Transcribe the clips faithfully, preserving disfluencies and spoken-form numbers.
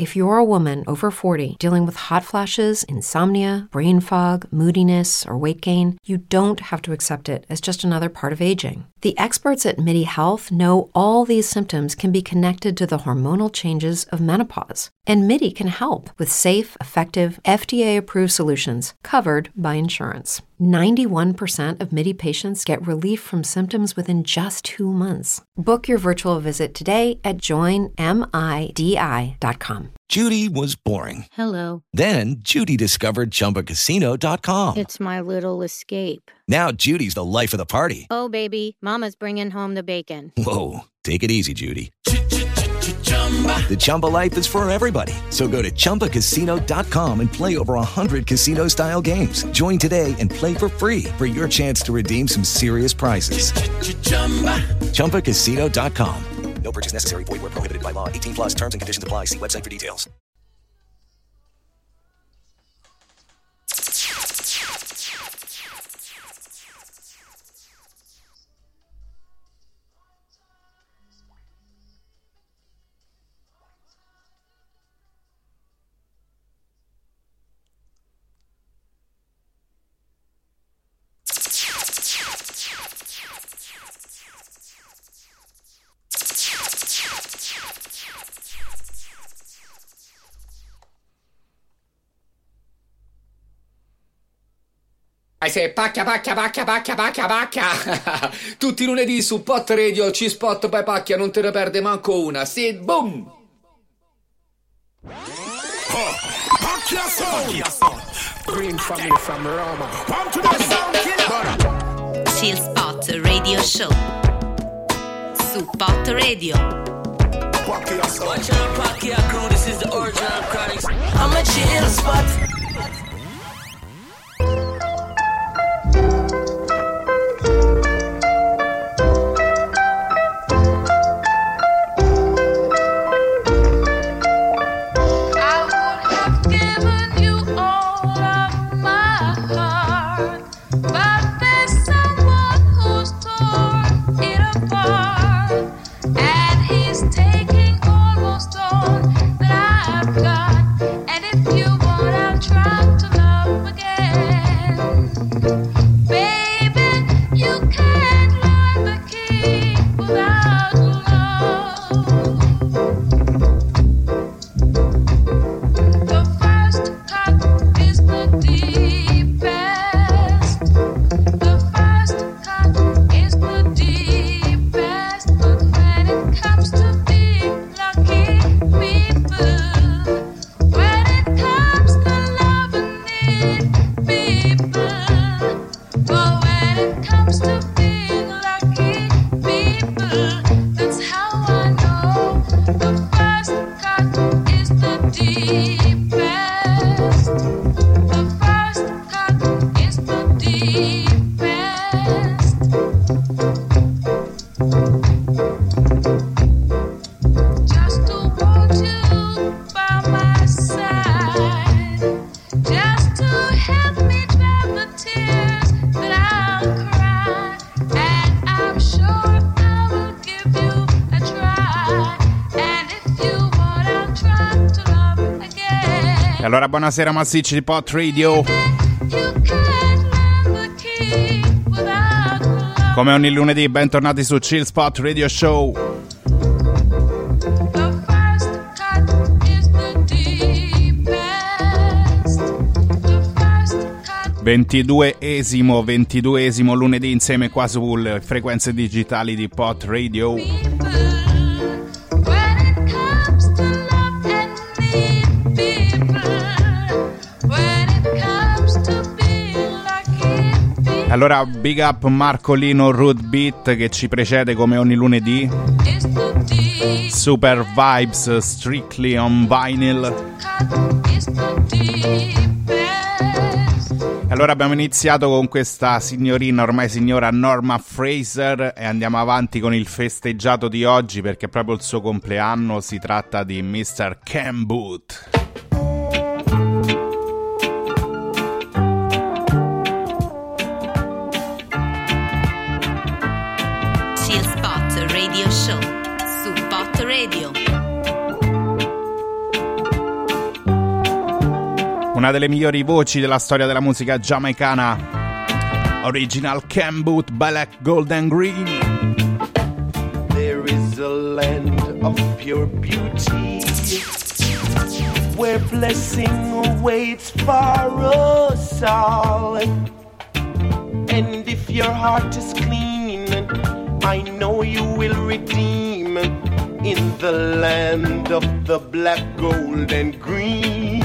If you're a woman over forty dealing with hot flashes, insomnia, brain fog, moodiness, or weight gain, you don't have to accept it as just another part of aging. The experts at MIDI Health know all these symptoms can be connected to the hormonal changes of menopause. And MIDI can help with safe, effective, F D A-approved solutions covered by insurance. ninety-one percent of MIDI patients get relief from symptoms within just two months. Book your virtual visit today at join midi dot com. Judy was boring. Hello. Then Judy discovered Chumba Casino dot com. It's my little escape. Now Judy's the life of the party. Oh, baby, mama's bringing home the bacon. Whoa, take it easy, Judy. The Chumba life is for everybody. So go to Chumba Casino dot com and play over one hundred casino-style games. Join today and play for free for your chance to redeem some serious prizes. Chumba Casino dot com. No purchase necessary. Void where prohibited by law. eighteen plus terms and conditions apply. See website for details. I say pacchia, pacchia, pacchia, pacchia, pacchia, pacchia. Tutti i lunedì su Pot Radio, C-Spot by Pacchia, non te ne perde manco una. Sì, boom! Pacchia Sound! Green family from Roma. Come to the sound killer! C-Spot Radio Show su Pot Radio. Pacchia Sound! Watch out, Pacchia crew, this is the original Chronics. I'm a chill spot. Allora, buonasera massicci di Pot Radio. Come ogni lunedì, bentornati su Chill Spot Radio Show. ventiduesimo, ventiduesimo lunedì insieme qua sulle frequenze digitali di Pot Radio. Allora, big up Marcolino Root Beat che ci precede come ogni lunedì. Super vibes, strictly on vinyl. Allora abbiamo iniziato con questa signorina, ormai signora Norma Fraser, e andiamo avanti con il festeggiato di oggi perché è proprio il suo compleanno. Si tratta di mister Ken Booth. Radio Show su Pot Radio. una delle migliori voci della storia della musica giamaicana. Original Ken Boothe, Black, Gold and Green. There is a land of pure beauty where blessing awaits for us all. And if your heart is clean, I know you will redeem in the land of the black, gold and green.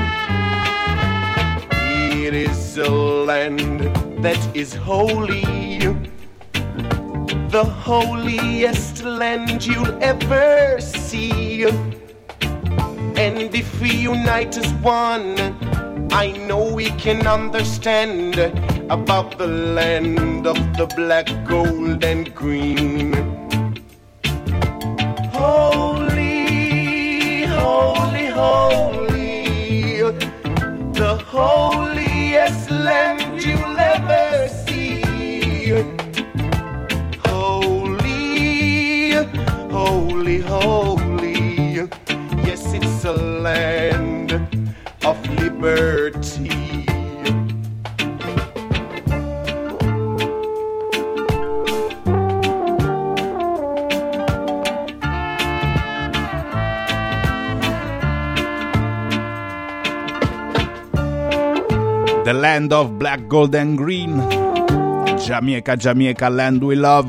It is a land that is holy, the holiest land you'll ever see. And if we unite as one, I know we can understand about the land of the black, gold and green. Holy, holy, holy, the holiest land you'll ever see. Holy, holy, holy, yes, it's a land of liberty. The land of black, gold and green. Jamaica, Jamaica, land we love.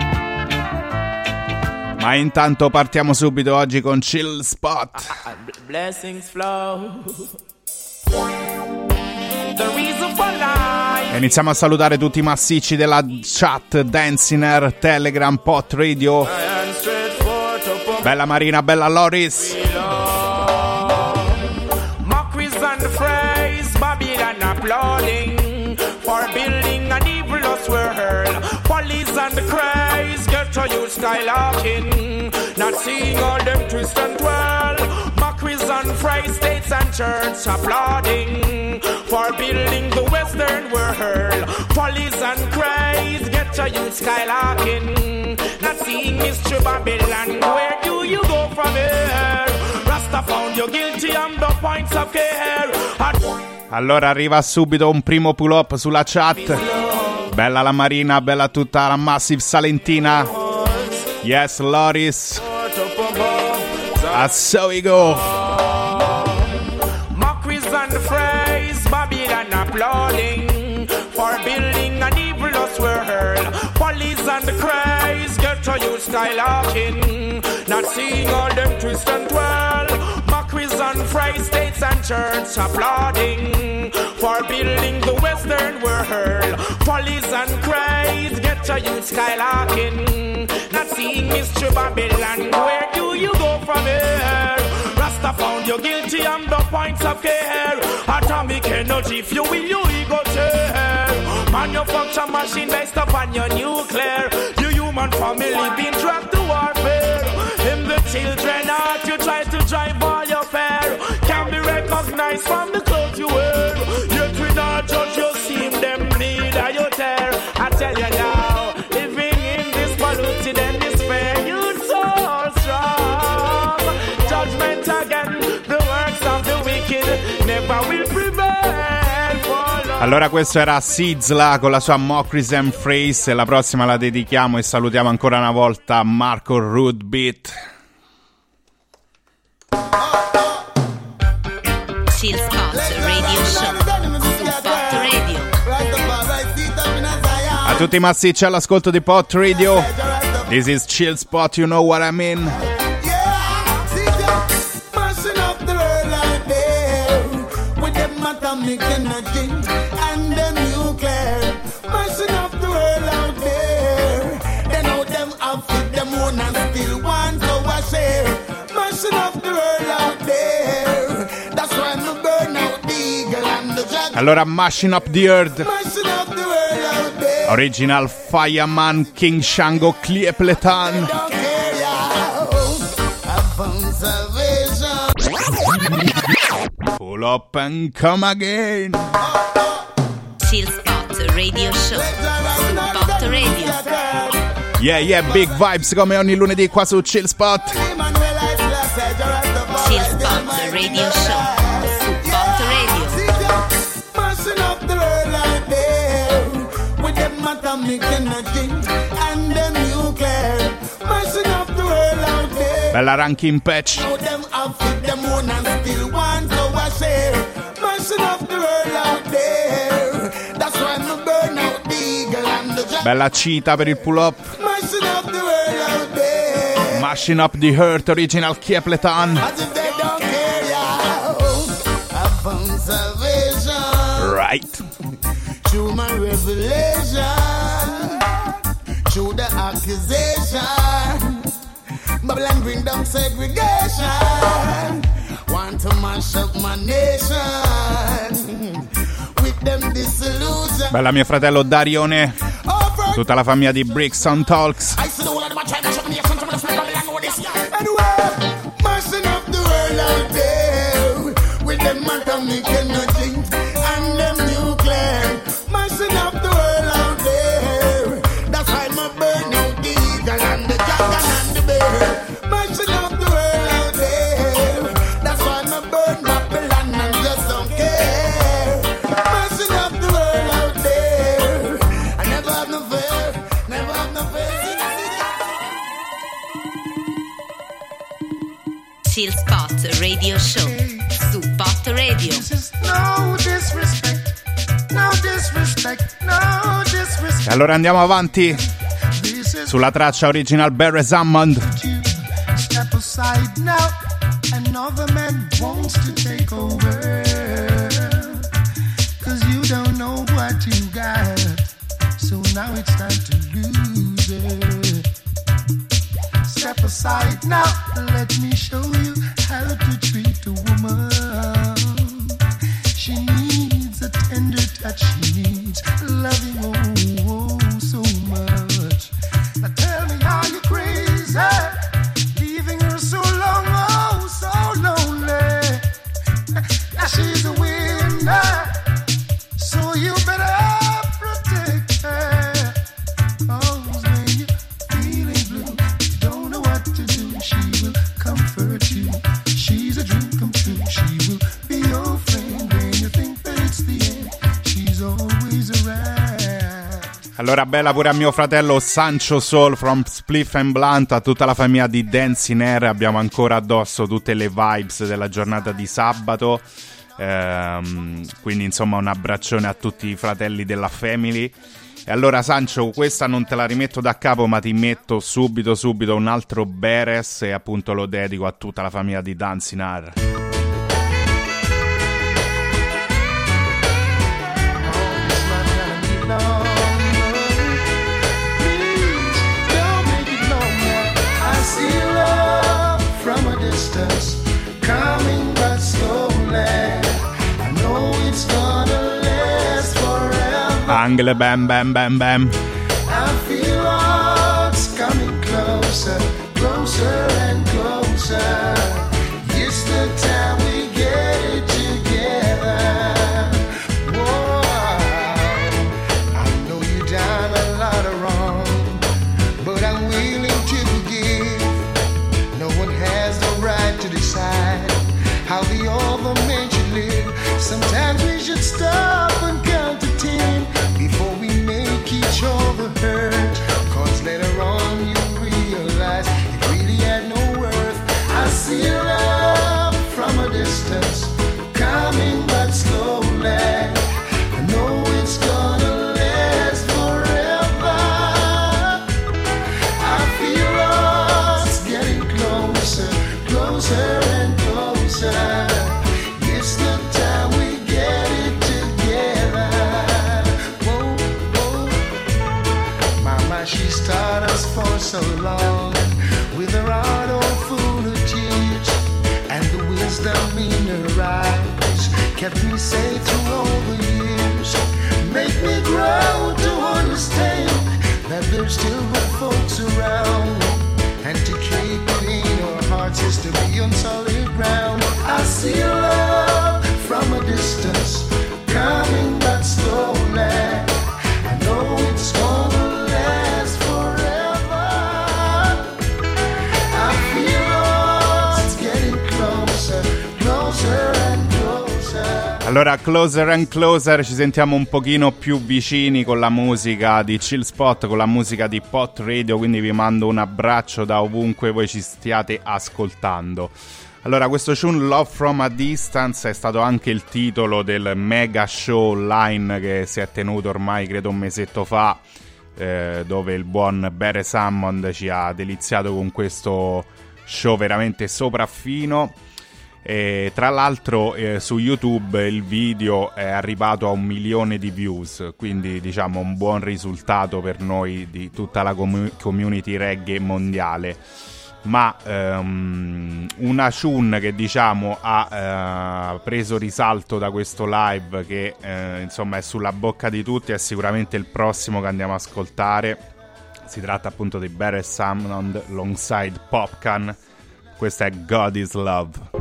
Ma intanto partiamo subito oggi con Chill Spot. Blessings flow. The reason for life. E iniziamo a salutare tutti i massicci della chat, Danciner, Telegram, Pot Radio. Bella Marina, bella Loris. Mockeries and phrase, Babylon applauding for building an evilous world. Follies and craze, get to you skylarking, not seeing all them twist and twirl. Mockeries and phrase, states and church applauding for building the western world. Follies and craze, get to you skylarking, not seeing Mister Babylon. Where do you go from here? Rasta found you guilty on the points of care. Allora arriva subito un primo pull up sulla chat. Bella la Marina, bella tutta la Massive Salentina. Yes, Loris. And so we go. Mockeries and phrase, Babylon applauding for building an evilous world. Follies and craze, get to you skylarking, not seeing all them twist and twirl. Mockeries and phrase, states and church applauding for building the western world. Follies and craze, get to you skylarking, not seeing Mister Babylon. Where do you go from here? Rasta found you guilty on the points of care. Atomic energy fuel your ego tear. Manufacture machine based upon your nuclear. Your human family being dragged to warfare. In the children heart you try to drive all your fear. Can be recognized from the clothes you wear. Yet we not judge you, seem them need a you tear. I tell you now, living in this polluted and despair, you're so strong. Judgment again, the works of the wicked never will prevail for long. Allora questo era Sizzla con la sua Mockeries and Phrase. E la prossima la dedichiamo e salutiamo ancora una volta Marco Rootbeat. Chill Spot Radio Show su Pot Radio. A tutti i massicci all'ascolto di Pot Radio. This is Chill Spot, you know what I mean. Allora, Mashing Up the Earth, Original Fireman, King Shango, Cleopletan. Pull up and come again. Chill Spot Radio Show su Pot Radio. Yeah, yeah, big vibes come ogni lunedì qua su Chill Spot. Chill Spot Radio Show su Pot Radio. Bella Rankin Patch. Bella Cita per il pull up. Mashing Up the Hurt, original Kiepleton. Right. Through my revelation, through the accusation, Babylon bring down segregation. Want to mash up my nation with them disillusion. Bella mio fratello Darione, tutta la famiglia di Brixton Talks. Mashing up the world out there with them atomic energy and them nuclear. Mashing up the world out there. That's why my burn out the eagle and the dragon and the bear. Mashing up the world out there. That's why my burn Babylon and just don't care. Mashing up the world out there. I never have no fear, never have no fear. Chill Spot Radio Show su Pot Radio. No disrespect, no disrespect, no disrespect. E allora andiamo avanti sulla traccia original Barry Hammond. Step aside now, another man wants to take over. Cause you don't know what you got, so now it's time to lose it. Step aside now, let me show you how to treat a woman. She needs a tender touch, she needs loving, oh, oh so much. Now tell me how you crazy, leaving her so long, oh so lonely. Now she's a winner, so you better protect her. Oh, when you're feeling blue, you don't know what to do, she will comfort you. She's a dream come true, she will be your friend when you think that it's the end. She's always around. Allora bella pure a mio fratello Sancho Soul from Spliff and Blunt, a tutta la famiglia di Dancing Air. Abbiamo ancora addosso tutte le vibes della giornata di sabato, ehm, quindi insomma un abbraccione a tutti i fratelli della family. E allora Sancho, questa non te la rimetto da capo, ma ti metto subito subito un altro Beres e appunto lo dedico a tutta la famiglia di Dancing Air. Coming but slowly, I know it's gonna last forever. Angle bam bam bam bam. I feel what's coming closer, closer and closer. It's the time we get it together. Whoa, I know you done a lot of wrong, but I'm willing to forgive. No one has the right to decide how the other man should live. Sometimes we should stop and count to ten before we make each other hurt. Cause later on you realize it really had no worth. I see love from a distance, coming but slowly. I know it's gonna last forever. I feel us getting closer, closer and closer. It's the time we get it together. Whoa, whoa. Mama, she's taught us for so long, with her heart all full of tears, and the wisdom in her eyes kept me safe through all the years. Make me grow to understand that there's still good folks around, and to keep it in our hearts is to be on solid ground. I see love from a distance, coming but slowly. I know it's gonna last forever. I feel us getting closer, closer and closer. Allora, Closer and Closer, ci sentiamo un pochino più vicini con la musica di Chill Spot, con la musica di Pot Radio, quindi vi mando un abbraccio da ovunque voi ci stiate ascoltando. Allora, questo tune Love From a Distance è stato anche il titolo del mega show online che si è tenuto ormai credo un mesetto fa, eh, dove il buon Beres Hammond ci ha deliziato con questo show veramente sopraffino. E tra l'altro eh, su YouTube il video è arrivato a un milione di views, quindi diciamo un buon risultato per noi di tutta la com- community reggae mondiale. Ma um, una tune che diciamo ha uh, preso risalto da questo live, che uh, insomma è sulla bocca di tutti, è sicuramente il prossimo che andiamo a ascoltare. Si tratta appunto di Beres Hammond alongside Popcan. Questa è God Is Love.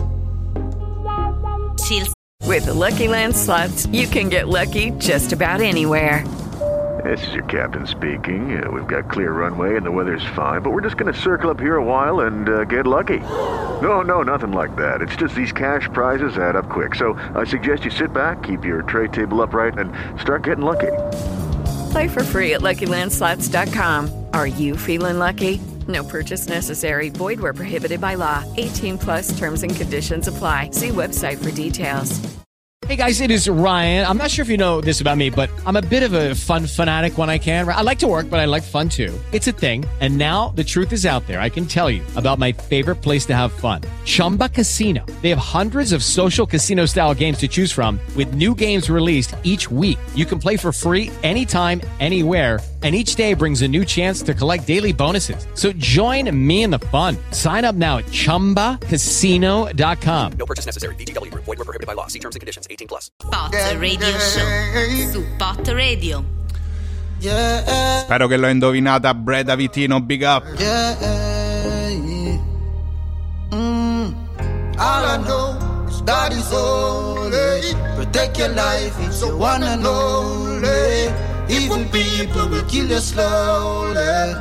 With the Lucky Land Slots, you can get lucky just about anywhere. This is your captain speaking. Uh, we've got clear runway and the weather's fine, but we're just going to circle up here a while and uh, get lucky. No, no, nothing like that. It's just these cash prizes add up quick. So I suggest you sit back, keep your tray table upright, and start getting lucky. Play for free at Lucky Land Slots dot com. Are you feeling lucky? No purchase necessary. Void where prohibited by law. eighteen plus terms and conditions apply. See website for details. Hey guys, it is Ryan. I'm not sure if you know this about me, but I'm a bit of a fun fanatic when I can. I like to work, but I like fun too. It's a thing. And now the truth is out there. I can tell you about my favorite place to have fun. Chumba Casino. They have hundreds of social casino style games to choose from with new games released each week. You can play for free anytime, anywhere. And each day brings a new chance to collect daily bonuses. So join me in the fun. Sign up now at chumba casino dot com. No purchase necessary. V G W. Void where prohibited by law. See terms and conditions. eighteen plus. Pot Radio Show su Pot Radio. Yeah. Spero che l'ho indovinata. Breda Vitino, big up. Yeah. Mm. All I know is God is holy. Protect your life, it's the one and only. Evil people will kill you slowly.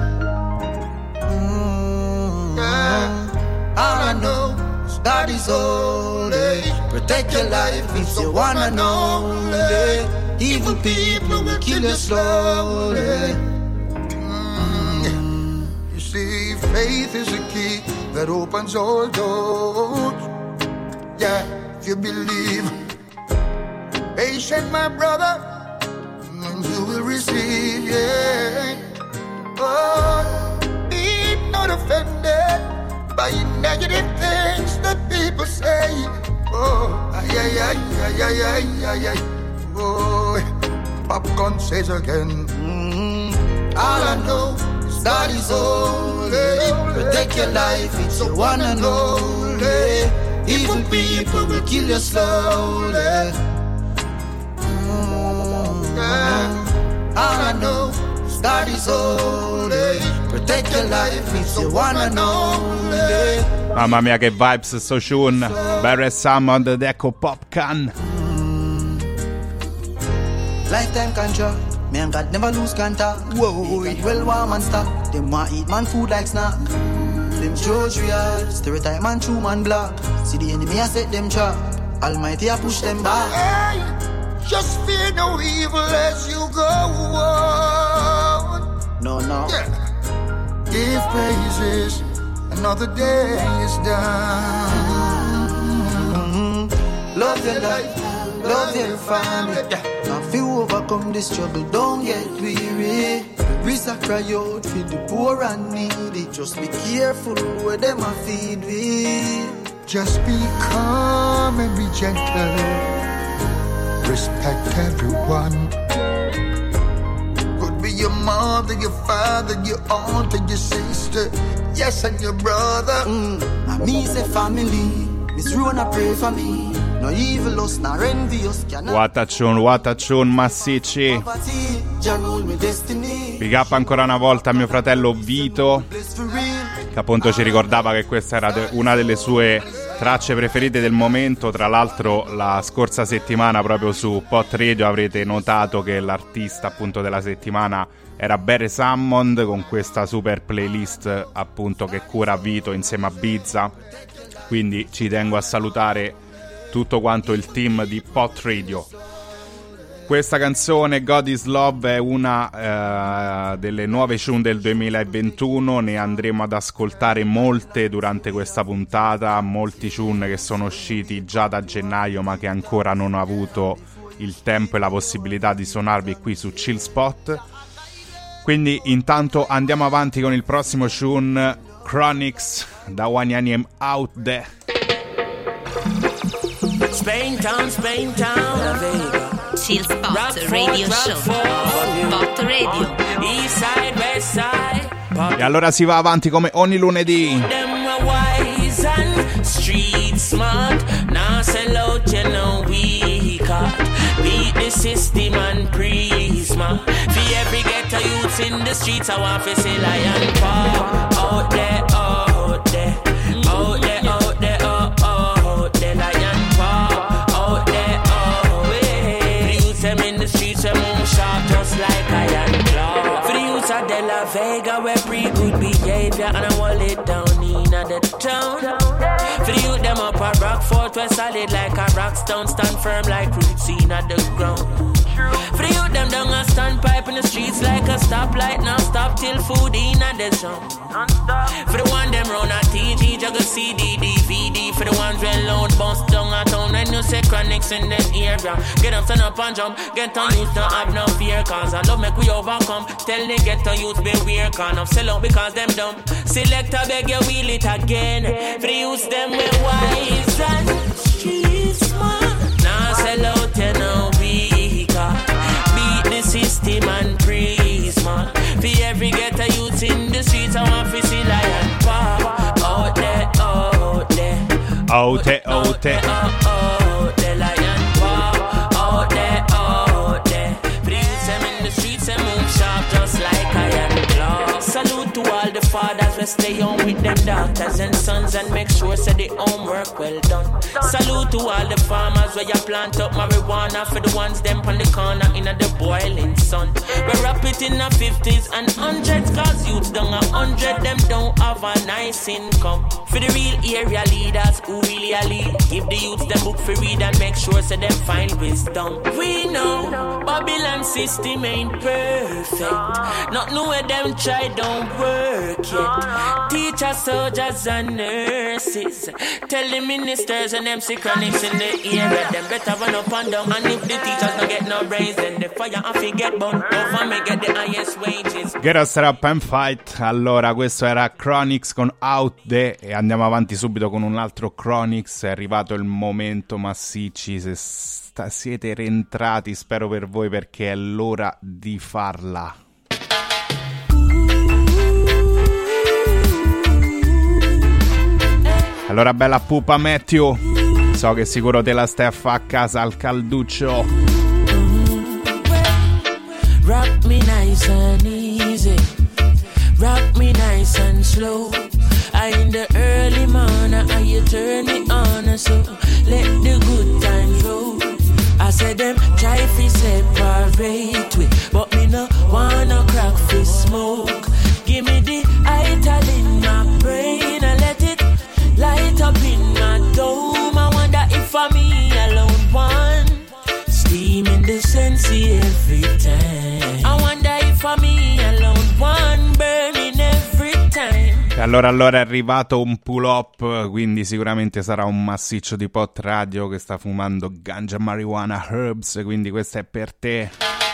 Mm. Yeah. All I know is God is holy. Protect your life, it's the one and only. Evil people will kill you slowly. Mm. You see, faith is a key that opens all doors. Yeah, if you believe. Patient, my brother, and you will receive, yeah. Oh, be not offended by negative things that people say. Oh, ay, ay, ay, ay, ay, ay, ay, ay. Oh, Popcorn says again. Mm-hmm. All I know is God is holy. Protect your life, it's the one and only. Evil people will kill you slowly. Mm-hmm. Yeah. All I know is God is holy. Protect your life, it's the one and only. Mamma mia che vibes sto tune. Beres Hammond ed ecco Popcan. Lifetime contract, me and God never lose contact. Whoa, well warm and stock. Them want eat man food like snack. Them judge real, stereotype man true man black. See the enemy I set them trap. Almighty I push them back. Hey, just fear no evil as you go on. No, no. Yeah. Give praises, another day is done. Mm-hmm. Love your life, love your family. Yeah. Now if you overcome this struggle, don't get weary. Risk a cry out for the poor and needy. Just be careful where them a feed with. Just be calm and be gentle. Respect everyone. Could be your mother, your father, your aunt and your sister. Yes, and your brother. Mm. And me say family. Miss Rona pray for me. No evil us, no envious. What a tune, what a tune, massicci. Big up ancora una volta a mio fratello Vito, che appunto ci ricordava che questa era una delle sue tracce preferite del momento. Tra l'altro la scorsa settimana proprio su Pot Radio avrete notato che l'artista appunto della settimana era Beres Hammond, con questa super playlist appunto che cura Vito insieme a Bizza. Quindi ci tengo a salutare tutto quanto il team di Pot Radio. Questa canzone, God is Love, è una uh, delle nuove tune del duemilaventuno, ne andremo ad ascoltare molte durante questa puntata, molti tune che sono usciti già da gennaio ma che ancora non ho avuto il tempo e la possibilità di suonarvi qui su Chill Spot. Quindi intanto andiamo avanti con il prossimo tune, Chronixx, da One Name Out There. Spain Town, Spain Town, Vega. Chill Spot Radio Show. Spot Radio. East side, west side. E allora si va avanti come ogni lunedì. Them are wise and street smart. Now sell out, you know we caught. Beat the system and pre-smart. For every ghetto youths in the streets, I want to see lion paw. Out there, out there, out there, out there, oh, oh, out there, lion paw. Out there, oh, hey. The youths them in the streets, they move sharp just like iron claw. For the youths of De La Vega, we're pretty good behavior, and I want it down in the town. For the youth them up a Rockfort, we're solid like a rock stone, stand firm like roots in at the ground. For the youth them down a standpipe in the streets like a stoplight, now stop till food in at the zone. For the one them run a T G, juggle C D, D V D. For the ones when load bounce down a town, when you say Chronixx in the area, get up, stand up and jump. Get on youth, don't have no fear, cause I love make we overcome. Tell the get on youth beware, can't up sell out because them dumb. Select a beg you wheel it again. For the youth them we wise and street smart. Now sell out you know we got. Beat the system and pre-smart. For every ghetto youth in the streets, I want to see lion paw. Out there, out there. Out there, out there. Out there, lion paw. Out there, out there. For the youths them in the streets, they move sharp just like iron claw. Salute to all the fathers, we stay home with them daughters and sons and make sure say the homework well done. Salute to all the farmers where you plant up marijuana for the ones them on the corner in the boiling sun. We wrap it in the fifties and hundreds, cause youths down a hundred, them don't have a nice income. For the real area leaders who really a lead, give the youths them book for read and make sure say them find wisdom. We know Babylon system ain't perfect, not know where them try don't work yet. Teachers, soldiers and nurses, tell the ministers and them see Chronixx in the area, them better run up and down. And if the teachers don't get no raise, then the fire off you get burned. Don't for me get the highest wages. Get us up and fight. Allora, questo era Chronixx con Out There e andiamo avanti subito con un altro Chronixx. È arrivato il momento, massicci, se sta, siete rientrati, spero per voi, perché è l'ora di farla. Allora, bella pupa Matthew, so che sicuro te la stai a fa a casa al calduccio. Rock me nice and easy, rock me nice and slow. I in the early morning, and you turn me on, so let the good times roll. I said them try fi separate we, but me no wanna crack fi smoke. Give me the ital in my brain and let it light up in my dome. I wonder if for me alone one steam in the sensi every time. I wonder if for me alone one burning every time. E allora allora è arrivato un pull up, quindi sicuramente sarà un massiccio di Pot Radio che sta fumando ganja, marijuana, herbs, quindi questo è per te.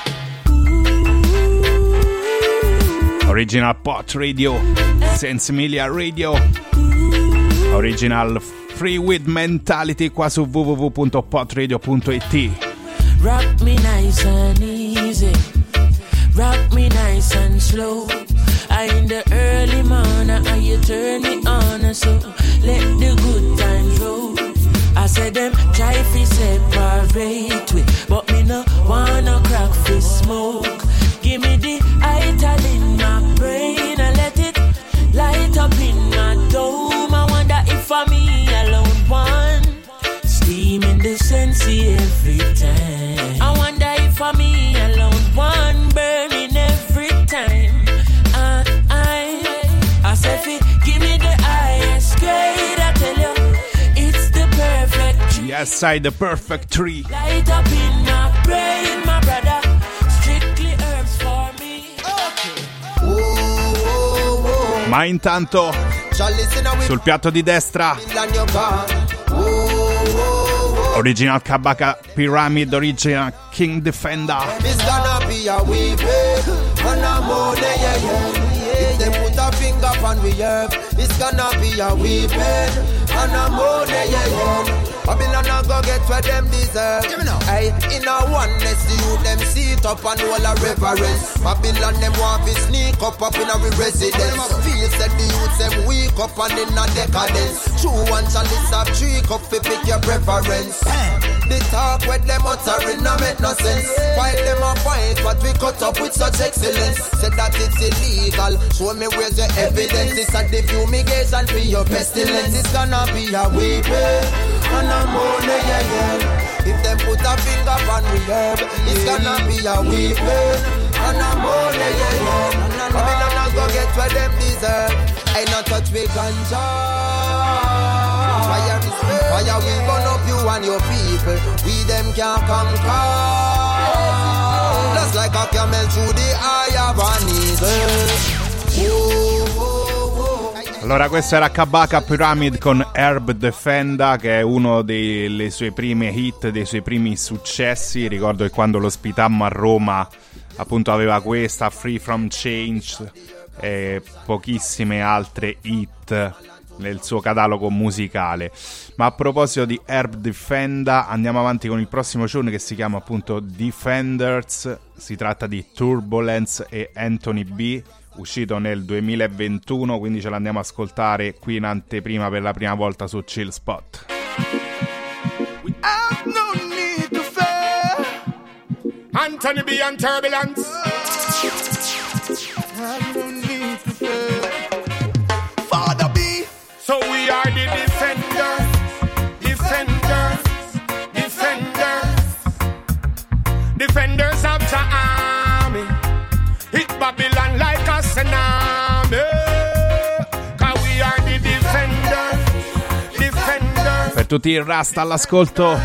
Original Pot Radio, Sensimilia Radio, Original Free Weed Mentality qua su w w w punto pot radio punto i t. Rock me nice and easy, rock me nice and slow. I in the early morning, and you turn me on, so let the good times roll. I said them try fi separate we, but me no wanna crack fi smoke. Give me the ital in my brain and let it light up in my dome. I wonder if for me alone one steam in the sensi every time. I wonder if for me alone one burning every time. Uh, I, I said, give me the highest grade. I tell you, it's the perfect. Yes, side the perfect tree. Light up in my brain, my brother. Strictly herbs for me. Okay. Ma intanto sul piatto di destra Original Kabaka Pyramid, Original King Defender. It's gonna be a weeping and a mourning, yeah, yeah. If they put a finger on the earth, it's gonna be a weeping and a mourning, yeah, yeah. Babylon a go get what them deserve. Hey, in a oneness, the youth them sit up and all a reverence. Babylon them want to sneak up up in a residence. Feel said the youth them weak up and in a decadence. True one chalice of three cup fi pick your preference. The talk with them uttering no make no sense. Fight them a fight, but we cut up with such excellence. Said that it's illegal, show me where's your evidence. It's a the fumigation for your pestilence. It's gonna be a weeping and a mourning, yeah, yeah. If them put a finger on the herb, it's gonna be a weeping and a mourning, yeah, yeah. Come in and go get what them deserve. Ain't not touch with ganja. Fire, fire will burn up you and your people. We them can't conquer. Just like a camel through the eye of an eagle. Oh, oh, oh. Allora, questo era Kabaka Pyramid con Herb Defenda, che è uno delle sue prime hit, dei suoi primi successi. Ricordo che quando lo ospitammo a Roma, appunto, aveva questa, Free From Change, e pochissime altre hit nel suo catalogo musicale. Ma a proposito di Herb Defenda, andiamo avanti con il prossimo tune che si chiama appunto Defenders. Si tratta di Turbulence e Anthony B, uscito nel duemilaventuno, quindi ce l'andiamo a ascoltare qui in anteprima per la prima volta su Chill Spot. We have no need to fear Anthony B and Turbulence. Have no need to fear Father B. So we are the defenders, defenders, defenders, defenders of the army. Hit Babylon like a tsunami. Cause we are the defenders, defenders. Per tutti i Rasta all'ascolto.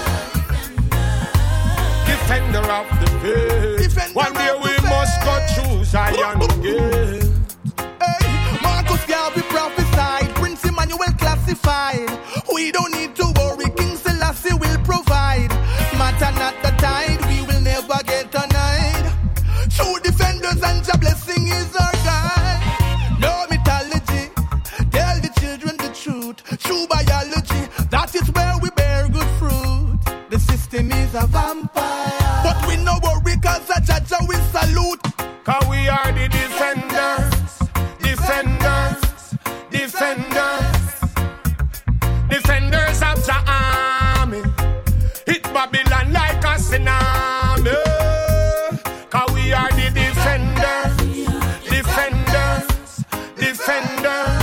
Defender of the faith. One day we must go through Zion again. Hey, Marcus Garvey prophesied, Prince Emmanuel classified. We don't need to worry, King Selassie will provide. Matter not the tide, we will never get denied. True defenders and your blessing is our guide. No mythology, tell the children the truth. True biology, that is where we bear good fruit. The system is a vampire, but we no worry cause a judge will salute. Cause we are the defenders, defenders, defenders, defenders of the army. Hit Babylon like a tsunami. Cause we are the defenders, defenders, defenders,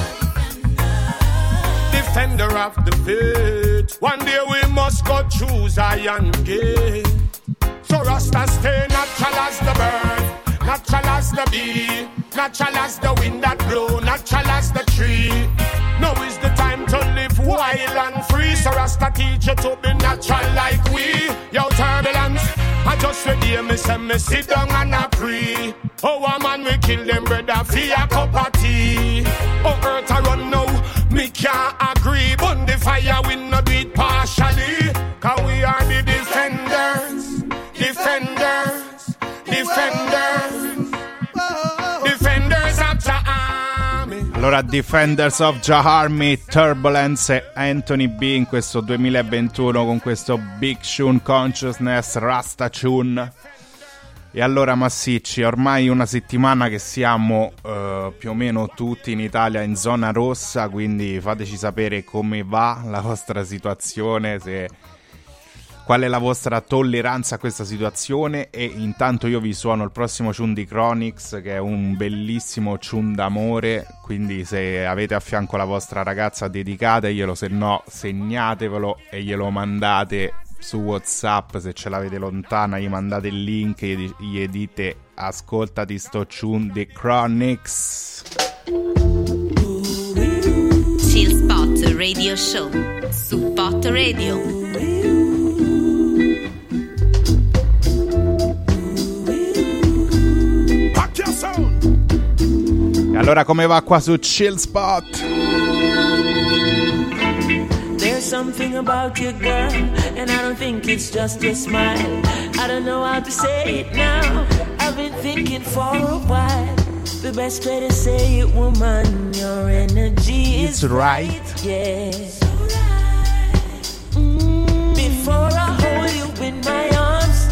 defender of the faith. One day we must go through Zion gate. So Rasta stay natural as the bird, natural as the bee, natural as the wind that blow, natural as the tree. Now is the time to live wild and free. So Rasta teach you to be natural like we. Yo, Turbulence, I just read here, me say me sit down and I pray. Oh, a man we kill them brother for a cup of tea. Oh, earth I run now, me can't agree. Burn the fire, we no do it partially. Cause we are the defenders, defenders, defenders, defenders of the army. Allora, Defenders of the Army, Turbulence e Anthony B in questo duemilaventuno con questo Big Tune Consciousness, Rasta Tune. E allora, massicci, ormai una settimana che siamo uh, più o meno tutti in Italia in zona rossa, quindi fateci sapere come va la vostra situazione, se... qual è la vostra tolleranza a questa situazione. E intanto io vi suono il prossimo tune di Chronix, che è un bellissimo tune d'amore, quindi se avete a fianco la vostra ragazza dedicateglielo, se no segnatevelo e glielo mandate su WhatsApp. Se ce l'avete lontana gli mandate il link e gli, gli dite ascoltati sto tune di Chronix. Chill Spot Radio Show su Pot Spot Radio. E allora come va qua su Chill Spot? There's something about you, girl, and I don't think it's just your smile. I don't know how to say it now. I've been thinking for a while. The best way to say it, woman, your energy It's is right. yeah. Mm, before I hold you in my arms,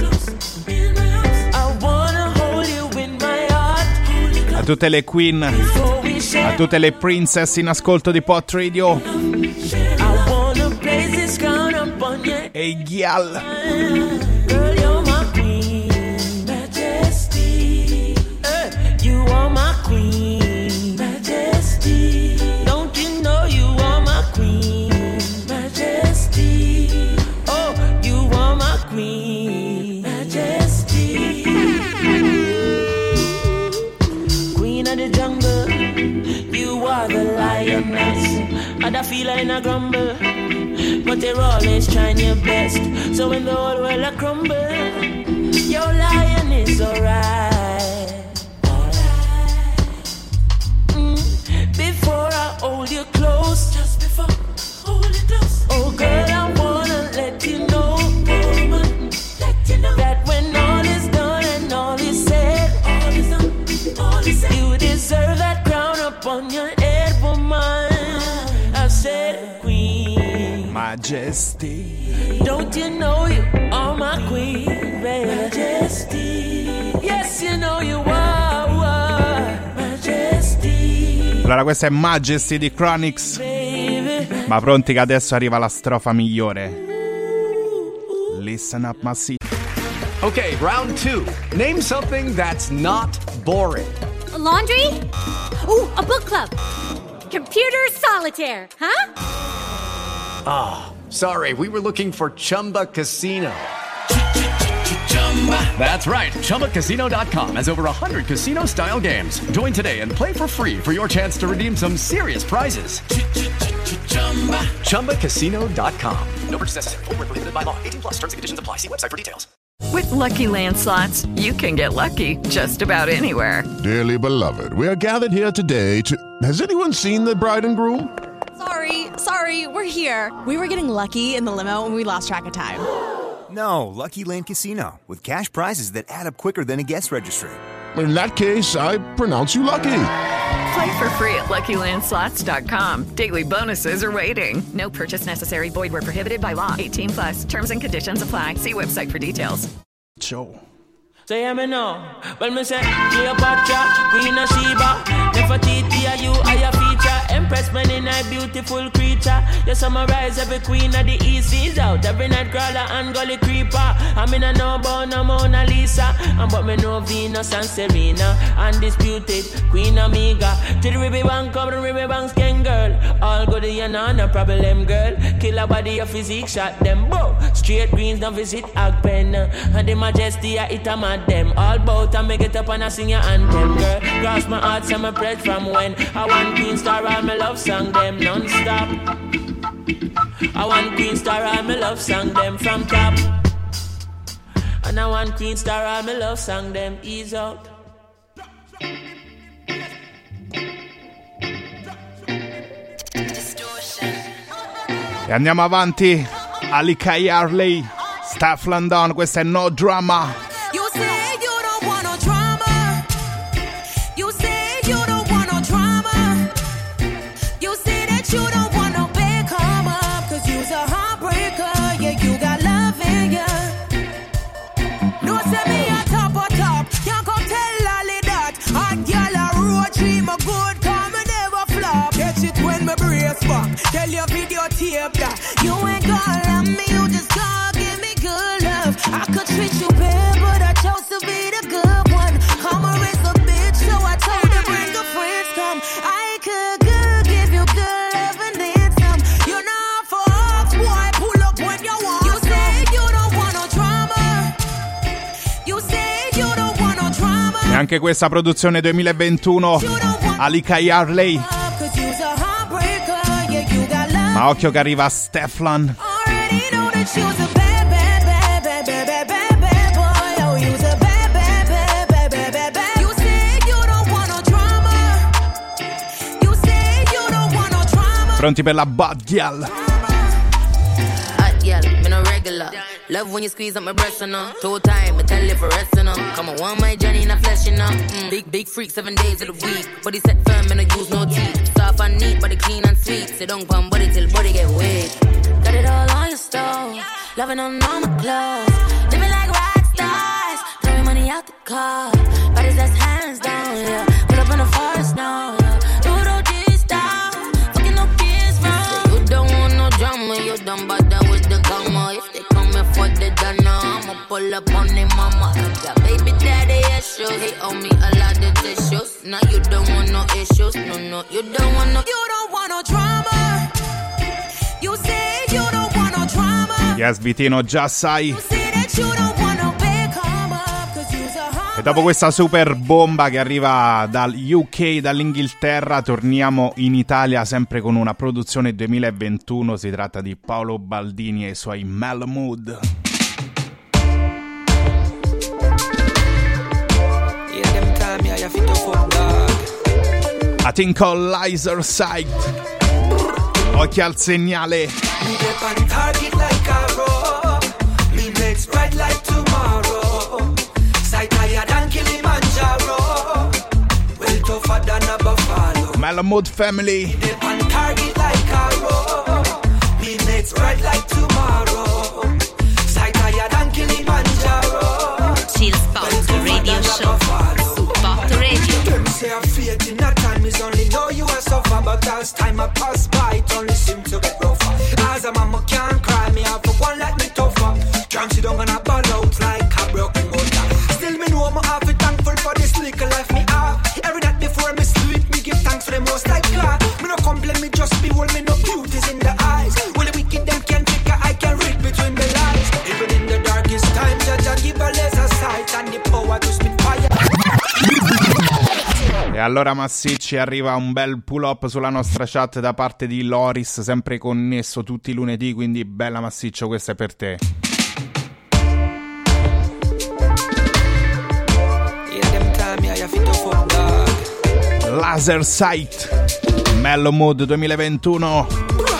I wanna hold you in my heart. A tutte le queen, a tutte le princess in ascolto di Pot Radio. I wanna place this crown upon you. Ehi, Ghial. Girl, you're my queen, majesty. Eh, you are my queen, majesty. Don't you know you are my queen, majesty? Oh, you are my queen, majesty. Queen of the jungle, you are the lioness. Other feel in a grumble, but they're always trying your best. So when the whole world a crumble, your lion is alright. Mm, before I hold you close, just before hold you close. Oh girl, I wanna let you know, woman, let you know that when all is done and all is said, all is done, all is said, you deserve that crown upon your head, woman. I said queen, majesty. Don't you know you are my queen, baby? Majesty. Yes, you know you are, are majesty. Allora questa è Majesty di Chronix. Baby. Ma pronti che adesso arriva la strofa migliore. Listen up, my seat. Okay, round two. Name something that's not boring. A laundry? Ooh, a book club. Computer solitaire, huh? Ah, oh, sorry, we were looking for Chumba Casino. That's right, Chumba Casino dot com has over one hundred casino-style games. Join today and play for free for your chance to redeem some serious prizes. Chumba Casino dot com. No purchase necessary. Void where prohibited by law. eighteen plus terms and conditions apply. See website for details. With Lucky Land Slots, you can get lucky just about anywhere. Dearly beloved, we are gathered here today to... Has anyone seen the bride and groom? Sorry, sorry, we're here. We were getting lucky in the limo and we lost track of time. No, Lucky Land Casino, with cash prizes that add up quicker than a guest registry. In that case, I pronounce you lucky. Play for free at Lucky Land Slots dot com. Daily bonuses are waiting. No purchase necessary. Void where prohibited by law. eighteen plus. Terms and conditions apply. See website for details. Ciao. Say me no, well me say Cleopatra, Queen of Sheba, Nefertiti, are you are your feature, Empress man in a beautiful creature. You summarize every queen of the East is out, every night crawler and gully creeper. I mean I know about no Mona Lisa, and but me know Venus and Serena, undisputed Queen Amiga. To the Ribby Bank, come the Ribby Bank skin girl, all good and no problem girl. Kill a body of physique, shot them bow. Straight greens don't visit Agpen, and the Majesty I it a man. Them all bout and make it up and I sing your anthem, girl. Cross my heart, so my bread from when I want Queen Star, all my love song them non-stop. I want Queen Star, all my love song them from top. And I want Queen Star, all my love song them ease out. E andiamo avanti. Alika Harley, Staff London, questa è No Drama. Tell your videotape that you ain't gonna love me, you just gonna give me good love. I could treat you bad, but I chose to be the good one. Karma is a bitch, so I told her bring her friends come. I could good, give you good love and then some. You know for us, boy, pull up when you want. You say you don't want no drama. You say you don't want no drama. E anche questa produzione duemilaventuno, Alika Harley. Ma occhio che arriva Stefan. Already know that you's a bad, bad, bad, bad, bad, bad, bad, bad boy. Oh, you's a bad, bad, bad, bad, bad, bad, bad. You say you don't want no drama. You say you don't want no drama. Pronti per la bad girl? Hot girl, me no regular. Love when you squeeze up my breasts, you know. Two time, I tell you for rest, you know. Come on, one my journey in the flesh, you know. Mm. Big, big freak, seven days of the week. Body set firm, and I use no teeth. Soft and neat, body clean and sweet. Sit down, pump body till body get weak. Got it all on your stove. Loving on all my clothes. Living like rock stars. Throwing money out the car. Bodies that's hands down, yeah. Pull up in the forest now, yeah. Do do this style. Fucking no kids, bro. You don't want no drama. You don't bother with the karma. If they for the dana, I'ma pull up on their mama. Got baby daddy issues. They owe me a lot of tissues. Now you don't want no issues. No, no, you don't want no. You don't want no drama. You say you don't want no drama. Yes, Vitino, già sai. You say that you don't want no big come up. Cause you's a E dopo questa super bomba che arriva dal U K, dall'Inghilterra, torniamo in Italia sempre con una produzione duemilaventuno. Si tratta di Paolo Baldini e i suoi Mellow Mood. I think all lies are sight. Occhi al segnale. Mellow Mood family. on target like arrow. Me mates bright like tomorrow. Sight higher than Kilimanjaro. Chill Spot Radio Show. Spot Radio. Them say I'm faith in that time is only know you are suffer, but as time I pass by, it only seem to get rougher. As a mama can't cry, me have for one like me tougher. Can't sit down and I ball out like a broken motor. Still me know I'm half thankful for this little life me have. Every night before me sleep, me give thanks for the most like God. Me no complain, me just behold me no beauties in the eyes. When the wicked them can trick, I can read between the lines. Even in the darkest time, Judge I give a laser sight and the power to spit fire. E allora massicci, arriva un bel pull up sulla nostra chat da parte di Loris, sempre connesso tutti i lunedì, quindi bella massiccio, questa è per te. Laser Sight Mellow Mood duemilaventuno.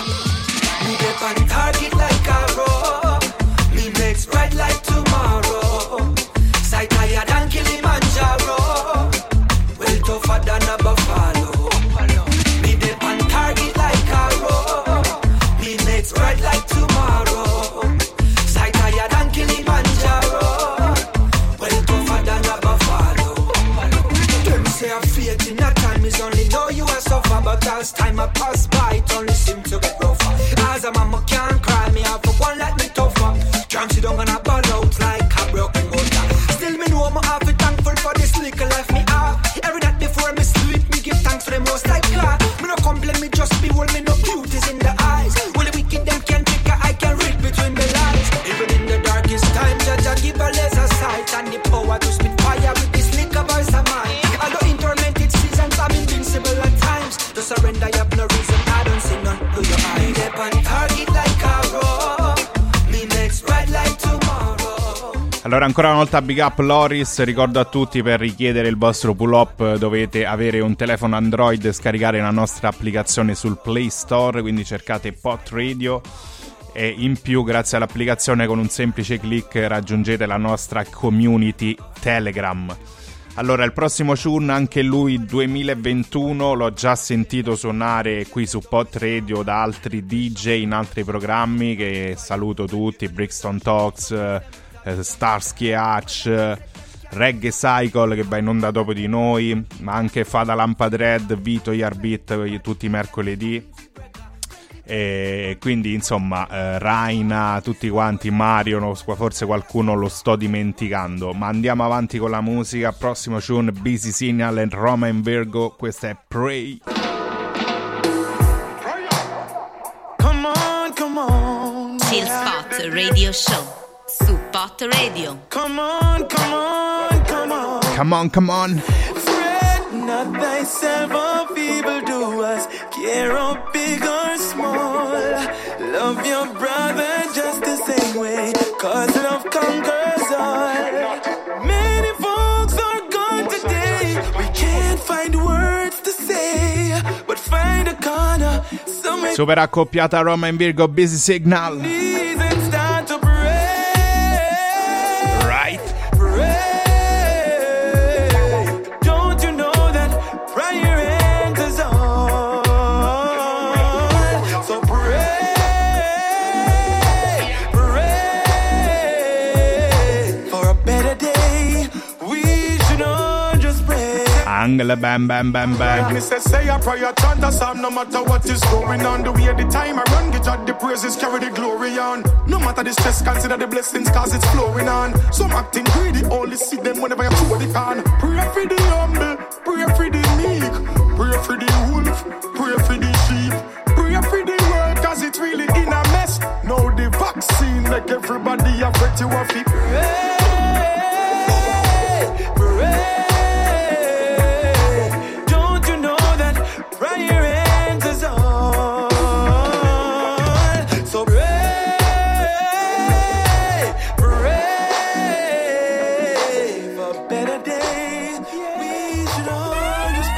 But as time I pass by, it only seem to get rougher. As a mama can't cry, me have for one like me tougher. Can't sit down and I ball out like a broken motor. Still me know I'm half thankful for this little life me have. Every night before me sleep, me give thanks for the most like God. Me no complain, me just behold me no beauties in the eyes. When the wicked them can trick, I can read between the lines. Even in the darkest time, Judge I give a laser sight and the power to spit fire with this little voice of mine. I know in tormented seasons, I'm invincible at times. To surrender, you have no reason, I don't see none to your eyes. Me dep on target like arrow. Me makes bright like tomorrow. Allora ancora una volta big up Loris, ricordo a tutti, per richiedere il vostro pull up dovete avere un telefono Android e scaricare la nostra applicazione sul Play Store, quindi cercate Pot Radio e in più grazie all'applicazione con un semplice click raggiungete la nostra community Telegram. Allora, il prossimo tune, anche lui duemilaventuno, l'ho già sentito suonare qui su Pot Radio da altri D J in altri programmi, che saluto tutti, Brixton Talks, eh, Starsky Hutch, Reggae Cycle che va in onda dopo di noi, ma anche Fada Lampadred, Vito Yarbit, tutti i mercoledì. E quindi insomma eh, Raina, tutti quanti, Mario, no, forse qualcuno lo sto dimenticando, ma andiamo avanti con la musica. Prossimo tune, Busy Signal e Roma in Virgo, questa è Pray. Come on, come on. Chill Spot Radio Show su Pot Radio. Come on, come on, come on. Come on, come on. Fret not thyself of evil doers, care of big or small. Love your brother just the same way, cause love conquers all. Many folks are gone today, we can't find words to say, but find a corner somewhere. Super accoppiata Roma in Virgo, Busy Signal. Please and start to pray. Right. Pray. Don't you know that prayer enters all? So pray, pray for a better day. We should all just pray. Angle bam bam bam bam. Me say say a prayer, chant a psalm, no matter what is going on. The way the time I run, get out the praises, carry the glory on. No matter the stress, consider the blessings, cause it's flowing on. Some acting greedy, only see them whenever you throw the can. Pray for the humble, pray for the meek, pray for the wolf, pray for the sheep, pray for the world, cause it's really in a mess. Now the vaccine make everybody afraid to have it. Pray, pray. Prayer enters all. So pray, pray for better days. We should all just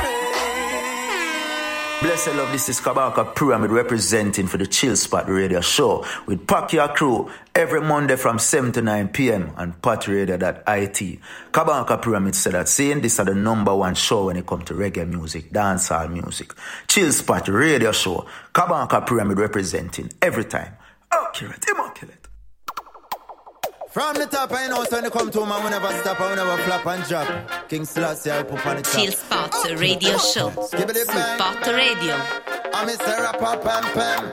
pray. Blessed love, this is Kabaka Pyramid representing for the Chill Spot Radio Show with Pakia Crew every Monday from seven to nine p.m. on pat radio dot I T. Kabaka Pyramid said that saying this is the number one show when it comes to reggae music, dancehall music. Chill Spot Radio Show. Kabaka Pyramid representing every time. Accurate, immaculate. From the top, I know, so when you come to man, we never stop, we never flop and drop. King Selassie, I put on the top. Chill Spot Radio Show. Spot Radio. I'm Mister Rapper, Pam Pam.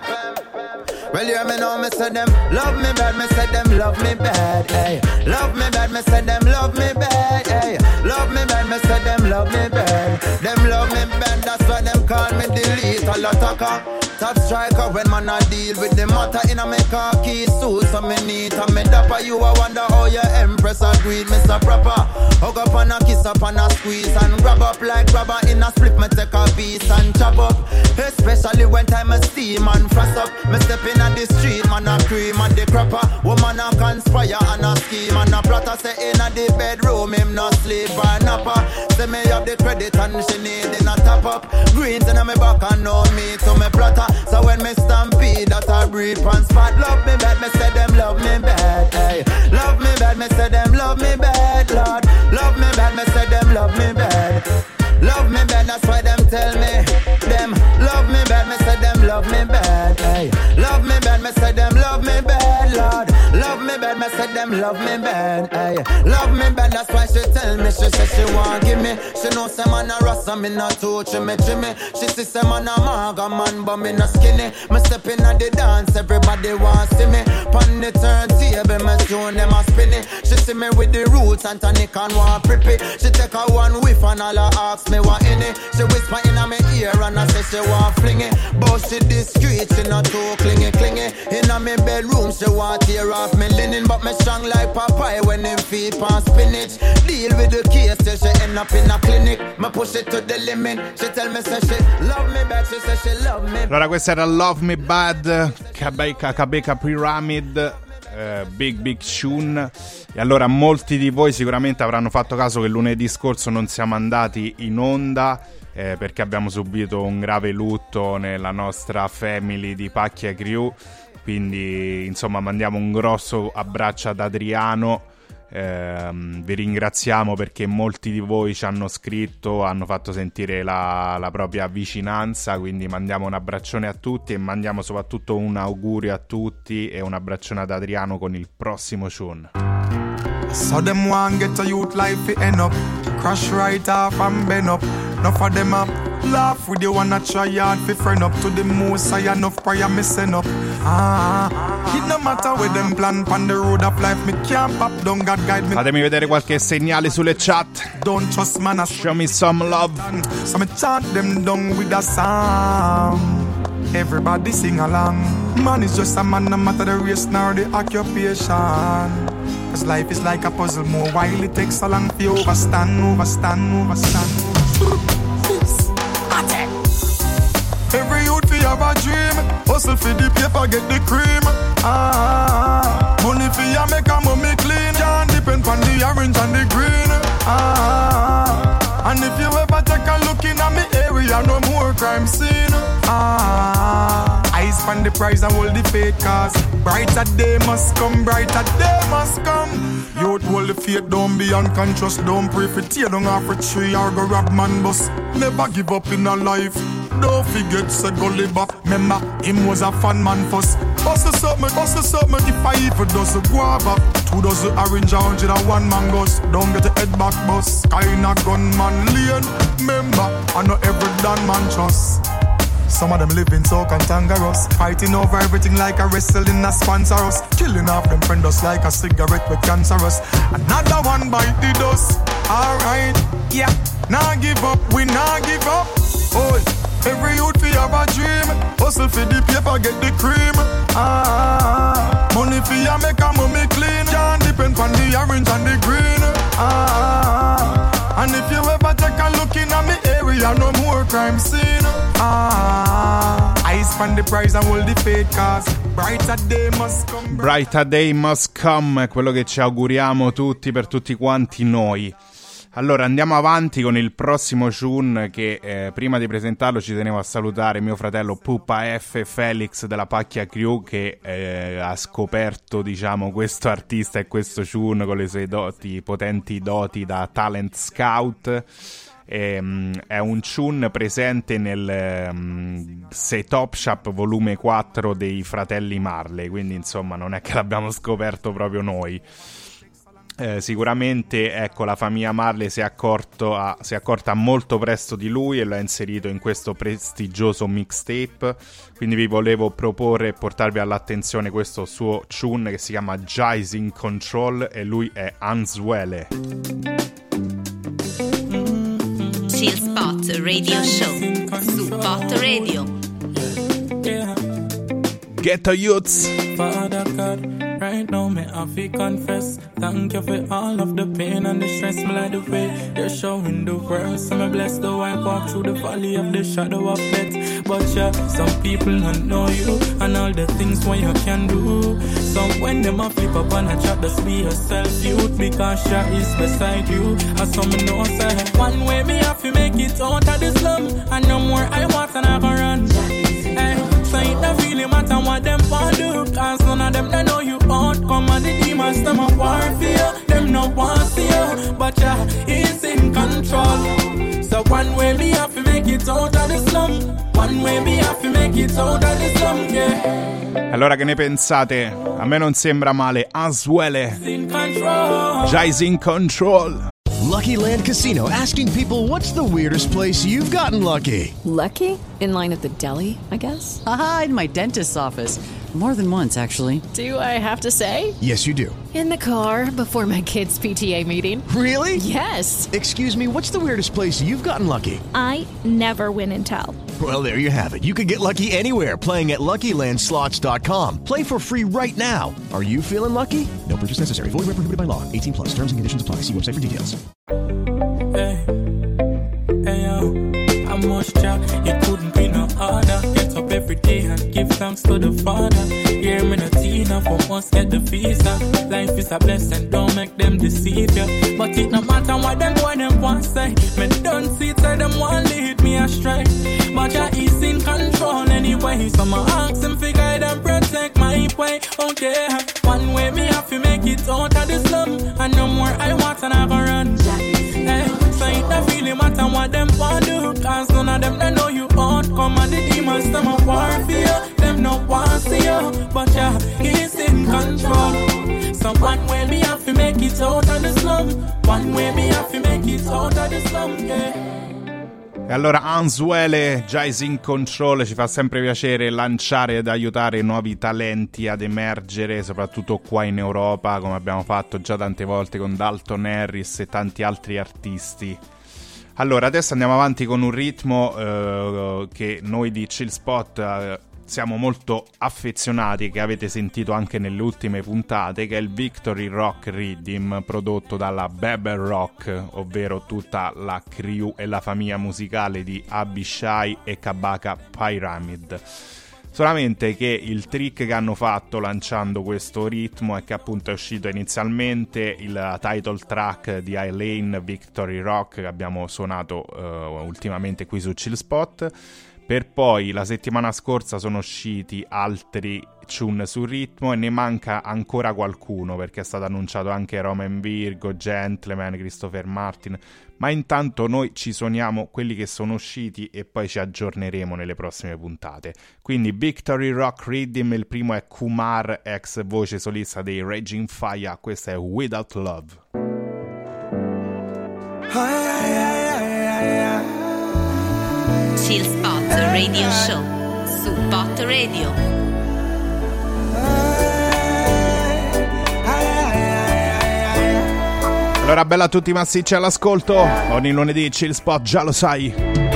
Well, you hear me now, me say them love me bad, me say them love me bad, hey. Love me bad, me say them love me bad, hey. Love me bad, me say them love me bad. Them love me bad, that's why them call me delete a attacker. Top striker when man a deal with the matter in a me khaki suit. So me neat and me dapper. You a wonder how your empress agreed, Mister Proper. Hug up and a kiss up and a squeeze and grab up like grabber in a split. Me take a piece and chop up. Especially when time a steam and frost up. Me step in on the street, man a cream and the crapper. Woman a conspire and a scheme and a plotter. Say in a the bedroom him no sleep or napper. Say me have the credit and she need in a top up. Greens in a me back and know me to me plotter. So when me stampede that I breathe on spot. Love me bad, me say them love me bad, hey. Love me bad, me say them love me bad, Lord. Love me bad, me say them love me bad. Love me bad, that's why them tell me. Them love me bad, me say them love me bad, hey. Love me bad, me say them love me bad, Lord. Love me bad, me say them love me bad, hey. Love me bad, that's why she tell me. She say she want give me. She know say man a rasta, me not touch me, me. She see say man a maga man, but me not skinny. Me step in at the dance, everybody want see me. Pon the turntable, me tune them a spinny. She see me with the roots and tonic and want prippy. She take a one whiff and all her ask me what in it. She whisper in a me ear and I say she want fling it. But she discreet, she not too clingy, clingy. In a me bedroom, she want tear off me linen. But me strong like Popeye when him feet pan spinach. Deal with the case till she end up in a clinic. Me push it to the limit. She tell me say she love me back, she say she love me. Allora questa era Love Me Bad, Kabeka, Kabeka Pyramid, uh, Big Big Tune. E allora molti di voi sicuramente avranno fatto caso che lunedì scorso non siamo andati in onda eh, perché abbiamo subito un grave lutto nella nostra family di Pacchia Crew. Quindi insomma mandiamo un grosso abbraccio ad Adriano. Eh, vi ringraziamo perché molti di voi ci hanno scritto, hanno fatto sentire la, la propria vicinanza, quindi mandiamo un abbraccione a tutti e mandiamo soprattutto un augurio a tutti e un abbraccione ad Adriano con il prossimo tune. So them want get a youth life fi end up, crash right off and bend up. Enough of them up, laugh with you wanna try hard fi friend up to the most I enough prayer me send up. Ah, it no matter where them plan pan the road of life me can't pop down God guide me. Fatemi vedere qualche segnale sulle chat. Don't trust man, show me some love. So me chant them down with a song. Everybody sing along. Man is just a man, no matter the race nor the occupation. Cause life is like a puzzle, more while it takes so long to overstand, overstand, overstand. Every youth fi have a dream. Hustle for the paper, get the cream. Ah, money for ya make a mommy clean. Can't depend on the orange and the green. Ah, and if you ever take a look in at me area, no more crime scene. Ah, I spend the price and hold the fate, cause brighter day must come, brighter day must come. Youth hold the faith, don't be unconscious. Don't pray for tear down off a tree or go rob man bus. Never give up in a life. Don't forget, said go live back. Remember, him was a fun man first. Bust a something, bust a something. If I even does a guava, two dozen orange, a hundred and one mangoes. Don't get a head back bus. Kinda gunman lane. Remember, I know every damn man trust. Some of them living so cantankerous, fighting over everything like a wrestling a sponsor us. Killing off them friend us like a cigarette with cancerous. Another one bite the dust. Alright, yeah. Nah give up, we nah give up. Oh, every youth fi have a dream. Hustle for the paper, get the cream. Ah, money fi ya make a mommy clean. Can't depend on the orange and the green. Ah, and if you ever take a look in at me area, no more crime scene. Ah, I spend the price and hold the fate, cause brighter day must come. Brighter day must come è quello che ci auguriamo tutti per tutti quanti noi. Allora andiamo avanti con il prossimo tune che eh, prima di presentarlo ci tenevo a salutare mio fratello Pupa F Felix della Pacchia Crew che eh, ha scoperto diciamo questo artista e questo tune con le sue doti, potenti doti da talent scout. E, um, è un tune presente nel um, Set Top Shop volume quattro dei fratelli Marley, quindi insomma non è che l'abbiamo scoperto proprio noi. Eh, sicuramente ecco la famiglia Marley si è, accorto a, si è accorta molto presto di lui e lo ha inserito in questo prestigioso mixtape, quindi vi volevo proporre e portarvi all'attenzione questo suo tune che si chiama Jize in Control e lui è Answele. Chill Spot Radio Show su Spot Radio. Ghetto Youths. Father God, right now me have to confess. Thank you for all of the pain and the stress. Me like the way you're showing the world. So me blessed though I walk through the valley of the shadow of death. But yeah, some people don't know you and all the things what you can do. So when them a flip up and a chat, just be yourself, youth, because Jah is beside you. And some me know say one way me have to make it out of the slum, and no more I want and I go run. Hey, so it don't really matter what them want do, cause none of them they know you out. Come on the demons, them a war for you. Them no want see you, but Jah is in control. So one way me have to make it out of the slum. One way me have to make it out of the slum, yeah. Allora che ne pensate? A me non sembra male. Answele. Jize in Control. Lucky Land Casino, asking people, what's the weirdest place you've gotten lucky? Lucky? In line at the deli, I guess? Aha, in my dentist's office. More than once, actually. Do I have to say? Yes, you do. In the car before my kids' P T A meeting. Really? Yes. Excuse me, what's the weirdest place you've gotten lucky? I never win and tell. Well, there you have it. You can get lucky anywhere, playing at Lucky Land Slots dot com. Play for free right now. Are you feeling lucky? No purchase necessary. Void where prohibited by law. eighteen plus. Terms and conditions apply. See website for details. Hey, hey yo, how much job you couldn't be no harder. Get up every day and give thanks to the Father. Hear me no Tina for once get the visa. Life is a blessing, don't make them deceive you. But it no matter what them boy them want say. Me don't see it, say them want lead me astray. But Jah is in control anyway. So my ask him fi guide and protect my way. Okay, one way me have to make it out of the slum, and no more I want and I go run. Hey, so it don't really matter what them want do, cause none of them they know you out. Come on the demons, them a war for you. Them no want see you, but yeah, he's in control. So one way me have to make it out of the slum. One way me have to make it out of the slum, yeah. E allora Answele, Jize in Control, ci fa sempre piacere lanciare ed aiutare nuovi talenti ad emergere, soprattutto qua in Europa, come abbiamo fatto già tante volte con Dalton Harris e tanti altri artisti. Allora, adesso andiamo avanti con un ritmo eh, che noi di Chill Spot eh, siamo molto affezionati, che avete sentito anche nelle ultime puntate, che è il Victory Rock Rhythm, prodotto dalla Bebel Rock, ovvero tutta la crew e la famiglia musicale di Abishai e Kabaka Pyramid. Solamente che il trick che hanno fatto lanciando questo ritmo è che appunto è uscito inizialmente il title track di Eileen, Victory Rock, che abbiamo suonato uh, ultimamente qui su Chill Spot, per poi la settimana scorsa sono usciti altri tune sul ritmo e ne manca ancora qualcuno, perché è stato annunciato anche Roman Virgo, Gentleman, Christopher Martin, ma intanto noi ci suoniamo quelli che sono usciti e poi ci aggiorneremo nelle prossime puntate. Quindi Victory Rock Rhythm, il primo è Kumar, ex voce solista dei Raging Fire, questa è Without Love. Chill Spot Radio Show su Pot Radio. Allora, bella a tutti massicci all'ascolto, ogni lunedì Chill Spot, già lo sai.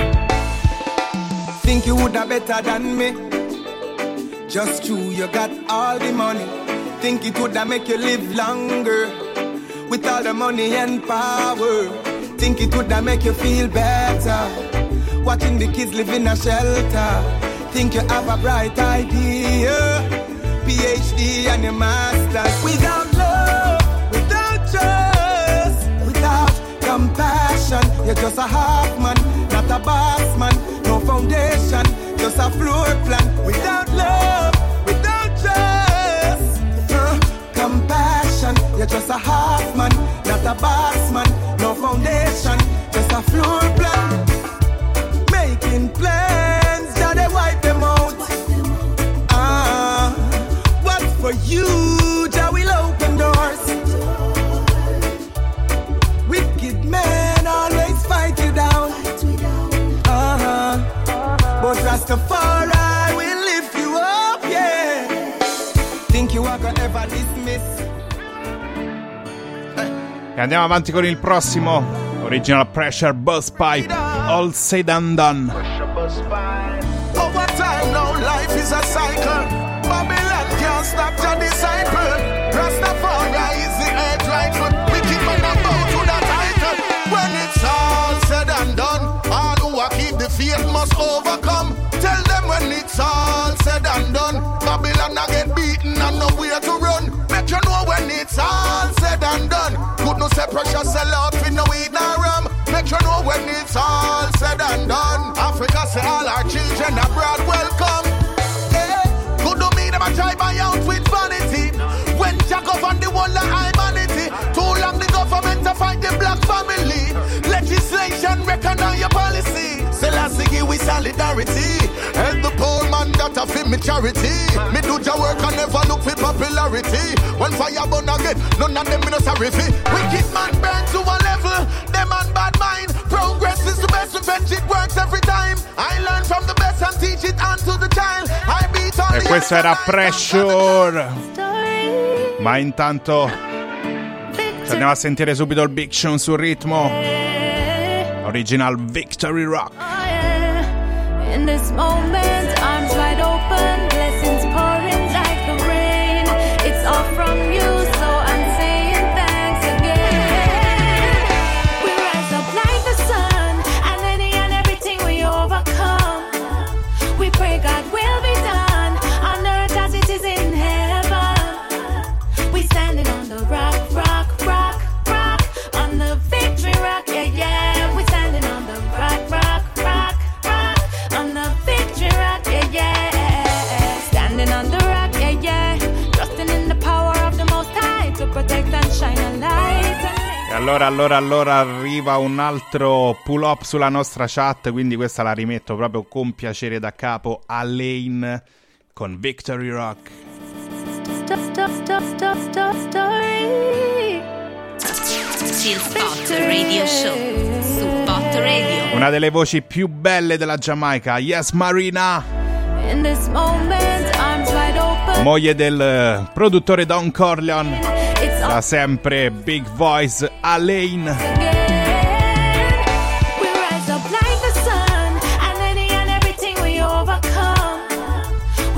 Think you would have better than me. Just true, you got all the money. Think it would have make you live longer. With all the money and power. Think it would have make you feel better. Watching the kids live in a shelter. Think you have a bright idea. P H D and your master's. Without love, without trust, without compassion, you're just a half man, not a boss man. No foundation, just a floor plan. Without love, without trust, uh, compassion, you're just a half man, not a boss man. No foundation, just a floor plan. Making plans, now they wipe them out. Ah, uh, what's for you, Jah will open doors. Wicked men always fight you down. Uh-huh. But Rastafari will lift you up, yeah. Think you are gonna ever dismiss. E andiamo avanti con il prossimo, Original Pressure Buzz Pipe, All Said and Done. Over time now life is a cycle. Babylon can't stop your disciple. Rastafari is the edge rightful. Wicked man about to the title. When it's all said and done, all who are keep the faith must overcome. Tell them when it's all said and done, Babylon a get beaten and nowhere to run. Make you know when it's all said and done. Good no say pressure sell out with no weed nor rum. Make you know when it's all said and done. Africa say all our children abroad welcome. Yeah. Good no me them a try buy out with vanity. When Jack up on the wall of humanity. Too long the government to fight the black family. Legislation recognize your policy. Selassie give we solidarity. Help the poor man that a fit me charity. Me do your work and never look for popularity. When fire burn again, none of them me no sorry fi. Wicked man burn to a level. Them man bad mind. Progress is the best revenge, it works every time. I learn from the best and teach it onto the child. I beat all E questo era Pressure. Ma intanto ci andiamo a sentire subito il Big Sean sul ritmo. Original Victory Rock. In this moment, arms wide open, blessings pouring like the rain. It's all from you, so I'm saying thanks again. We rise up like the sun, and any and everything we overcome. We pray God will be done, on earth as it is in heaven. We standing on the rock, rock, rock, rock, on the victory rock, yeah, yeah. We standing on the rock, rock, rock, rock, on the victory rock, yeah, yeah. Standing on the rock, yeah, yeah. Trusting in the power of the Most High to protect and shine a light. E allora, allora, allora arriva un altro pull up sulla nostra chat, quindi questa la rimetto proprio con piacere da capo. Alain con Victory Rock. Stop, stop, stop, stop, stop, story. Chill Spot Radio Show su Pot Radio. Una delle voci più belle della Giamaica, Yes Marina, In this moment, arms wide open. moglie del eh, produttore Don Corleone, da sempre Big Voice, Alain. We rise up like the sun, and any and everything we overcome.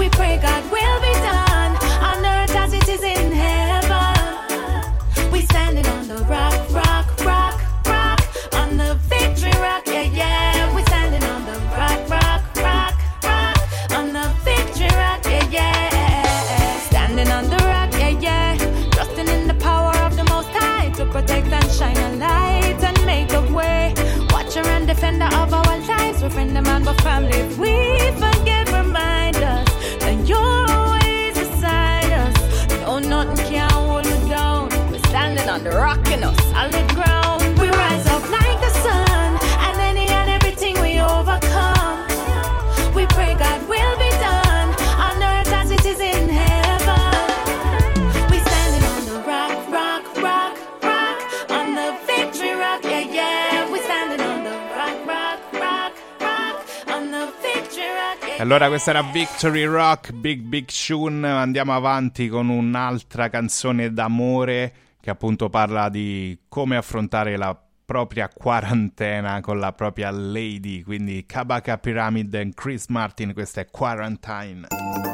we're friend of man, but family. If we forget, remind us that you're always beside us. No, nothing can hold me down. We're standing on the rock in a solid ground. We rise up like the sun, and any and everything we overcome. We pray God will be done on earth as it is in heaven. We standing on the rock, rock, rock, rock, on the victory rock, yeah, yeah. We standing on the rock, rock, rock, rock, on the victory rock, yeah, yeah. Allora questa era Victory Rock, Big Big Shun. Andiamo avanti con un'altra canzone d'amore che appunto parla di come affrontare la propria quarantena con la propria lady, quindi Kabaka Pyramid e Chris Martin, questa è Quarantine.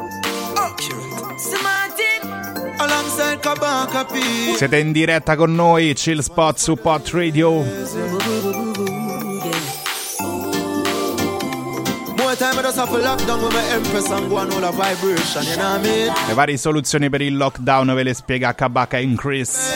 Alongside Kabaka P. Siete in diretta con noi, Chill Spot su Pot Radio. Le varie soluzioni per il lockdown ve le spiega Kabaka in Chris.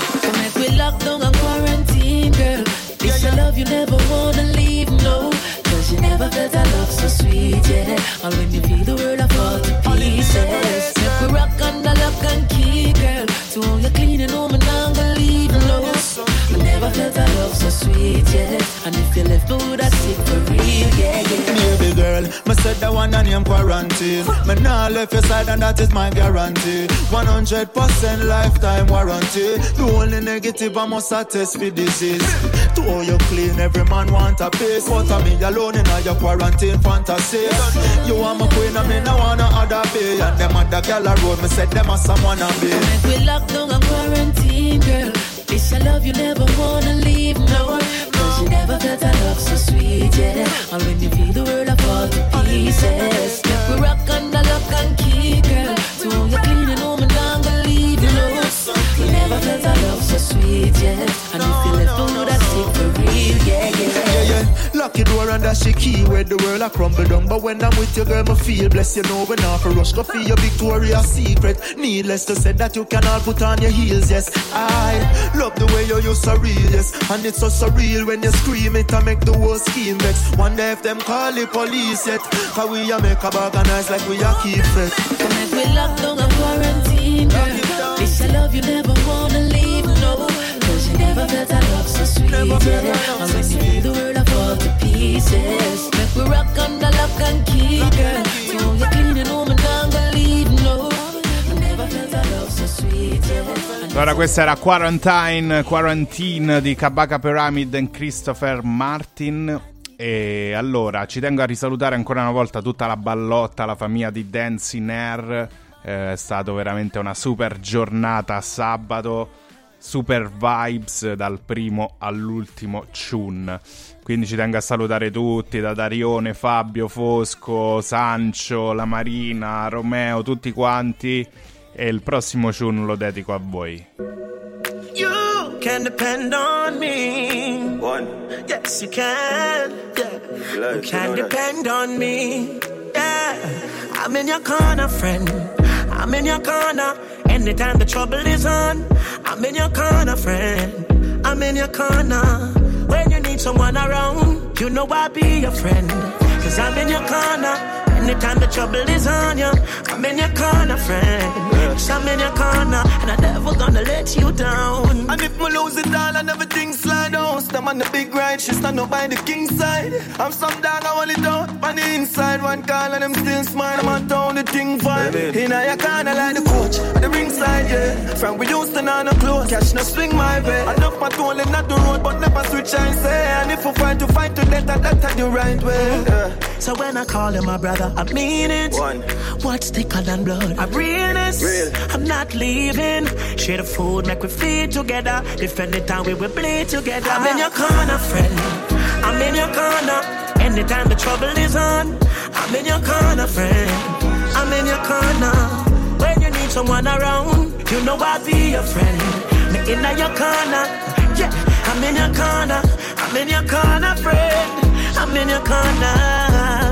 It's a love you never wanna leave, no. Cause you never felt a love so sweet, yeah. And when you feel the world, I fall to pieces. If we rock under lock and key, girl. So all you're cleaning home and I'm gonna leave, no. You never felt a love so sweet, yeah. And if you left me, would I sick for real, yeah, yeah. Baby girl, me said the one and I'm quarantine. Me nah left your side and that is my guarantee. one hundred percent lifetime warranty. The only negative I must attest for disease. To all you clean, every man want a piece. But I me alone in all your quarantine fantasies. You want my queen, I mean I wanna other be. And them other girl a road, me said them a someone a be. Make we lock down and quarantine, girl. It's a love you never wanna leave, no. Cause you never felt a love so sweet, yeah. And when you feel the world, I fall to pieces. Make we rock under lock and key, girl. So you're cleaning home and I'm gonna leave, you know. You never felt a love so sweet, yeah. And if you left me, would I sick for real, yeah, yeah. Yeah, yeah. Lock your door and that's the key where the world I crumble down. But when I'm with you, girl, me feel blessed. You know when I for rush, go feel your Victoria's Secret. Needless to say that you can all put on your heels, yes. I love the way you use so real, yes. And it's so surreal when you scream it and make the whole scheme vex. One day if them call the police yet, cause we a make a organize like we a keep it. So make we lock down and quarantine, girl. It's a love you never wanna leave, no. Cause you never felt a love so sweet, yeah. And when you feel the world, I fall to pieces. Make we rock under lock and key, girl. So you're cleaning home and I'm gonna leave, no. You never felt a love so sweet, yeah. Allora questa era Quarantine, Quarantine di Kabaka Pyramid e Christopher Martin. E allora ci tengo a risalutare ancora una volta tutta la ballotta, la famiglia di Dance in Air. Eh, è stata veramente una super giornata sabato, super vibes dal primo all'ultimo tune. Quindi ci tengo a salutare tutti, da Darione, Fabio, Fosco, Sancio, la Marina, Romeo, tutti quanti. E il prossimo tune lo dedico a voi. You can depend on me. One. Yes, you can. Yeah. You can depend on me. Yeah. I'm in your corner, friend. I'm in your corner. Anytime the trouble is on, I'm in your corner, friend. I'm in your corner. When you need someone around, you know I'll be your friend. Cause I'm in your corner. Anytime the trouble is on you, I'm in your corner, friend. Yes, I'm in your corner, and I'm never gonna let you down. And if me lose it all and everything slide down, stand on the big ride, she stand up by the king side. I'm some dog, I want it out on the inside. One call and I'm still smile, I'm on town, the thing fine. In your corner like the coach, on the ringside, yeah. From we used to know no clothes, catch no swing my way. I love my tool and not the road, but never switch I say. And if we fight to fight to death, that's the right way. Yeah. So when I call him my brother, I mean it. One. What's thicker than blood? I'm realness. Real. I'm not leaving. Share the food, make we feed together. Defend the town, we will bleed together. I'm in your corner, friend. I'm in your corner. Anytime the trouble is on, I'm in your corner, friend. I'm in your corner. When you need someone around, you know I'll be your friend. Me in your corner. Yeah, I'm in your corner. I'm in your corner, friend. I'm in your corner.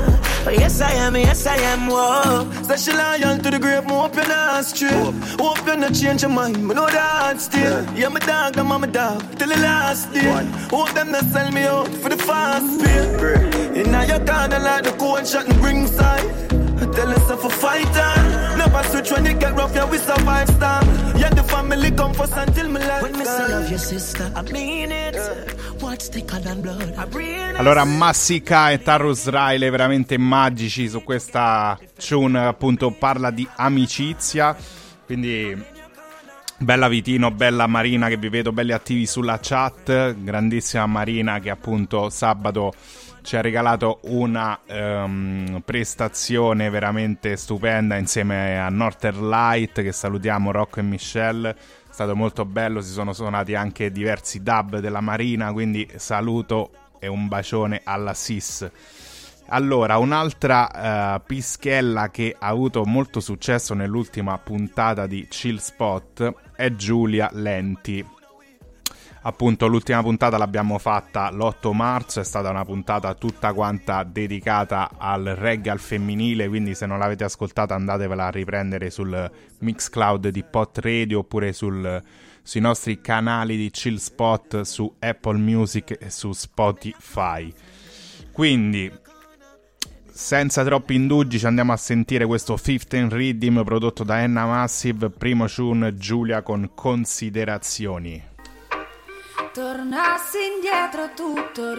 Oh, yes I am, yes I am, whoa. Say she loyal to the grave, me hope you're not straight. Hope you're not change your mind, me know that still. Yeah, my dog, I'm my dog, till the last day. Hope them not sell me out for the fast pay. In now your corner like the cold shot and bring side. I tell us for fighter. Never switch when it get rough, yeah, we survive star. Yeah, the family come first until my life. When me say love your sister, I mean it. What's thicker than blood? I breathe. Allora, Massika e Tarrus Riley veramente magici su questa tune, appunto parla di amicizia, quindi bella Vitino, bella Marina che vi vedo belli attivi sulla chat, grandissima Marina che appunto sabato ci ha regalato una um, prestazione veramente stupenda insieme a Northern Light, che salutiamo, Rocco e Michelle. È stato molto bello, si sono suonati anche diversi dub della Marina, quindi saluto e un bacione alla S I S. Allora, un'altra uh, pischella che ha avuto molto successo nell'ultima puntata di Chill Spot è Giulia Lenti. Appunto l'ultima puntata l'abbiamo fatta l'otto marzo, è stata una puntata tutta quanta dedicata al reggae al femminile, quindi se non l'avete ascoltata andatevela a riprendere sul Mixcloud di Pot Radio oppure sul, sui nostri canali di Chill Spot su Apple Music e su Spotify. Quindi senza troppi indugi ci andiamo a sentire questo quindici Rhythm prodotto da Enna Massive, primo tune Giulia con Considerazioni. Tornassi indietro tutto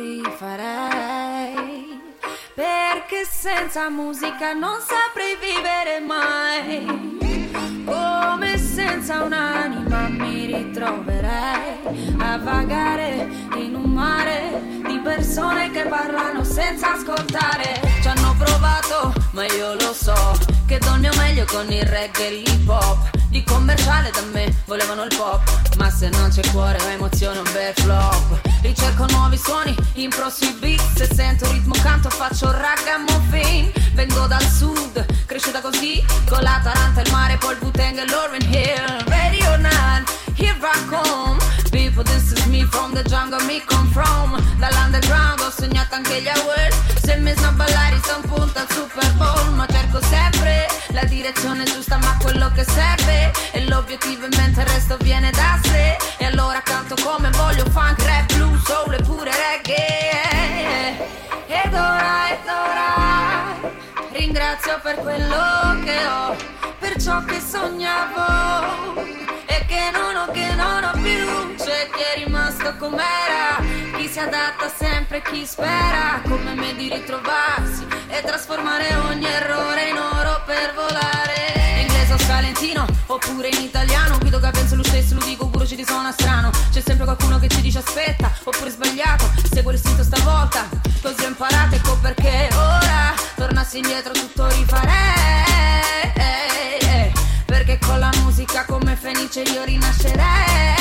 rifarei, perché senza musica non saprei vivere mai. Come senza un'anima mi ritroverei a vagare in un mare di persone che parlano senza ascoltare. Ci hanno provato, ma io lo so che donne o meglio con il reggae e l'hip hop. Di commerciale da me volevano il pop, ma se non c'è cuore o emozione un bel flop. Ricerco nuovi suoni, impro sui beat, se sento ritmo canto faccio ragamuffin. Vengo dal sud, cresciuta così, con la Taranta, il mare, poi il Wu-Tang e Lauryn Hill. Ready or not, here I come. People, this is me from the jungle, me come from. Dall'underground ho sognato anche gli awards. Se mi sono a ballare sto un punto al Super Bowl. Ma cerco sempre la direzione giusta, ma quello che serve e l'obiettivo in mente, il resto viene da sé. E allora canto come voglio, funk, rap, blues, soul e pure reggae. Ed ora, ed ora ringrazio per quello che ho, per ciò che sognavo e che non ho, che non ho più. C'è chi è rimasto com'era, chi si adatta sempre, chi spera come me di ritrovarsi e trasformare ogni errore in oro per volare. Inglese o scalentino, oppure in italiano, guido che penso lo stesso, lo dico pure ci risuona strano. C'è sempre qualcuno che ci dice aspetta, oppure sbagliato, seguo l'istinto stavolta, così ho imparato, ecco perché ora tornassi indietro tutto rifarei, perché con la musica come Fenice io rinascerei.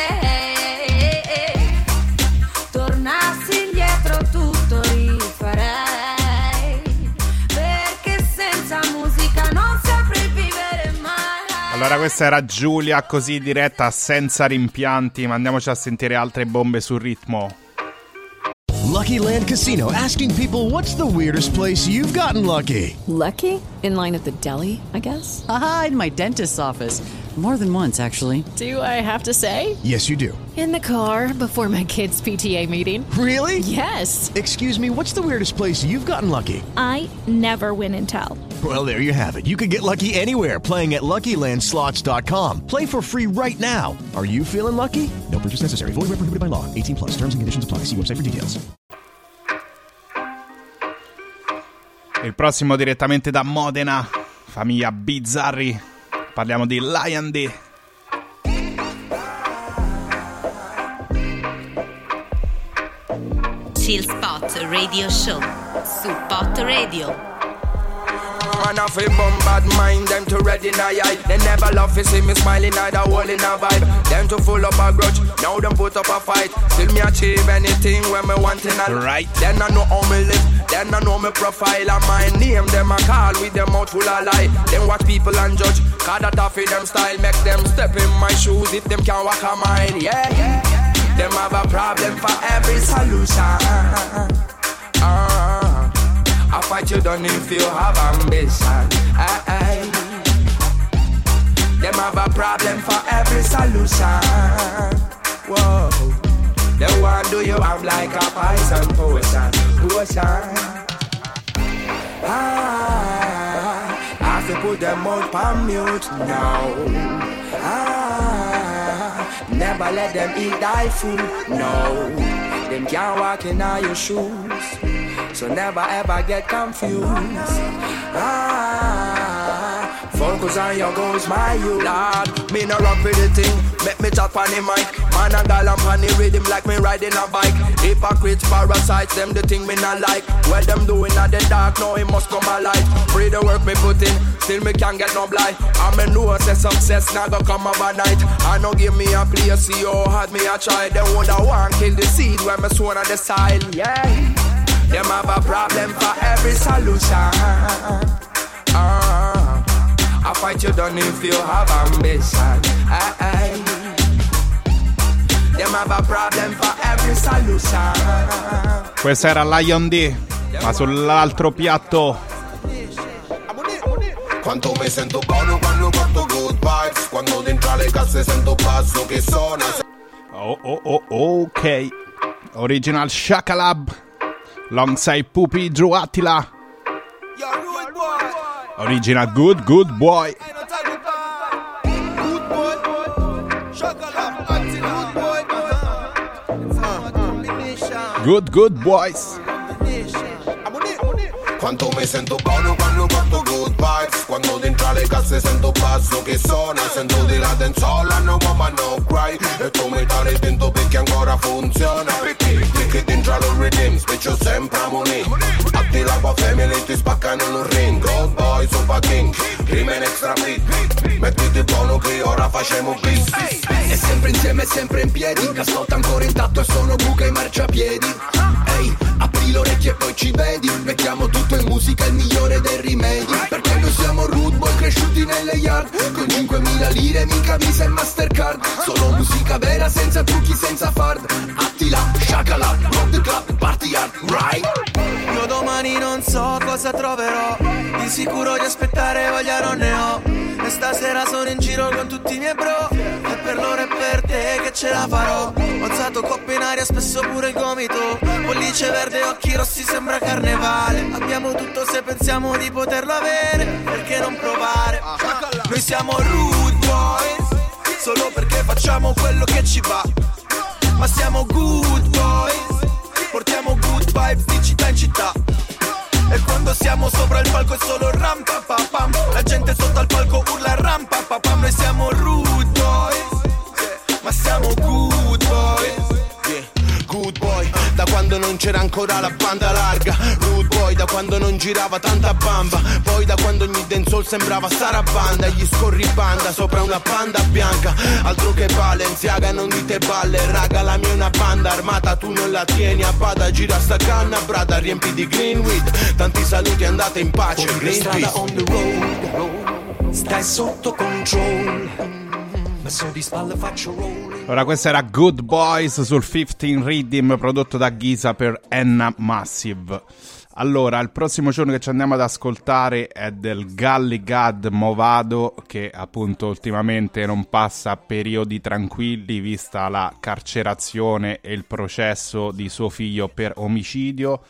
Tornassi indietro tutto rifarei, perché senza musica non saprei vivere mai. Allora questa era Giulia così diretta, senza rimpianti, ma andiamoci a sentire altre bombe sul ritmo. Lucky Land Casino, asking people, what's the weirdest place you've gotten lucky? Lucky? In line at the deli, I guess? Aha, in my dentist's office. More than once, actually. Do I have to say? Yes, you do. In the car before my kids' P T A meeting. Really? Yes. Excuse me, what's the weirdest place you've gotten lucky? I never win and tell. Well, there you have it. You can get lucky anywhere, playing at Lucky Land Slots dot com. Play for free right now. Are you feeling lucky? No purchase necessary. Void where prohibited by law. eighteen plus. Terms and conditions apply. See website for details. Il prossimo direttamente da Modena, famiglia Bizzarri. Parliamo di Lion D. Chill Spot Radio Show su Pot Radio. Man off a bum bad mind, them to ready in a eye. They never love to see me smiling, either hole in a vibe. Them to full up a grudge, now them put up a fight. Still me achieve anything when me want in a right. Then I know how me live, then I know me profile. And my name, them a call with them mouth full of lie. Then watch people and judge, cause that off in them style. Make them step in my shoes if them can't walk a mine. Yeah, yeah, yeah. Them have a problem for every solution. uh, I I fight you done if you have ambition. Aye, aye. Them have a problem for every solution. Whoa. They want do you have like a poison potion, potion. Ah, I have to put them out on mute now. Ah, never let them eat thy food, no. Them can't walk in all your shoes, so never ever get confused. Ah, focus on your goals, my youth. Lord, me no rock with the thing, make me chat on the mic. Man and gal I'm on the rhythm like me riding a bike. Hypocrites, parasites, them the thing me not like. What them doing at the dark, now it must come alive. Free the work me put in, still me can't get no blind. I me know say success not gonna come overnight. I know give me a place, see how hard me a try. Them woulda want kill the seed when me sown on the side, yeah. Them have a problem for every solution. Uh, I fight you done if you have ambition. Aye, aye. Them have a problem for every solution. Questa era Lion D, ma sull'altro piatto. Quanto mi sento buono quando porto good vibes. Quando dentro le casse sento basso che suona. Oh oh oh ok. Original Shakalab alongside Pupi Drew Attila. Original Good Good Boy. Good Good Boys. Quanto mi sento buono quando porto good vibes. Quando dentro le casse sento basso che suona. Sento di la denzola, no woman no cry. E tu mi dai dentro perché ancora funziona. Perché dentro lo rhythm specchio sempre a money. Atti la tua family ti spaccano in un ring. Good boy super king, crimen extra big. Mettiti buono che ora facciamo bis. È sempre insieme, è sempre in piedi. Cascotta ancora intatto e sono buca i marciapiedi. Ehi, apri le orecchie e poi ci vedi. Mettiamo tutto in musica, il migliore dei rimedi. Perché noi siamo rude boy cresciuti nelle yard. Con cinquemila lire, mica Visa e Mastercard. Solo musica vera, senza trucchi, senza fard. Attila, Shakala, rock the club, party hard, right? Io domani non so cosa troverò. Di sicuro di aspettare voglia non ne ho. E stasera sono in giro con tutti i miei bro. E per loro e per te che ce la farò. Ho alzato coppe in aria, spesso pure il gomito. Pollice verde, occhi rossi, sembra carnevale. Abbiamo tutto se pensiamo di poterlo avere. Perché non provare? Noi siamo rude boys, solo perché facciamo quello che ci va. Ma siamo good boys, portiamo good vibes di città in città. E quando siamo sopra il palco è solo ram pa pa pam. La gente sotto al palco urla ram pa pa pam. Noi siamo rude boys, ma siamo good boys. Good boy, da quando non c'era ancora la banda larga. Rude boy, da quando non girava tanta bamba. Poi da quando ogni dancehall sembrava Sarabanda. Gli scorribanda sopra una panda bianca. Altro che Balenciaga, non dite balle. Raga, la mia è una banda armata, tu non la tieni a bada. Gira sta canna, brada, riempi di greenweed. Tanti saluti, andate in pace, Greenpeace. On the road, stai sotto control. Di spalle faccio rolling. Ora questa era Good Boys sul quindici Rhythm, prodotto da Giza per Enna Massive. Allora, il prossimo giorno che ci andiamo ad ascoltare è del Gully God Movado, che appunto ultimamente non passa periodi tranquilli vista la carcerazione e il processo di suo figlio per omicidio.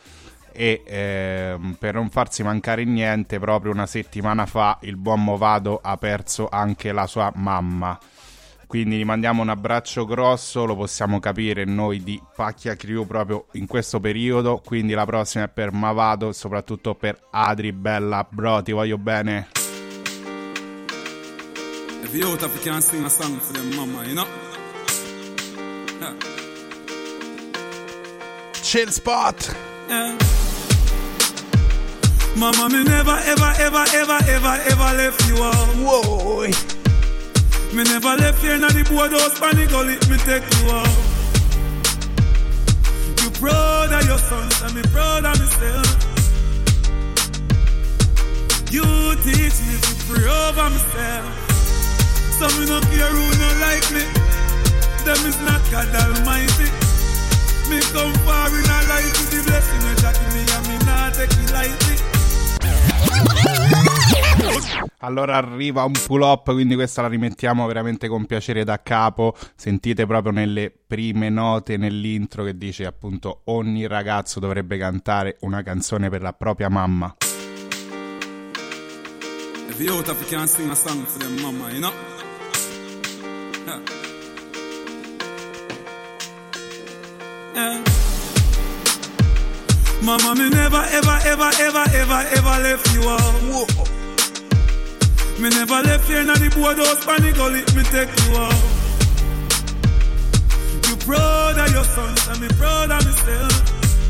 E ehm, per non farsi mancare niente, proprio una settimana fa il buon Movado ha perso anche la sua mamma. Quindi gli mandiamo un abbraccio grosso, lo possiamo capire noi di Pacchia Crew proprio in questo periodo. Quindi la prossima è per Movado e soprattutto per Adri. Bella bro, ti voglio bene. If you out if you can sing a song for them mama, you know? Yeah. Chill spot. Yeah. Mama, me never ever ever ever ever ever left you out. Whoa. Me never left here in the boardhouse, panic gully, me take you out. You proud of your sons and me proud of myself. You teach me to pray over myself. So me no care who no like me. Them is not God Almighty. Me come far in a life with the blessing that give me and me not take it lightly. Allora arriva un pull up, quindi questa la rimettiamo veramente con piacere da capo. Sentite proprio nelle prime note nell'intro che dice appunto ogni ragazzo dovrebbe cantare una canzone per la propria mamma. If you out of you can't sing a song for them mama, you know? Yeah. Yeah. Mama, me never, ever, ever, ever, ever, ever left you out. Whoa. Me never left you in the boardhouse, panic gully, me take you out. You proud of your sons, and me proud of myself.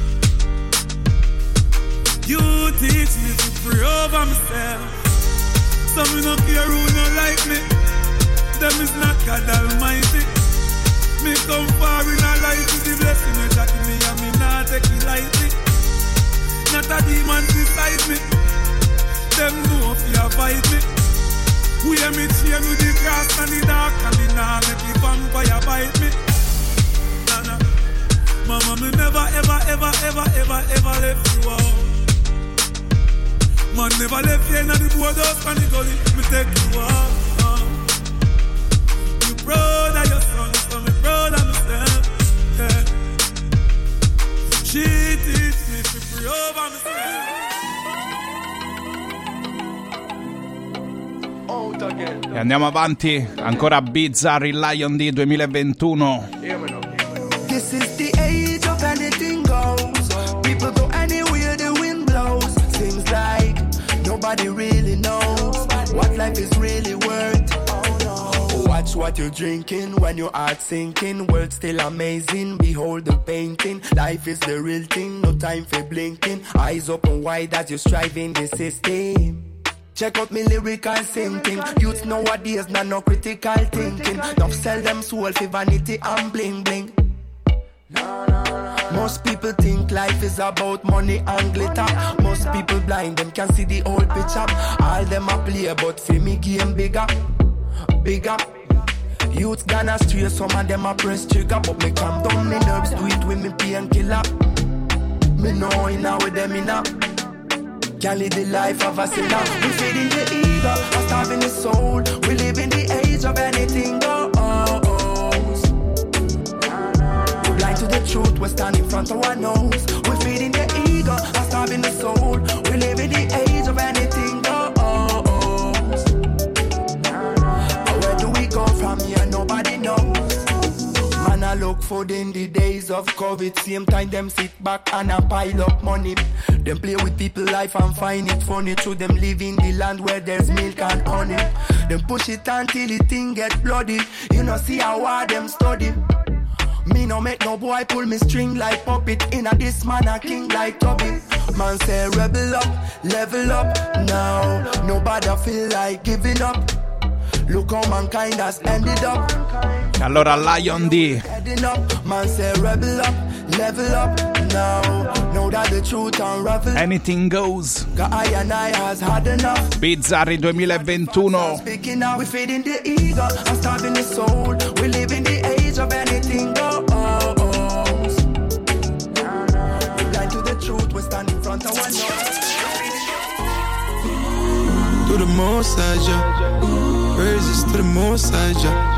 You teach me to pray over myself. So me no care who no like me. Them is not God Almighty. Me come far in a life with the blessing you jack me, and me not take it lightly. Not a demon beside me. Them know if you fight me. We hear me chain with the grass and the dark, and me nah make the vampire bite me. Nah, nah. Mama, me never, ever, ever, ever, ever, ever left you out. Man never left you in the boardhouse and the gully, me take you out. Uh. You proud of your son, so me proud of myself. Yeah. She teach me to pray over myself. E andiamo avanti, ancora Bizzarri Lion D duemilaventuno. This is the age of anything goes. People go anywhere the wind blows. Seems like nobody really knows what life is really worth. Watch what you're drinking when your heart's sinking. World still amazing, behold the painting. Life is the real thing, no time for blinking. Eyes open wide as you strive in the system. Check out me lyrical thinking. Youths nowadays not no critical thinking. Don't sell them soul for vanity and bling bling. Most people think life is about money and glitter. Most people blind, them can see the whole picture. All them a play, but for me game bigger, bigger. Youths gone astray, some of them a press trigger. But me calm down me nerves, do it with me painkiller. Me know inna with them inna. Can't live the life of a sinner. We feed in the ego, I'm starving the soul. We live in the age of anything goes. We're blind to the truth, we stand in front of our nose. We feed in the ego, I'm starving the soul. We live in the age of anything goes. Where do we go from here? Nobody knows. Man, I look food in the days of COVID. Same time them sit back and a pile up money. Them play with people life and find it funny. To them live in the land where there's milk and honey. Them push it until the thing get bloody. You know see how hard them study. Me no make no boy pull me string like puppet. Inna this man a king like Tubby. Man say rebel up, level up now. Nobody feel like giving up. Look how mankind has ended up. Allora Lion D. Man say rebel up, level up now. Know that the truth unravel. Anything goes. I and I has had enough. Bizzarri duemilaventuno. Speaking now, we feed in the ego, I'm starving the soul. We live in the age of anything goes. We blind to the truth, we stand in front of one nose. To the most side, yeah. Praises to the most side, yeah.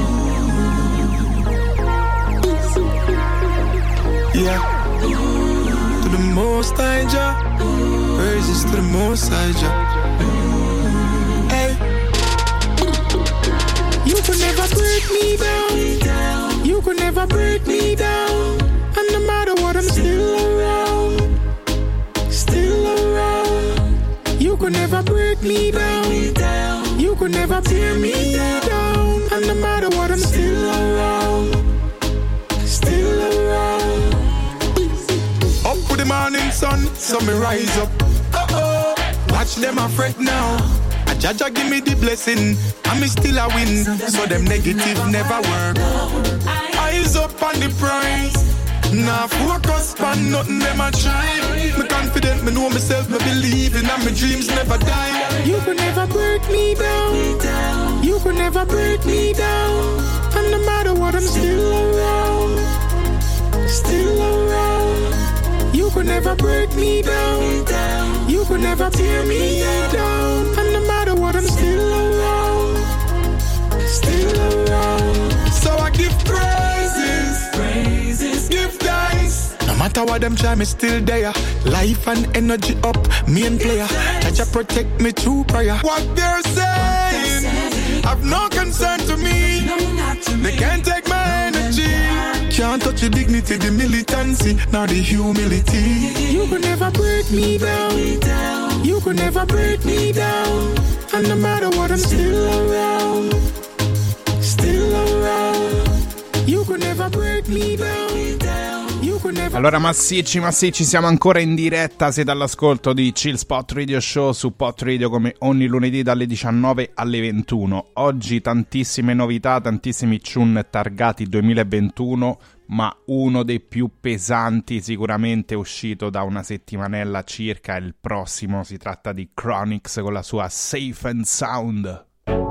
Yeah. To the most side, yeah. Praises to the most side, yeah. Hey. You could never break me down. You could never break me down. And no matter what, I'm still around. Still around. You could never break me down. You could never tear me down. And no matter what, I'm still around. Still around. Up with the morning sun, so me rise up. Uh-oh. Watch them a fret now. A Jaja give me the blessing, and me still a win. So them negative never work. Eyes up on the prize. Nah, focus on nothing them a try. Me confident, me know myself, me believe in, and my dreams never die. You could never break me down. You could never break me down. And no matter what, I'm still around. Still around. You could never break me down. You could could never tear me down. And no matter what, I'm still around. Still around. So I give praises, praises, give thanks. No matter what them try, me still there. Life and energy up, main player. That you protect me through prayer. What they're saying, I've no concern to me. They can't take my energy. Can't touch the dignity, the militancy, nor the humility. You could never break me down. You could never break me down. And no matter what, I'm still around. Still around. You could never break me down. Allora massicci, massicci, siamo ancora in diretta, siete all'ascolto di Chill Spot Radio Show su Pot Radio come ogni lunedì dalle diciannove alle ventuno. Oggi tantissime novità, tantissimi tune targati duemilaventuno, ma uno dei più pesanti sicuramente uscito da una settimanella circa, è il prossimo, si tratta di Chronixx con la sua Safe and Sound.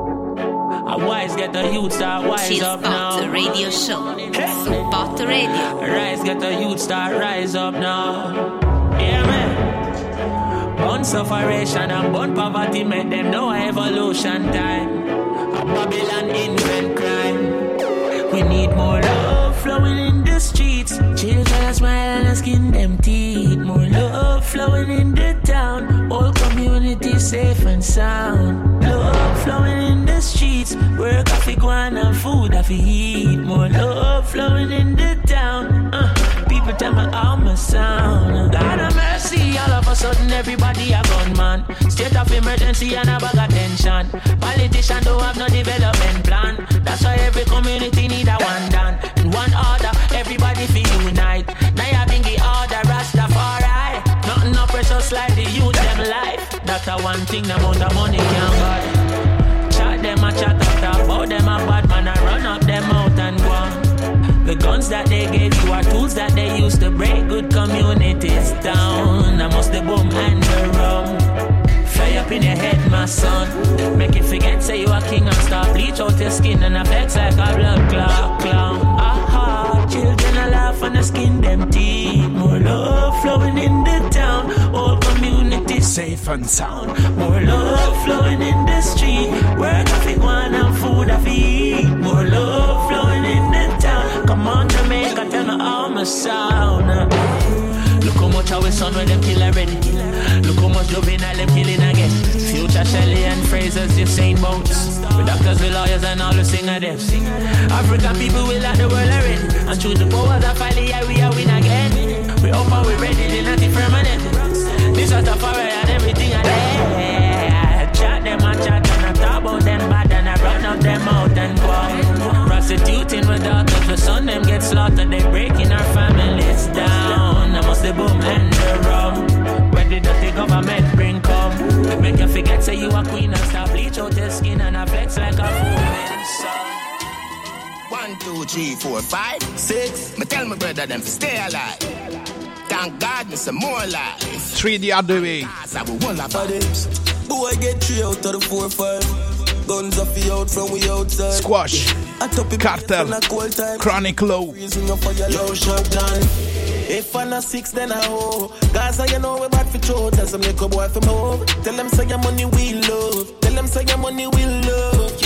A wise get the youth start wise up now. Chill Spot Radio Show. Spot Radio. Rise get the youth start rise up now. Yeah man. Born sufferation and born poverty make them know evolution time. A Babylon invent crime. We need more love flowing in the streets. Children smile and skin them teeth. More love flowing in the town. All community safe and sound. Love flowing in the streets. Work off the guan and food off the heat. More love flowing in the town. uh, People tell me I'm a sound. God of mercy, all of a sudden everybody a gunman. State of emergency and a bag of tension. Politicians don't have no development plan. That's why every community need a one done. In one order, everybody feel unite. Now you bring the order, Rastafari. Nothing no precious like the youth them life. That's a one thing the amount of money can't buy. Chat them a chat up, about them a bad man, I run up them out and go on. The guns that they gave you are tools that they use to break good communities down. I must the boom and the rum. Fly up in your head, my son. Make it forget, say you a king and start bleach out your skin and affects like a blood clot clown. Aha, children a laugh and the skin them teeth. More love flowing in the town. All communities safe and sound. More love flowing in the street. Work off it one and food off eat. More love flowing in the town. Come on Jamaica, tell me I'm a sound. Look how much our son when them kill already. Look how much juvenile them killing again. Future Shelley and Fraser's just same boats. With doctors, with lawyers and all the singer them. African people will like the world already. And through the powers of folly, yeah, we are win again. We up and we ready, they not permanent. This was the fire and everything I there. Chat them and chat and I talk about them bad and I run up them out and go. Prostituting with daughters, the son them get slaughtered. They breaking our families down. I must the boom and the rum. Where the dirty government bring come. Make you forget say you a queen and stop bleach out your skin and I flex like a fool. So one, two, three, four, five, six. Me tell my brother them to stay alive. Thank God me some more life. Three the other way. Boy get three out of the four, five. Guns off the out from we outside. Squash, Cartel, Chronic Low. Yo, shut down. If I'm not six, then I hoe. Gaza, you know we bad for throat. Tell some little boy from home. Tell them say your money we love. Tell them say your money we love.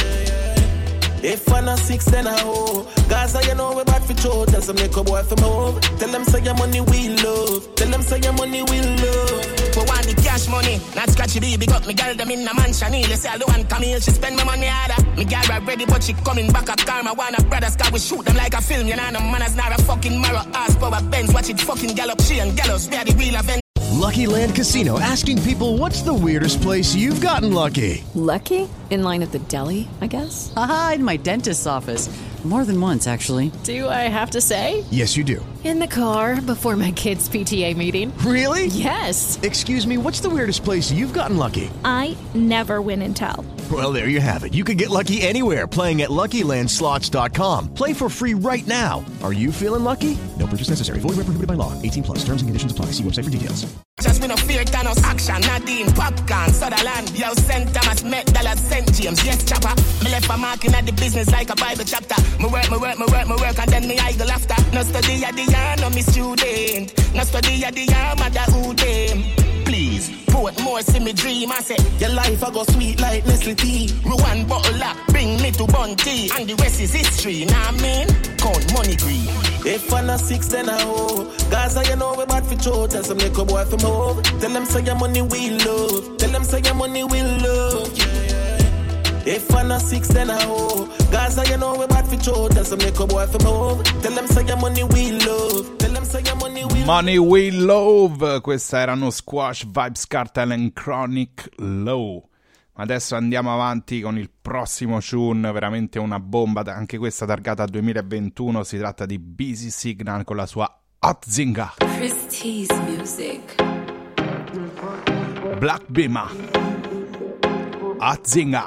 If I'm not six, then I hoe. Gaza, you know we bad for throat. Tell some little boy from home. Tell them say your money we love. Tell them say your money we love. For one the cash money, not scratchy baby. Got me girl them in a mansion. They say I don't want come here, she spend my money harder. Me girl ready, but she coming back up karma. Wanna brothers, cause we shoot them like a film. You know, no manners, not a fucking marrow. Ass power Benz, watch it fucking gallop. She and gallows, we are the real event. Lucky Land Casino, asking people, what's the weirdest place you've gotten lucky? Lucky? In line at the deli, I guess? Aha, in my dentist's office. More than once, actually. Do I have to say? Yes, you do. In the car before my kids' P T A meeting. Really? Yes. Excuse me, what's the weirdest place you've gotten lucky? I never win and tell. Well, there you have it. You can get lucky anywhere, playing at Lucky Land Slots dot com. Play for free right now. Are you feeling lucky? No purchase necessary. Void where prohibited by law. eighteen plus. Terms and conditions apply. See website for details. Just me no fear Thanos action. Nadine, Popcorn, Sutherland. Yo, Saint Thomas, Met, Dallas, Saint James. Yes, chopper. Me left a mark in at the business like a Bible chapter. Me work, me work, me work, me work, and then me idle after. No study at the yarn, no me student. No study at the yarn, mother who them. Please. cheese. Put more see me dream. I say your life I go sweet like Nestle tea. Me one bottle up, bring me to Bunty, and the rest is history. Nah man, count money green. If I'm not six, then I owe. Gaza, you know we bad for show. Tell some little boy from home. Tell them say your money we love. Tell them say your money we love. Yeah, yeah. If I'm not six, then I owe. Gaza, you know we bad for show. Tell some little boy from home. Tell them say your money we love. Tell them say your money we love. Money We Love. Questa erano Squash, Vybz Kartel and Chronic Low. Adesso andiamo avanti con il prossimo tune, veramente una bomba, anche questa targata duemilaventuno. Si tratta di Busy Signal con la sua Hatzinga. Christie's Music. Black Bima, Hatzinga.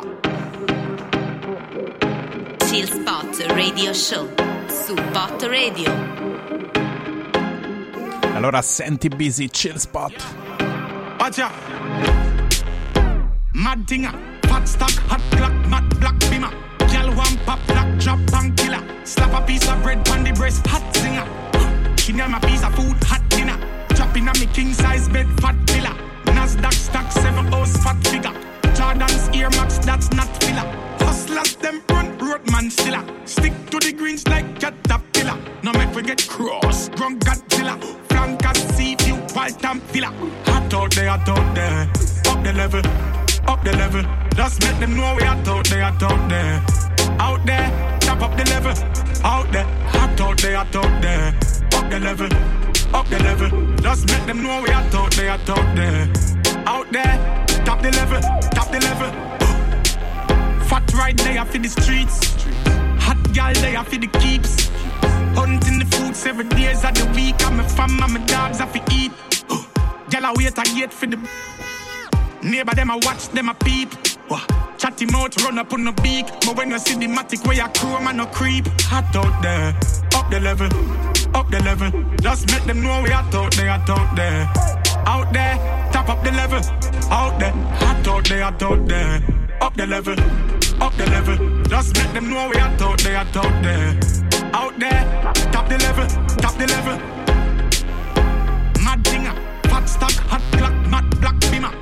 Chill Spot Radio Show su Bot Radio. Allora senti Busy Chill Spot. Watcha. Mad dinger, fat stock, hot clock, mad black bimmer. Girl one pop, black drop, and killer. Slap a piece of bread on the breast, hot singer. She name a piece of food, hot dinner. Dropping on me king size bed, fat villa. Nasdaq stock, seven hours, fat figure. Jordan's Air Max, that's not filler. Hustlers, them run, roadman stiller. Stick to the greens like caterpillar. No make we get cross, drunk Godzilla. Flankers, sea view, wild and filler. Hot out there, hot out there. Up the level. Up the level, just make them know we are out there, out there. Out there, top up the level. Out there, hot out there, out there. Up the level, up the level, just make them know we are out there, out there. Out there, top the level, top the level. Fat right there for the streets. Hot girl there for the keeps. Hunting the food seven days of the week. I'm a fam, and my dogs I fi eat. Girl I wait, I wait for the neighbor them a watch, them a peep. Wah. Chatty mouth run up on the beak. But when you see the matic where you chrome and no creep. Hot out there, up the level, up the level. Just make them know we hot out there, hot out there. Out there, top up the level. Out there, hot out there, hot out there. Up the level, up the level. Just make them know we hot out there, hot out there. Out there, top the level, top the level. Mad dinger, fat stock, hot clock, mad black bimmer.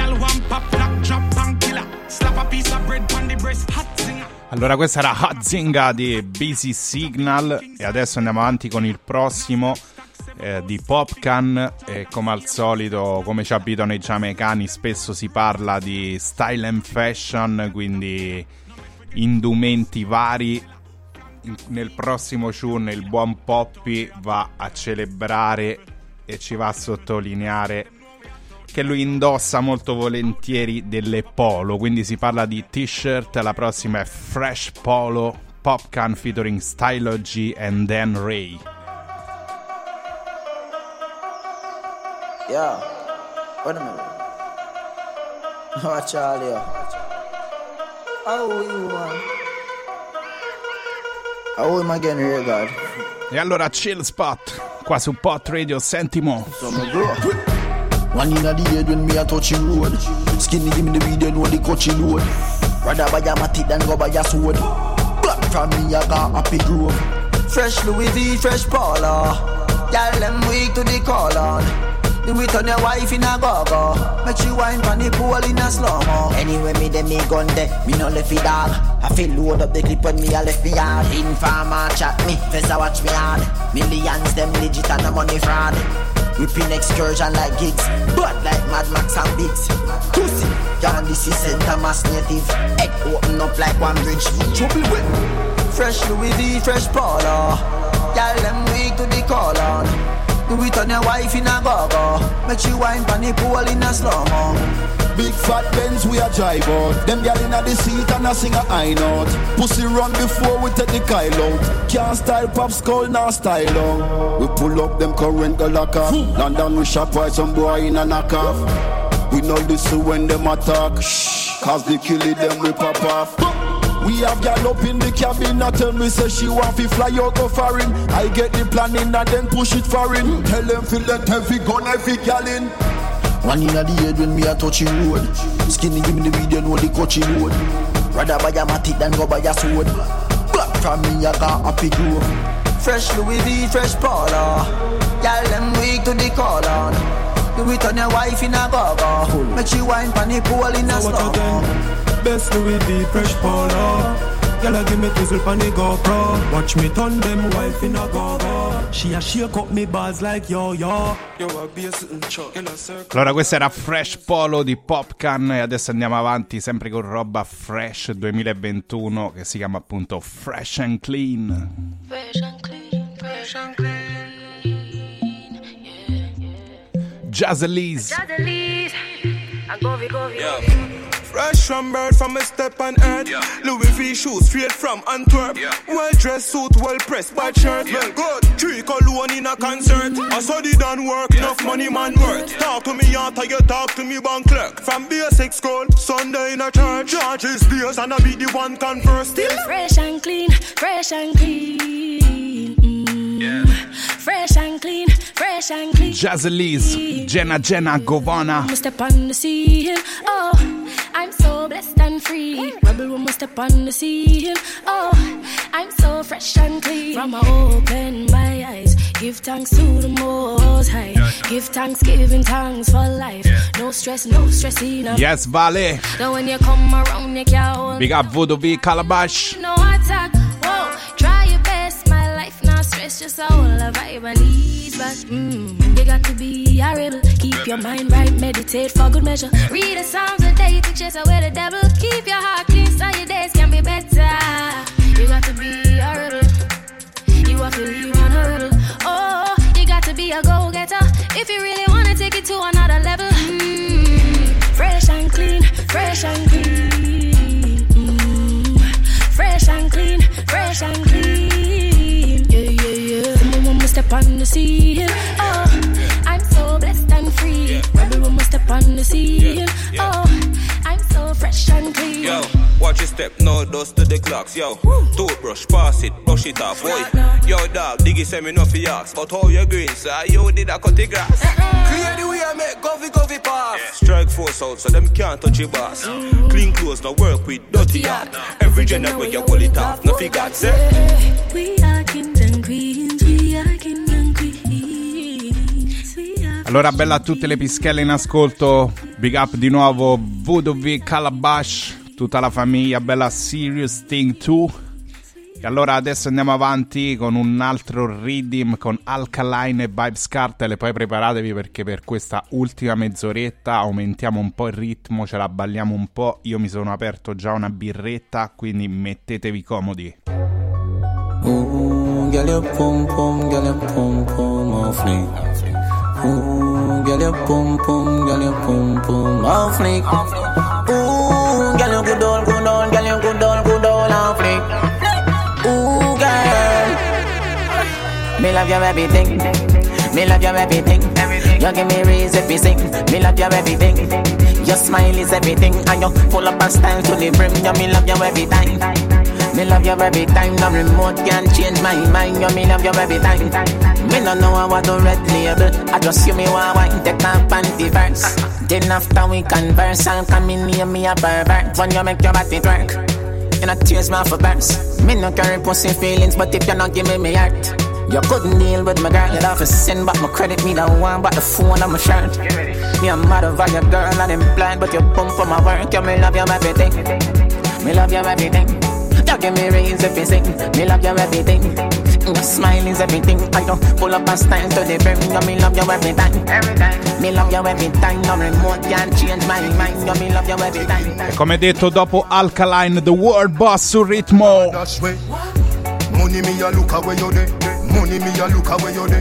Allora questa era Hatzinga di Busy Signal e adesso andiamo avanti con il prossimo eh, di Popcan e come al solito, come ci abitano i giamaicani, spesso si parla di style and fashion, quindi indumenti vari. In, nel prossimo tune il buon Poppy va a celebrare e ci va a sottolineare che lui indossa molto volentieri delle polo, quindi si parla di t-shirt. La prossima è Fresh Polo, Popcan featuring Stylo G and Dan Ray. Yeah, wait a minute. Oh, Charlie. Oh, you man. Oh, am I getting here, God? E allora Chill Spot, qua su Pot Radio, senti mo. One in the head when me a touching road. Skinny give me the video know the coaching load. Rather buy a matic than go buy a sword. Black from me I got happy grove. Fresh Louis V, fresh Paula. Y'all them weak to the call on. Do it on your wife in a go-go. Make she wine pan the pool in a slow-mo. Anyway me dem me gun de, me no left it dog. I feel load up the clip when me a left me hard. Informer chat me, Fezza watch me hard. Millions them legit and the money fraud. Whipping excursion like gigs, but like Mad Max and Biggs. Pussy, y'all this is Center Mass Native. Head open up like one bridge. Trouble with Fresh Louis V, fresh Paula. Y'all them weak to the call on. Do it on your wife in a go-go. Make she wine pan the pool in a slow-mo. Big fat Benz we a drive out. Them gyal inna the seat and a sing a high note. Pussy run before we take the Kyle out. Can't style pop skull now style on. We pull up them current go lock off. London we shop while some boy in a knock off. We know this when them attack. Shh, cause they kill it them we pop off. We have gal up in the cabin, I tell me say she want to fly out go foreign. I get the planning and then push it foreign. Tell them feel that heavy gun, heavy gal in. One in the head when me a touching road. Skinny give me the video know the coaching road. Rather buy a matic than go buy a sword. Black from me I got happy grove. Fresh Louis V, fresh Paula. Y'all them weak to the call on. Do Do it on your wife in a go-go. Make she wine pan the pool in a slow. Best Louis V fresh polo. Girl, give me twizzle pan the GoPro. Watch me turn them wife in a go-go. She a shake up me bars like yo-yo. Yo, a be a sitting chuck in a circle. Allora, questa era Fresh Polo di Popcan e adesso andiamo avanti sempre con roba Fresh duemilaventuno che si chiama appunto Fresh and Clean. Fresh and clean, fresh and clean, yeah, yeah. Jazzelise. Jazzelise, I go, we go, we go. Fresh from birth from a step on earth. Yeah. Louis V shoes straight from Antwerp. Yeah. Well dressed suit, well pressed by shirt. Yeah. Well good, three cologne in a concert. I studied and work, enough money man worth. Talk to me after you talk to me bank clerk. From basic school, Sunday in a church. Churches days and I be the one converse still. Fresh and clean, fresh and clean. Mm. Yeah. Fresh and clean, fresh and clean. Jazzelise, Jenna Jenna Govana. Step on the scene, oh, I'm so blessed and free. Rebel woman step on the scene, oh, I'm so fresh and clean. From I open my eyes, give thanks to the Most High. Give thanks, giving thanks for life. No stress, no stress enough. Yes, Vale. Then when you come around, you can't hold. Big up Voodoo V Calabash. No attack, whoa, try your best, my life not stress, just all the vibe and ease. But mm, you got to be a rebel. Keep your mind right, meditate for good measure. Read the Psalms a day to chase away the devil. Keep your heart clean so your days can be better. You got to be a rebel. You have to live on a rebel. Oh, you got to be a go-getter if you really want to take it to another level. Mm, fresh and clean, fresh and clean. Mm, fresh and clean, fresh and clean. Yeah, yeah, yeah. Someone want me step on the scene. Oh, I'm so blessed and free. Rebel woman step on the scene. Oh, I'm so fresh and clean. Yo, watch your step, no dust to the clocks. Yo, toothbrush, pass it, brush it off. Boy, yo, dog, Diggy send me no for yaks. But how you green, sir? Yo, did I cut the grass? Clear the way I make govy govy pass. Strike force out so them can't touch your boss. Clean clothes, no work with dirty heart. Every gender where you pull it off, no figure, say. We are kings and queens, we are kings and queens. Allora, bella a tutte le pischelle in ascolto. Big up di nuovo Voodoo V Calabash, tutta la famiglia, bella Serious Thing due. E allora adesso andiamo avanti con un altro rhythm con Alkaline e Vybz Kartel. E poi preparatevi perché per questa ultima mezz'oretta aumentiamo un po' il ritmo, ce la balliamo un po'. Io mi sono aperto già una birretta, quindi mettetevi comodi. Ooh, girl, your pum pum, girl, your pum pum off fleek. Ooh, girl, your pum pum, girl, your pum pum off fleek. Ooh, girl, you good on, good on, girl, you good on, good on off fleek. Ooh, girl, me love your everything, me love your everything. You give me reason if you sing, me love your everything. Your smile is everything, and you full up a style to the brim. You me love you every time. Me love you every time, no remote can change my mind. You me love you every time. Me no know I want to red label. I just you me want wine, take my panty verse. Then after we converse, I'll come in near me a pervert. When you make your body twerk, you not tears my for burst. Me no carry pussy feelings, but if you not give me me heart, you couldn't deal with my girl. You'd have to send back my credit, me don't want back the phone on my shirt. Me a mad over your girl and I'm blind, but you pump for my work. You me love you everything, me love you everything. You give me raise if you sing, me love you everything. Your smile is everything. I don't pull up a style to the brim. You me love you every time, every time. Me love you every time. No remote can change my mind. You me love you every time. E come detto, dopo Alkaline, The World Boss sul ritmo. Money me a look away you there. Money me a look away you there.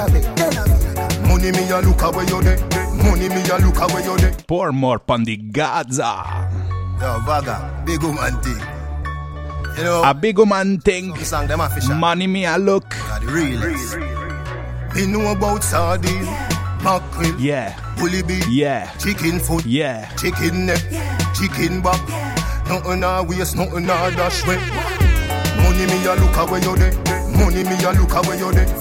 Money me a look away you there. Money me a look away you there. Pour more pandi Gaza. Yo, Vaga, big woman thing. You know, a big woman thing. Money me a look. The realest. Me know about sardine, mackerel, yeah, bully beef, yeah, chicken foot, yeah, chicken neck, chicken back. Nothing a waste, nothing a dash way. Money me a look away you there. Money me a look away you there.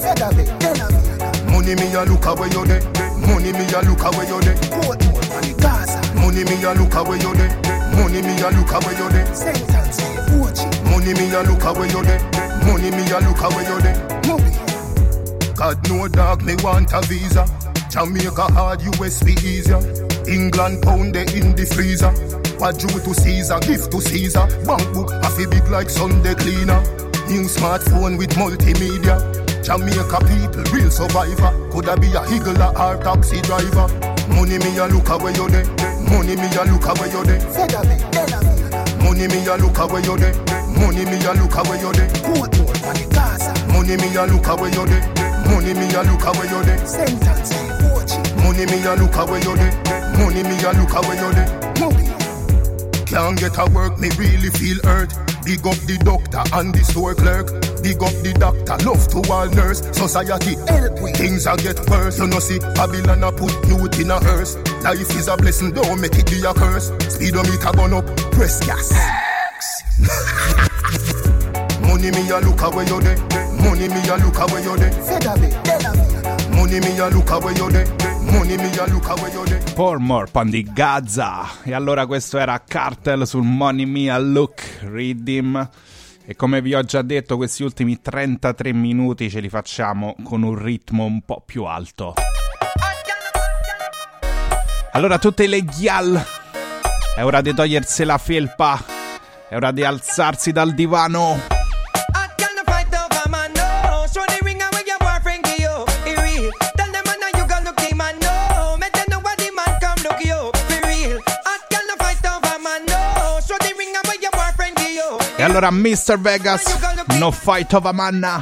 Money me a look away you there. Money me a look away you there. Money me a look away you there. Money me a look away you there. Money me a look away you there. Money me a look away you there. God no dog me want a visa. Jamaica hard, U S be easier. England pound they in the freezer. What due to Caesar, gift to Caesar. Bank book half a big like Sunday cleaner. New smartphone with multimedia. Jamaica people, real survivor. Coulda be a higgler or taxi driver. Money me a look away you there. Money me a look away you there. Money me a look away you there. Money me a look away you there. Money me a look away you there. Money me a look away you there. Money me a look away you there. Money me a look away you there. Can't get a work, me really feel hurt. Big up the doctor and the store clerk. Big up the doctor, love to all nurse. Society help we. Things a get worse. You know see, Babylon a put youth in a hearse. Life is a blessing, don't make it be a curse. Speedometer gone up, press gas. Money me a look away you there. Money me a look away you there. Money me a look away you there. Money me a look away you there. Pour more on di Gaza. E allora questo era Cartel sul Money Me a Look Rhythm. E come vi ho già detto, questi ultimi trentatré minuti ce li facciamo con un ritmo un po' più alto. Allora tutte le ghial, è ora di togliersi la felpa, è ora di alzarsi dal divano. E allora mister Vegas, no fight over manna.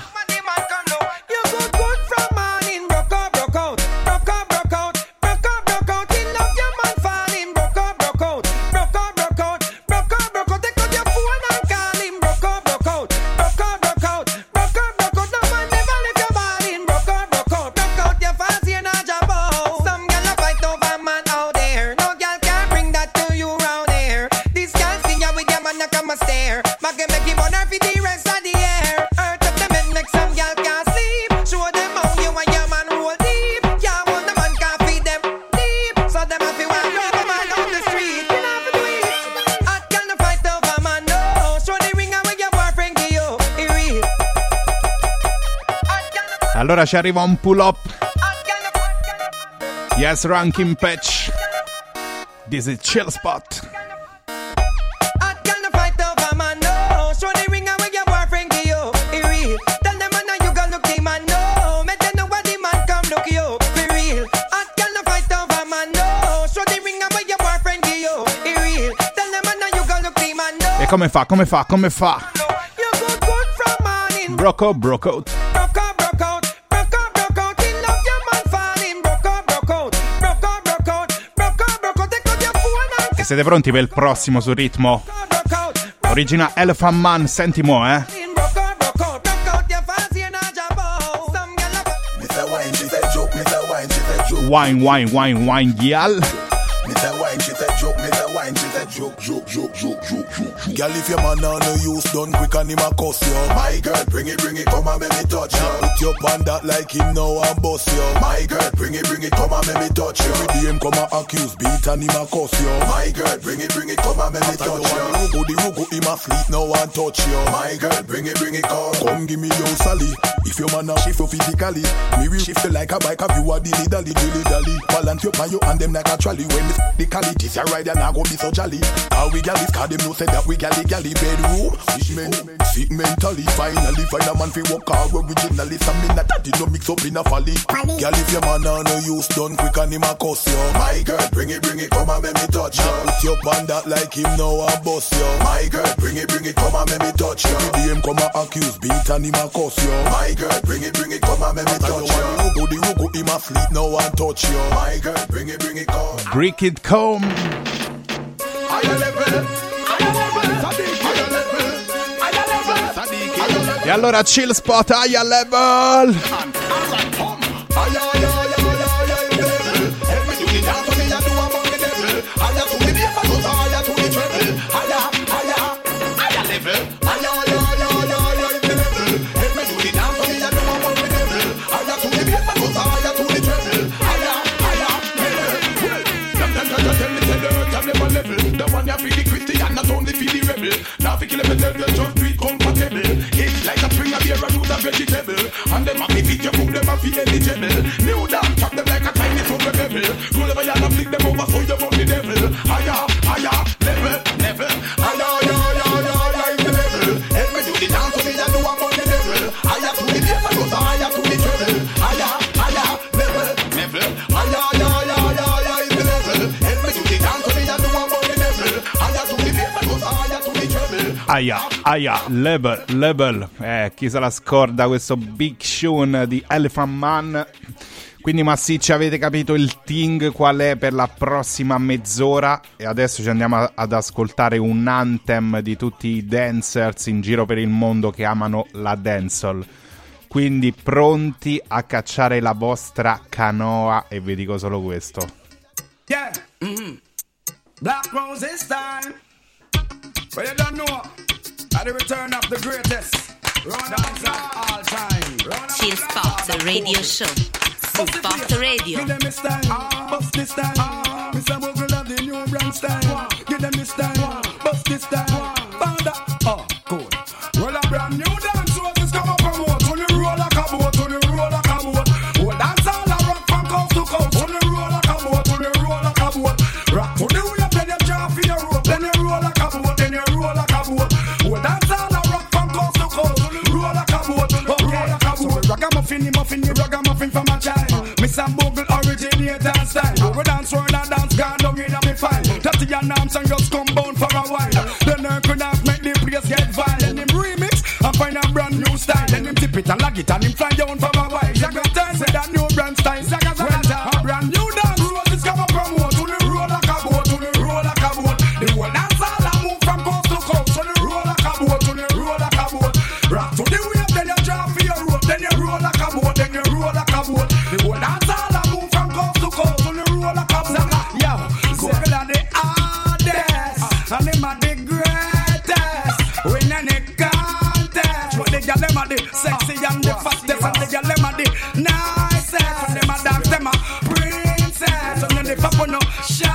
Allora ci arriva un pull up. Yes, ranking patch. This is Chill Spot. E come fa, come fa, come fa? Broco, broco. E siete pronti per il prossimo sul ritmo? Origina Elephant Man, senti mo, eh? Wine, wine, wine, wine, gyal. Girl, if your man on no use done quick and him a cuss you. My girl, bring it, bring it, come and make me touch you. Put your pan that like him now and bust you. My girl, bring it, bring it, come and make me touch you. Every day him come and accuse, beat and him a cuss you. My girl, bring it, bring it, come and make me touch you. Rugo, the rugo, him a sleep now and touch you. My girl, bring it, bring it, come. Come give me your Sally. If your man a shift you physically, me will shift you like a bike. Have you a dilly dally, dilly dally. Balance your pan you and them like a trolley. When me the quality, you ride and I go be so jolly. How we gal this car, them know say that we galley galley bedroom. Fish men, sick mentally. Finally find a man fi walk out originally. Some me not that did no mix up in a folly. Gal if your man on no use done quick and him a cuss you. My girl, bring it, bring it, come and make me touch you. Put your pan that like him now and bust you. My girl, bring it, bring it, come and make me touch you. Every day him come and accuse, beat and him a cuss you. My girl, bring it, bring it, come and make me touch you. The rugo, the rugo, him a sleep now and touch you. My girl, bring it, bring it, come. Break it, come. E allora Chill Spot, higher level. Now fi kill him and tell you just do it compatible. It's like a string of beer and root of vegetable. And them have the fit you cook them have fi eligible. New down chop them like a tiny Aia, aia, Level, Level. Eh, chi se la scorda questo Big Sean di Elephant Man. Quindi massicci, avete capito il ting qual è per la prossima mezz'ora. E adesso ci andiamo a, ad ascoltare un anthem di tutti i dancers in giro per il mondo che amano la dancehall. Quindi pronti a cacciare la vostra canoa. E vi dico solo questo. Yeah, mm-hmm. Black Rose this time. But you don't know, at the return of the greatest dance of all time. Chill Spot Radio Show. Spot Radio. Give them this time, bust this time. Mister Bogle love the new brand style. Give them this time, bust this time. Found that, oh, cool. Well, a brand new dance was come up from what? On the roll like a boat, on the roll like a boat. Well, dance all a rock from coast to coast. On the roll like a boat, on the roll like a boat. Rock to the wheel, then you drop for your rope. Then you roll like a boat, then you roll like a boat. Well, dance all a rock from coast to coast. Roll like a boat, okay. So we ragamuffin, muffin, the ragamuffin from a child. Mister Bogle originator style. We dance round and dance, gone down in a me file. Tatty and arms and just come bound for a while. Then I could have make the place get vile. Then him remix and find a brand new style. Then him tip it and lag it and him fly down for a while. Zaga time say that new brand style. Zaga zaga a brand new dance. Roses come up from what? To the roll like a boat, to the roll like a boat. The whole dance all a move from coast to coast. To the roll like a boat, to the roll like a boat. Rock to the wave, then you drop for your rope. Then you roll like a boat, then you roll like a boat. The whole dance all a move from coast to coast. To the roll like a boat. Yo, Google are the hardest and them are the greatest. Win any contest. But the girl them are the sexy and the fastest, and the girl them are the nicest. And them are dance, them are princess. And then they pop on no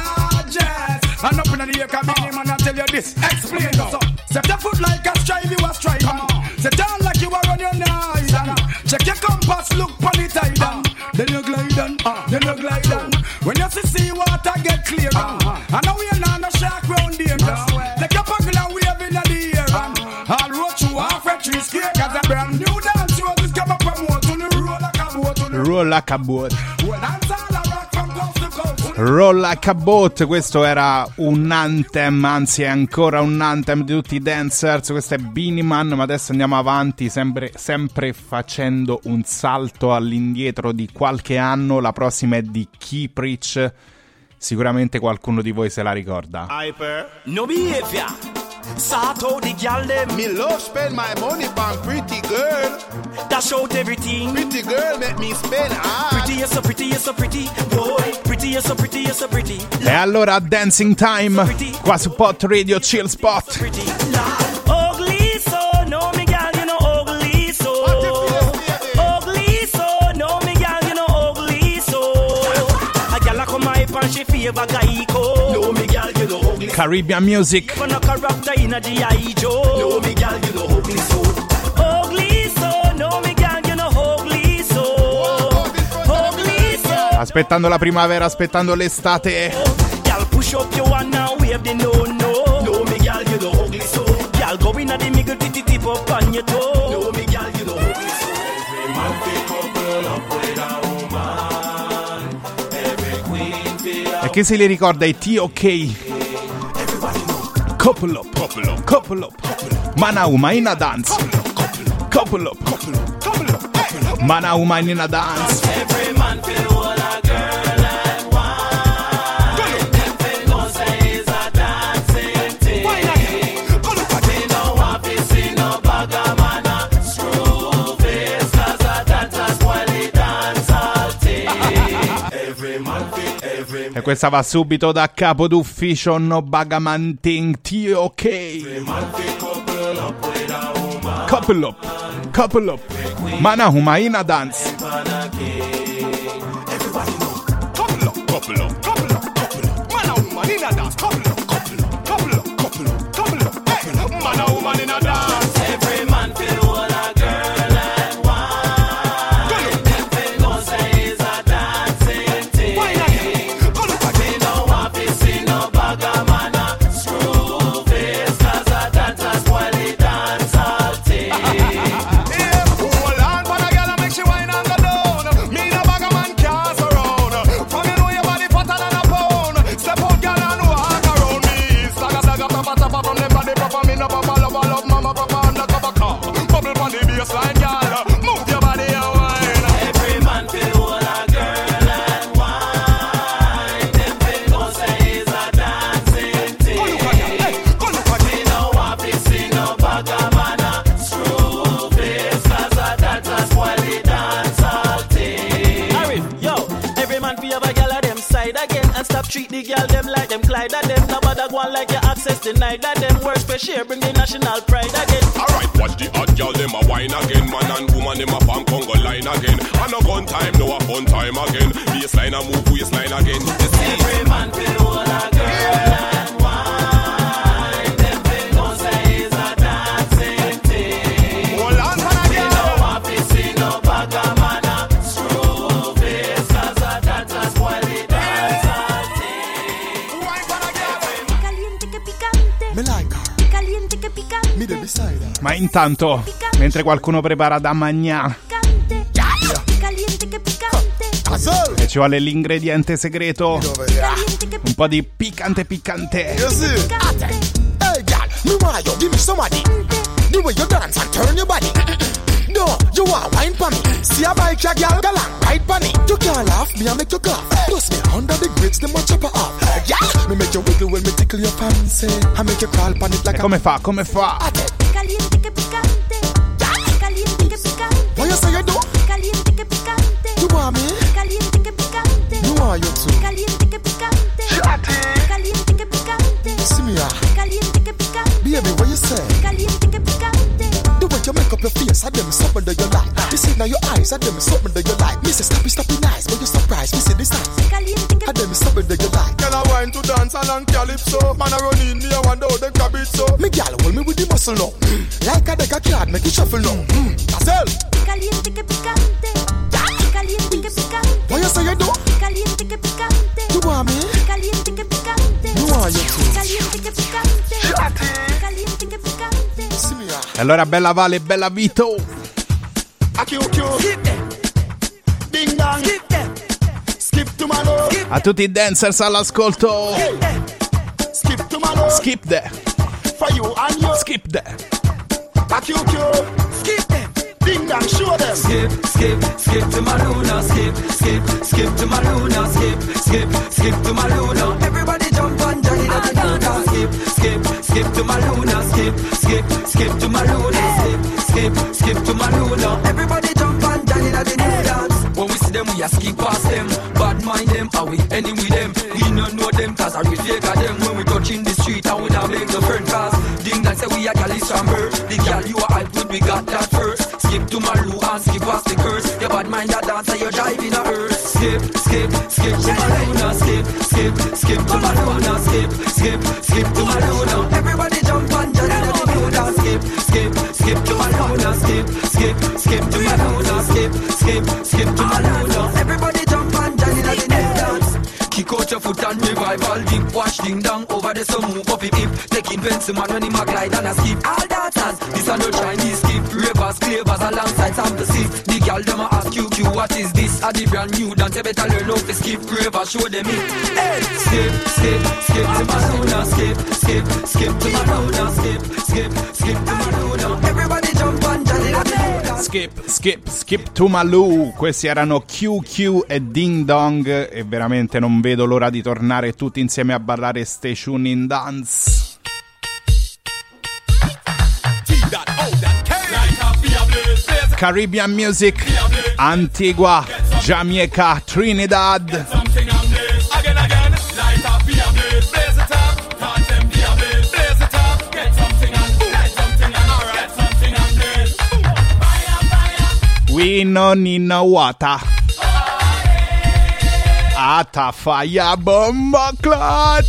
charges. And up in the air, come in, man, I tell you this. Explain now. So, set your foot like a strive, you a strive. Set down like you are on your knives. Check your compass, look on the tide. Uh, then you glide on, uh, then you glide on. When you see sea water get clear, uh, and now we are not no shark round here. Like a bugle and wave in the air. Uh, I'll roach you off a tree scare, cause a brand new dance you just come up from what to the roll like a boat. Roll like a boat. Well, dance all a rock from coast to coast. Roll like a boat, questo era un anthem, anzi è ancora un anthem di tutti i dancers. Questo è Beenie Man, ma adesso andiamo avanti, sempre, sempre facendo un salto all'indietro di qualche anno. La prossima è di Keeprich, sicuramente qualcuno di voi se la ricorda. Hyper, no behavior. Sort out the gal them. Me love spend my money on pretty girl. Dash out everything. Pretty girl make me spend hard. Pretty, you're so pretty, you're so pretty. Boy, pretty, you're so pretty, you're so pretty. E allora Dancing Time, qua su Pot Radio Chill Spot. Ugly so, no me gal, you know ugly so. Ugly so, no me gal, you know ugly so. A gal a come hype and she favor guy ko. No me gal, you know ugly. Caribbean music. For no character in a G I Joe. No me gal, you know ugly so. Ugly so, no me gal, you know ugly so. Ugly so. Aspettando la primavera, aspettando l'estate. Gal push up your one now, wave the no no. No me gal, you know ugly so. Gal go in at the middle, titty tip up on your toe. No me gal, you know ugly so. Every man feel couple up with a woman. Every queen feel. E chi se li ricorda i T O K? Couple up, couple up, couple up. Manauma in a dance. Couple up, couple up, couple up. Manauma in a dance. Every man feel all a girl and one. Them feel no say is a dancing thing. We no want to see no bagger man a screw face, cause a dancer spoil the dance all thing. Every man feel, every man. E questa va subito da capo d'ufficio, no bagaman ting T O K. Couple up, couple up. Manahuma in a dance. Everybody know. Couple up, couple up, couple up, couple up. Man and woman in a dance. Couple up, couple up, couple up, couple up, couple up. Hey, man and woman in a dance. Every man feel all a girl and one. Them feel no say is a dancing thing. We no want to see no bagger man a screw face, cause a dancer spoil the dance all thing. Yeah, hold on, but a girl make she wine and go down. Me no bagger man can't surround. From you know your body fatter than a pound. Step out, girl, and walk around. access denied. That them work for share, bring the national pride again. Alright, watch the hot girl, them a wine again. Man and woman, them a farm Congo line again. And a gun time, no a fun time again. Baseline a move, waistline again. You see, every man feel all a girl and wine. Them feel no say it's a dancing thing. Hold on, man, again. We no want to see no bugger man a screw face, cause a that a spoil the dancer thing. Caliente che picante. Me like her. Caliente che picante. Me there beside her. Ma intanto, mentre qualcuno prepara da mangià Caliente che picante. e ci vuole l'ingrediente segreto, un po' di piccante piccante. You see? Hey, girl, me want you give me somebody. The way you dance and turn your body. No, you want wine for me. See a bike, ya girl, go long, ride for me. You can't laugh, me I make you cough. Plus me under the grids, them a chop her off. Yeah, me make you wiggle when me tickle your fancy. I make you crawl on it like E a... come fa, come fa? Caliente che picante. Caliente che picante. What you say you do? Caliente che picante. You want me? Caliente che picante. You want you too? Caliente che picante. Caliente che picante. See me ah. Caliente che picante. Baby, what you say? Caliente che picante. The way you make up your face, I them something that you like. You see now your eyes, I them something that you like. Me say stoppy, stoppy nice, but you surprised. Me see this time, I them something that you like. Girl, I wine to dance along calypso. Man, I run in me, I wonder how them grab it so. Me girl, hold me with the muscle now. Mm. Like a deck of card, make it shuffle now. Mm. Gazelle. Caliente che picante. Caliente che picante. What you say you do? Caliente che picante. You want me? Caliente che picante. You want you too? Caliente che picante. Caliente che picante. See me ah. E allora bella Vale, bella Vito. Skip them. Ding dong. Skip them. Skip to my love. A tutti i dancers all'ascolto. Skip to my love. Skip there. For you and you. Skip there. A Q Q. Skip them. Ding dong, show them. Skip, skip, skip to my Luna. Skip, skip, skip to my Luna. Skip, skip, skip to my Luna. Everybody jump on Johnny the Luna. Skip, skip, skip to my Luna. Skip, skip, skip to my Luna. Skip, skip, skip to my Luna. Everybody jump on Johnny the Luna. When we see them, we a skip past them. Bad mind them, are we any with them? We don't know them, cause I really fake them. When we touch in the street, and we don't make the friend cause ding dong say we a gal is chamber. The gal you are hype good, we got that first. Skip to my loo and skip past the curse. Your bad mind that dancer, you're driving a hearse. Skip, skip, skip to my Luna. Skip, skip, skip to my Luna. Skip, skip, skip to my Luna. Everybody jump on Johnny the Luna. Skip, skip, skip to my Luna. Skip, skip, skip to my Luna. Skip, skip, skip to my Luna. Everybody jump on Johnny the Luna. Kick out your foot and revival dip. Wash ding dong over the sun, move up hip hip. Taking pencil man when he mag glide and a skip. All dancers, this are no Chinese skip. Ravers, clavers alongside some to sip. The girl them a ask you, Q, what is this? A the brand new dance, you better learn how to skip. Ravers, show them it. Hey, skip, skip, skip to my Luna. Skip, skip, skip to my Luna. Skip, skip, skip to my Luna. Everybody jump on Johnny the Luna. Skip, skip, skip to Malou. Questi erano Q Q e Ding Dong. E veramente non vedo l'ora di tornare tutti insieme a ballare Station in Dance. Caribbean music, Antigua, Jamaica, Trinidad. We no need no water. Ata fire bomba clot.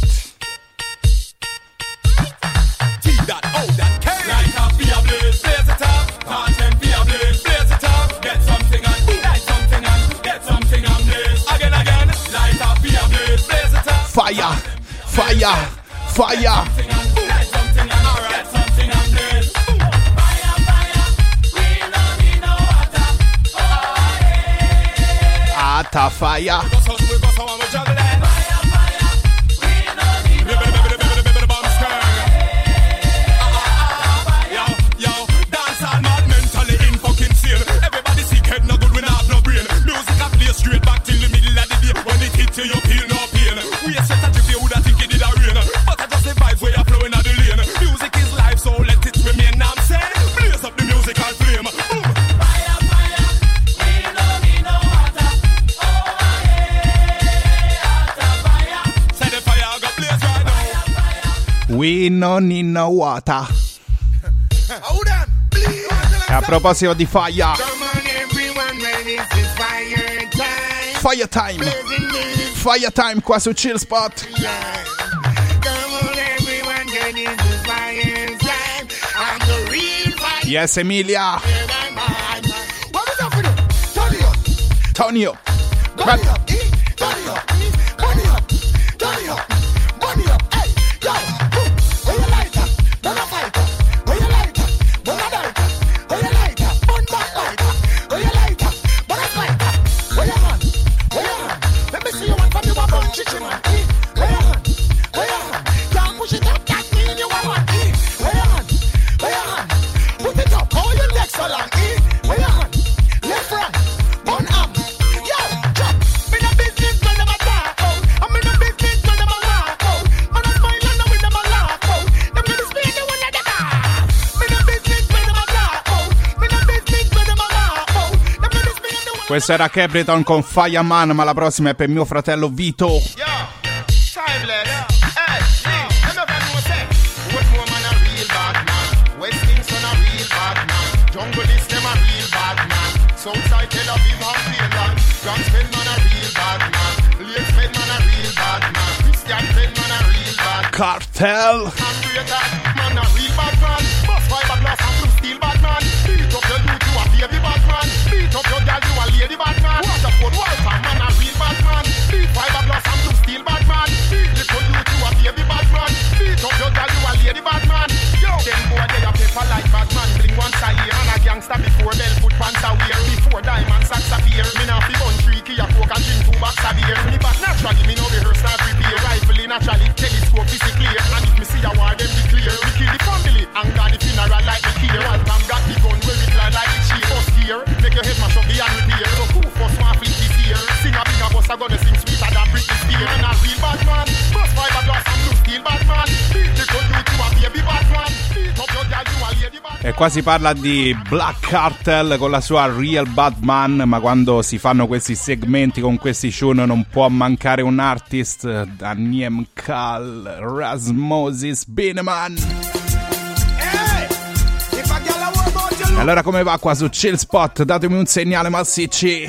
That, oh, that K. Light up, be a blaze, blaze it up. Content, be a blaze, blaze it up. Get something on, light something on, get something on blaze. Again, again, light up, be a blaze, blaze it up. Fire, fire, fire. Light something on, alright, get something on blaze. Fire, fire, we don't need no water. Oh, yeah. Ata fire. We go so, we go so, and we juggle it. Fire, fire, we don't need no water. Straight back till the middle of the day. When it hit you, you feel no pain. We a set a trip, you would have think it did a rain. But I just the vibes where you're flowing out the lane. Music is life, so let it remain. I'm saying, blaze up the musical flame. Boom. Fire, fire, we don't need no water. Oh, yeah. We non need no water. E a proposito di fire, fire time, fire time qua su Chill Spot. Yes, Emilia. Tonio. Tonio. Questo era Capleton con Fireman, ma la prossima è per mio fratello Vito. Cartel. Beat up your girl, you a lady bad man. What a phone, what a man, a real bad man. Beat fiberglass and blue steel bad man. Beat little you, you a baby bad man. Beat up your girl, you a lady bad man. Yo, them boy they a paper like bad man. Bling once a year and a gangster before bell foot pants a wear. Before diamond sacks appear. Me now fi bun three key a coke and drink two box a beer. Me back naturally, me no rehearse and prepare. Rifle naturally, telescope is clear. And if me see a war, them be clear. We kill the family and got the funeral like the care. One time got the gun where it fly like the cheer. First gear, make your head mash up the and repair. So who first one flip this year? Sing a big a bus, I gonna sing sweeter than Britney Spears. And a real bad man, bust fiberglass and blue steel bad man. Beat the gun you to a baby bad man. Beat up your girl, you a lady bad man. E qua si parla di Black Cartel con la sua Real Bad Man, ma quando si fanno questi segmenti con questi tune non può mancare un artist, Daniel Kal, Rasmosis Bineman. E allora come va qua su Chill Spot? Datemi un segnale massicci.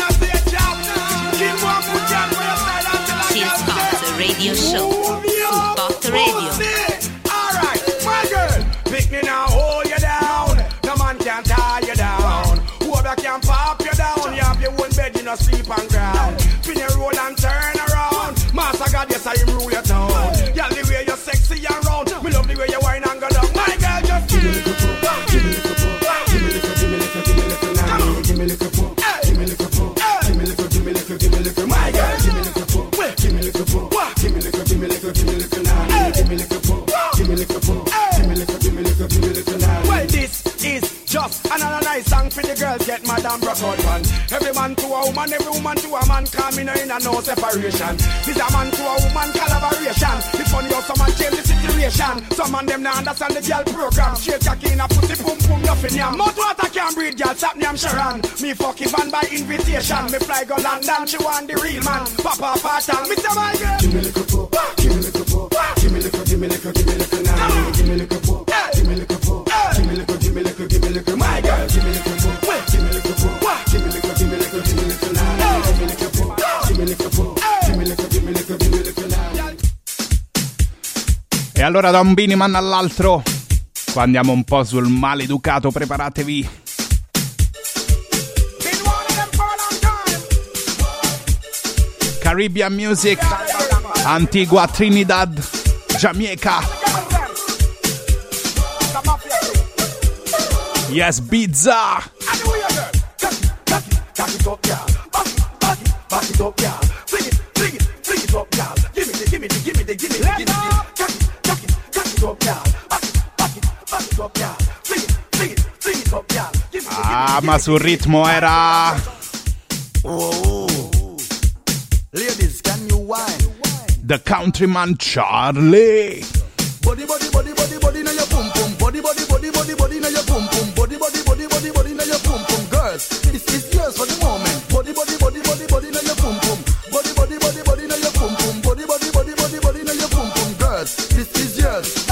Chill Spot Radio Show su Spot Radio. Alright, my girl, pick me now, hold you down. No man can tie you down. Whoever can pop you down. You have your own bed, you no sleep on ground. Spin your roll and turn around. Master God, yes, I rule your town. Girl, the way you're sexy and round. Me love the way you whine and go down. My girl, just give me the cup, give me the cup. Give me little, give me little, give me little now. Give me little pump, give me little pump, give me little, give me little, give me little. My girl, give me little pump, give me little pump, give me little, give me little, give me little now. Give me little pump, give me little pump, give me little, give me little, give me little now. Well, this is just another nice song for the girls get mad and broke out man. Every man to a woman, every woman to a man, coming in a no separation. This a man to a woman collaboration. It's funny how someone change the situation. Some man them now understand the girl program. Straight cocky in a pussy, boom boom, nothing yam. Mouth water can't breathe, girl, stop me, I'm Sharon. Me fuck Ivan by invitation. Me fly go London, she want the real man. Papa Patan, Mister My Girl. Give me little pop, give me little pop, give me little, give me little, give me little now. Give me little pop, give me little pop, give me little, give me little, give me little. My girl, give me little pop, give me little pop, give me little, give me little, give me little now. Give me little pop, give me little pop, give me little, give me little, give me little now. E allora da un Bineman all'altro, qua andiamo un po' sul maleducato, preparatevi. Caribbean Music, Antigua, Trinidad, Jamaica. Yes, Bizza. Back it up, y'all. Back it, back it, back it up, y'all. Fling it, fling it, fling it up, y'all. Give me the, give me the, give me the, give me the, give me the. Back it, back it, back it up, y'all. Back it, back it, back it up, y'all. Fling it, fling it, fling it up, y'all. Give me the, Ah, ma sul ritmo era... Oh, ladies, can you whine? The Countryman Charlie. Body, body, body, body, body, now your pum pum. Body, body, body, body, body, now your pum pum. Body, body, body, body, body, now your pum pum. Girls, this is yours for the moment. Body, body, body, body, body, now your pum pum. Body, body, body, body, now your pum pum. Body, body, body, body, body, now your pum pum. Girls, this is yours.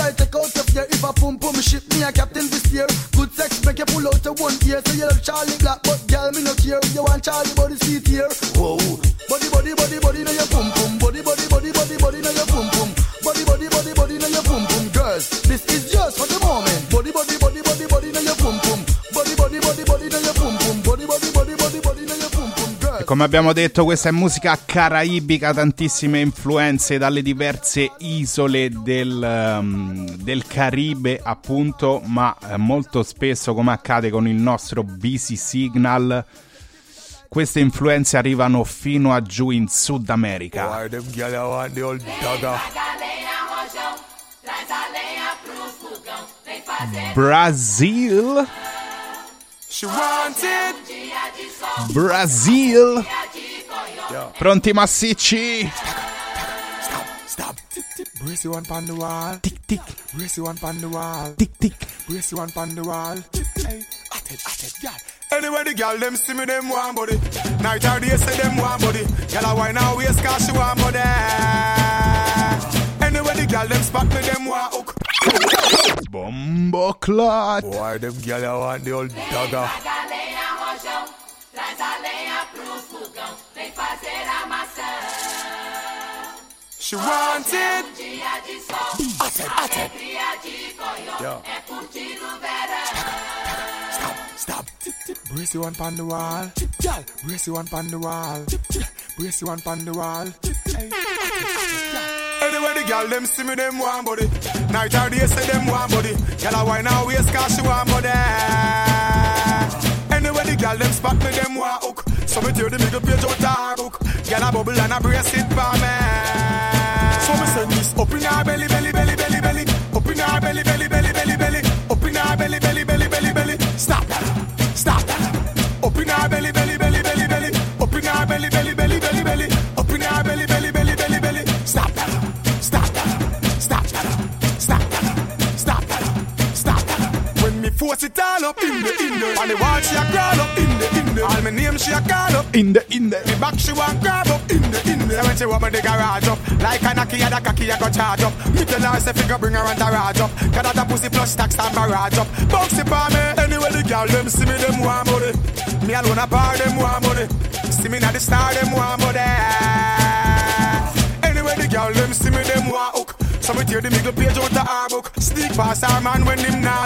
I take out your fear. If I pum pum ship, me a captain this year. Good sex make you pull out your one ear. So you love Charlie Black, but girl me no care. You want Charlie body seat here. Whoa, body body body body now your pum pum. Body body body body body now your pum pum. Body body body body now your pum pum. Girls, this is just for the moment. Body body body body body now your pum pum. Body body body body now your pum pum. Body body body body body now your pum pum. E come abbiamo detto, questa è musica caraibica, tantissime influenze dalle diverse isole del, um, del Caribe appunto, ma eh, molto spesso, come accade con il nostro Busy Signal, queste influenze arrivano fino a giù in Sud America. Brazil. She wanted Brazil. Pronti massicci? Stop, stop. Tick, tick. Brace you one pon the wall. Tick, tick. Brace you one pon the wall. Tick, tick. Brace you one pon the wall. Hey, at it, at it, girl. Anyway, the girl, them see me, them want body. Night or day, say them want body. Girl, I wine and waist, cause she want body. Anyway, the girl, them spot me, them want hook. Bombo clot. Boy, them girl, I want the old dagger. She wanted. At it, at it. Yeah. Stop, stop. Brace you one pon the wall. Girl, brace you one pon the wall. Brace you one pon the wall. Hey, anyway, the girl, them see me, them want body. Night or day, say them want body. Girl, I wine and waist, cause she want body. Anyway, the girl, them spot me, them want hook. So me tear the middle page out the hook. Girl, a bubble and a brace it for me. So me send this up in her belly, belly, belly, belly, belly. Up in her belly, belly, belly, belly, belly. Up in her belly, belly, belly, belly, belly. Stop that, stop that. Up in her belly, belly, belly, belly, belly. Up in her belly, belly, belly, belly, belly. Up in her belly, belly, belly, belly, belly. Stop that, stop that, stop that, stop that, stop that, stop that. When me force it all up in the, in the. On the wall she a crawl up in the, in the. All my name she a call up in the, in the. Me back she want grab up in the, in the. When she want me the garage up, like a knocky and a cocky I go charge up. Me tell her say figure bring her and garage up. Got that pussy plus tax and barrage up. Box it for me. Anyway the girl them see me them want money. Me alone a bar them want money. See me not the star them want money. Anyway the girl them see me them want hook. So me tear the middle page out the her book. Sneak past her man when him not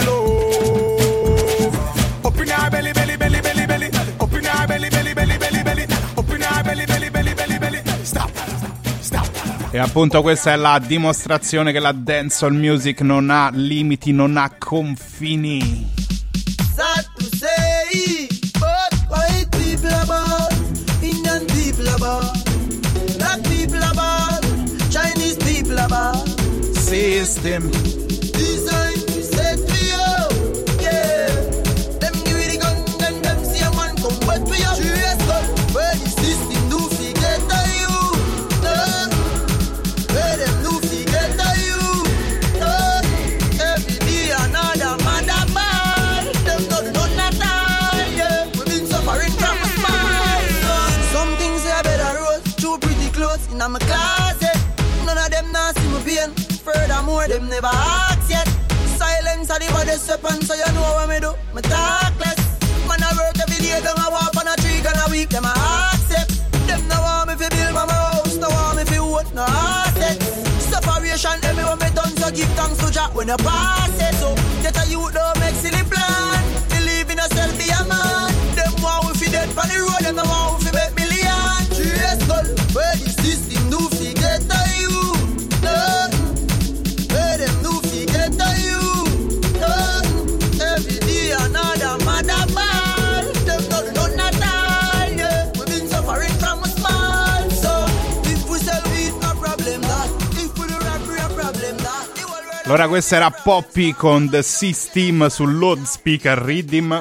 love. Up in her belly, belly, belly, belly, belly. Up in her belly, belly, belly, belly, belly. Up in her belly, belly, belly, belly, belly. Stop, stop, stop. E appunto questa è la dimostrazione che la dancehall music non ha limiti, non ha confini. Sad to say, but white people are bad, Indian people are bad, black people are bad, Chinese people are bad. System. Design to set me up, yeah. Them give it the gun, then them see a man come wet me up. Serious gun, where the system do fi get to you, uh. Where them do fi get to you, uh. Every day another mother man. Them don't know not all, yeah. We been suffering from a smile. Some things say I better roll through pretty clothes in my closet. None of them not see me pain. Furthermore, them never ask yet. Silence are the baddest weapon, so you know what me do. Me talk less. Man, I work every day, don't I walk on a tree, gonna week, them I accept. Them no want me fi build my house, no want me fi own no asset. Separation, everyone me done, so give thanks to Jah when you pass it. So, get a youth, don't make silly plan. Believe in yourself, be a man. Them want we fi dead on the road, them no want we fi make million. Serious goal, where the system do fi get to you. No. Where them do fi get to you. No. Every day another mother man. Them don't know not all, yeah. We been suffering from a small. So, if we sell weed, no problem that. If we do robbery, a problem that. Allora questa era Poppy con The System sul loudspeaker Rhythm.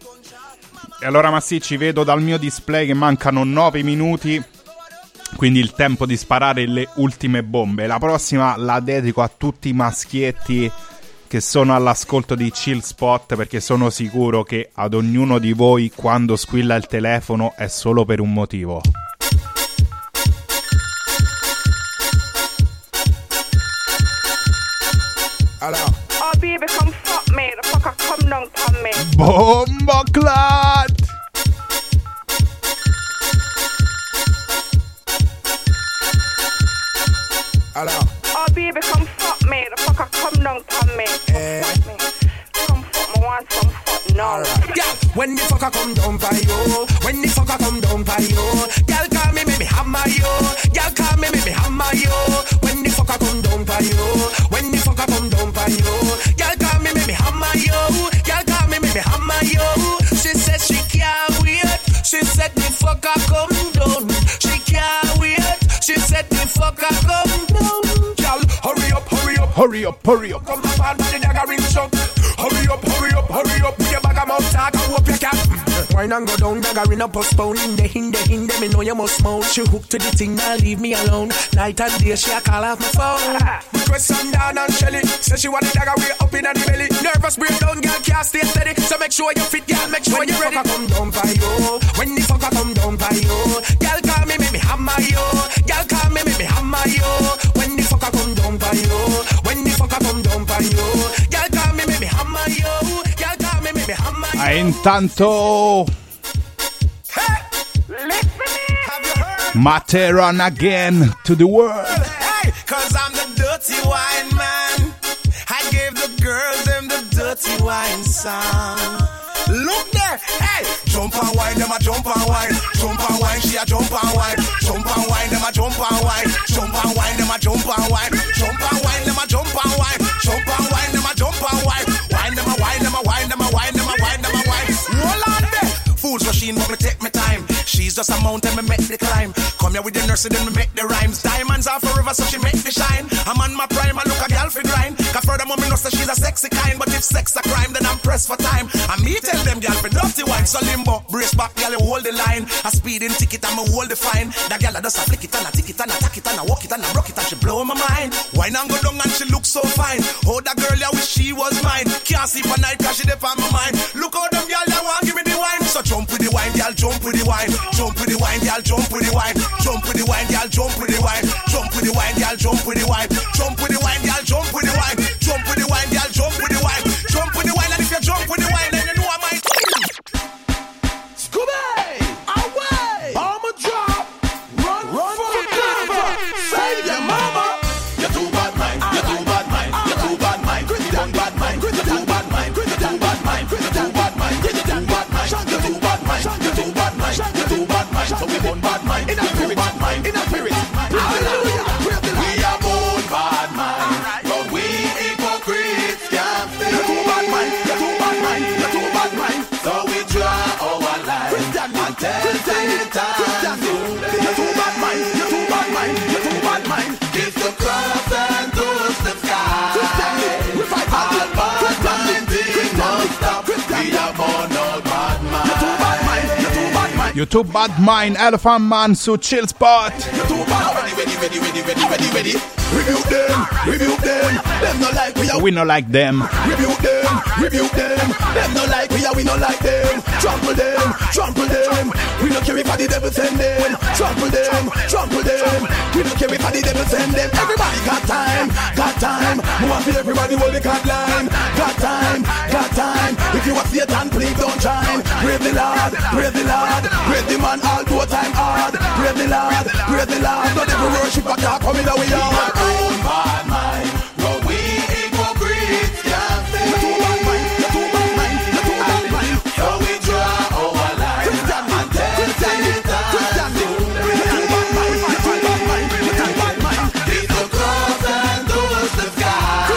E allora massicci, vedo dal mio display che mancano nove minuti, quindi il tempo di sparare le ultime bombe. La prossima la dedico a tutti i maschietti che sono all'ascolto di Chill Spot, perché sono sicuro che ad ognuno di voi quando squilla il telefono è solo per un motivo. Oh baby, come fuck me. The fucker come down on me. Bomba clat. Oh baby, come fuck me. The fucker come down on me. Eh. Fuck me. Come fuck me, want some fuck now. Yeah, when the fucker come down by you, when the fucker come down by you, girl call me, make me hammer you. Girl call me, make me hammer you. When the fucker come down by you, when the fucker come down by you, girl call me, make me hammer you. Girl call me, make me hammer you. She said she can't wait. She said the fucker come down. She can't wait. She said the fucker come down. Girl, hurry up, hurry up, hurry up, hurry up. Come back on the dagger ring shot. Hurry up, hurry up, hurry up. With your bag of mouth talk, I hope you can. Wine and go down, dagger in a postpone. In the in the in the me know you must smoke. She hooked to the thing, now leave me alone. Night and day, she a call off my phone. Request Sundown and Shelly. Say she want the dagger way up in the belly. Nervous breakdown, girl can't stay steady. So make sure you fit, girl, make sure you ready. When the fucker come down by you, when the fucker come down by you, girl call me, make me hammer you. Girl call me, make me hammer you. When the fucker come down by you, when the fucker come down by you, girl call me, make me hammer you. Girl call me, make me hammer you. E intanto Materon again to the world. Hey, cause I'm the dirty wine man. I gave the girls them the dirty wine song. Look there, hey, jump and wine, them a jump and wine, jump and wine, she a jump and wine, jump and wine, them a jump and wine, jump and wine, them a jump and wine, jump and wine, them a jump and wine, jump and wine, them a jump and wine, wine them a wine, them a wine, them a wine, them a wine, them a wine. Roll on there, fools machine, but me take me time. She's just a mountain, me make the climb. Come here with the nurse, then me make the rhymes. Diamonds are forever, so she make the shine. I'm on my prime, I look a girl for grind. Cause furthermore, me know that she's a sexy kind. But if sex a crime, then I'm pressed for time. And me tell them, girl, for dirty wine. So limbo, brace back, girl, you hold the line. A speeding ticket, and me hold the fine. That girl, I just a flick it, and I tick it, and I tack it, and I walk it, and I rock it, and she blow my mind. Wine and go down, and she look so fine. Oh, that girl, I wish she was mine. Can't sleep at night, cause she dip on my mind. Look how them girl, they want give me the wine. So jump with the wine, girl, jump with the wine. Jump with the wine, girl, jump with the wine. Jump with the wine, girl, jump with the wine. Jump with the wine, girl, jump with the wine. Jump with the wine, girl, jump with the wine. Jump with the wine, girl, jump with the wine. Jump with the wine, and if you jump with the wine, then you know I might. Scooby, away! Bomber drop, run, run for cover. Save your mama. You're too bad mind. You're too bad mind. You're too bad mind. You're too bad mind. You're too bad mind. You're too bad mind. You're too bad mind. You're too bad mind. You're too bad mind. You're too bad mind. You're too bad mind. So we born bad mind. In a spirit, bad mind. In a spirit. Hallelujah. We are born bad mind, but we hypocrites can't stay. You're too bad mind. You're too bad mind. You're too bad mind. So we draw our line and tell Satan to. You're too bad mind. You're too bad mind. You're too bad mind. Kiss the cross and touch the sky. All bad mind things must stop. We are born out bad mind. You're too bad mind. You're too bad mind. YouTube Bad Mind, Elephant Man su Chill Spot. You're too bad. Ready, ready, ready, ready, ready, ready, ready. Rebuke them, rebuke them. Them no like we are. We no like them. Rebuke them, rebuke them. Them no like we are. We no like them. Trample them, trample them. We no care if the devil send them. Trample them, trample them. We no care if the devil send them. Everybody got time, got time. We want to see everybody hold the card line. Got time, got time. If you are Satan, please don't shine. Praise the Lord, praise the Lord. Praise the man all do time hard. Praise the Lord, praise the Lord. Don't ever worship a God coming away hard. Own bad mind, but we hypocrites can't stay. You're too bad mind, you're too bad mind, you're too bad mind. So we draw our line and tell Satan to. You're too bad mind, you're too bad mind, you're too bad mind. Kiss the cross and touch the sky.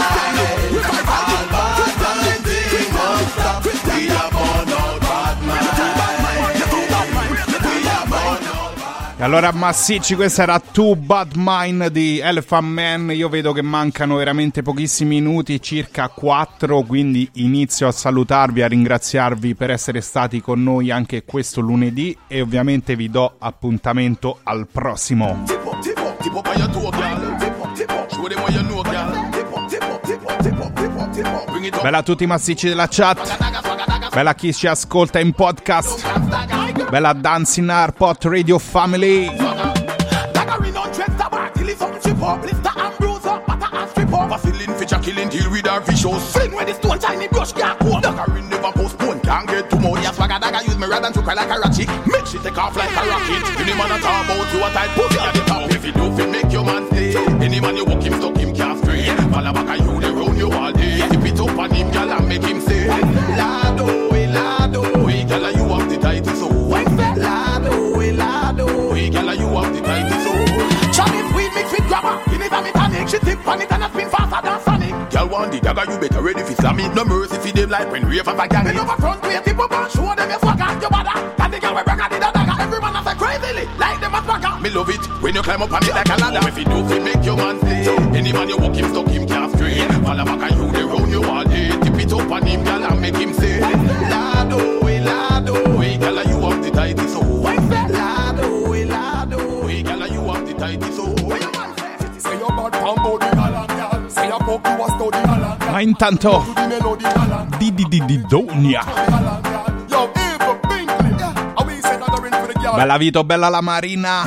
All bad mind things must stop. We are born out bad mind. You're too bad mind, you're too bad mind, you're too bad mind. E allora massicci, questa era Too Bad Mind di Elephant Man. Io vedo che mancano veramente pochissimi minuti, circa quattro, quindi inizio a salutarvi, a ringraziarvi per essere stati con noi anche questo lunedì e ovviamente vi do appuntamento al prossimo. Bella a tutti i massicci della chat, bella a chi ci ascolta in podcast, bella a Dancing Airport Radio Family. Dagger in on dress the bar till it's up, chip up, lift the and bruise up, but I strip up. have a ceiling, fish a killing, deal with our vicious. Sling where the stone shiny brush can't go. Dagger never postpone, can't get too much. Yes, swagger dagger use me rather than to cry like a ratchet. Make shit take off like a rocket. Any man a talk about you a tight pussy at the top. If you do fit, make your man stay. Any man you walk him, stuck him, can't stray. Fall back a you, they round you all day. Tip it up on him, girl, and make him say Lado, eh, Lado, eh, girl, you have the title so. Lado, eh, Lado, eh, girl, you have the title so. Chubby sweet mix with grabber. You never me tonic. She tip on it and a spin faster than Sonic. Girl want the dagger, you better ready for slam it. No mercy for them like when rave of a gang. Bend over front way, tip up and show them your swagger. Your bada, and the girl we break out the dagger. Every man a say crazily, like them a swagger. Me love it when you climb up on it like a ladder. If you do, it make your man stay. Any man you walk him, stuck him, can't stray. Fall back and you they round you all day. Tip it up on him, girl, and make him say Lado, eh, Lado, eh, girl, you have the title so. Lado, eh, Lado, eh, girl, you have the title so. Say your bad combo the galang, girl. Say your pop you a study galang. Ma intanto di di di di Donia. Yo, Eva Binkley. Are we said that in for the girl? Bella Vito, bella la Marina.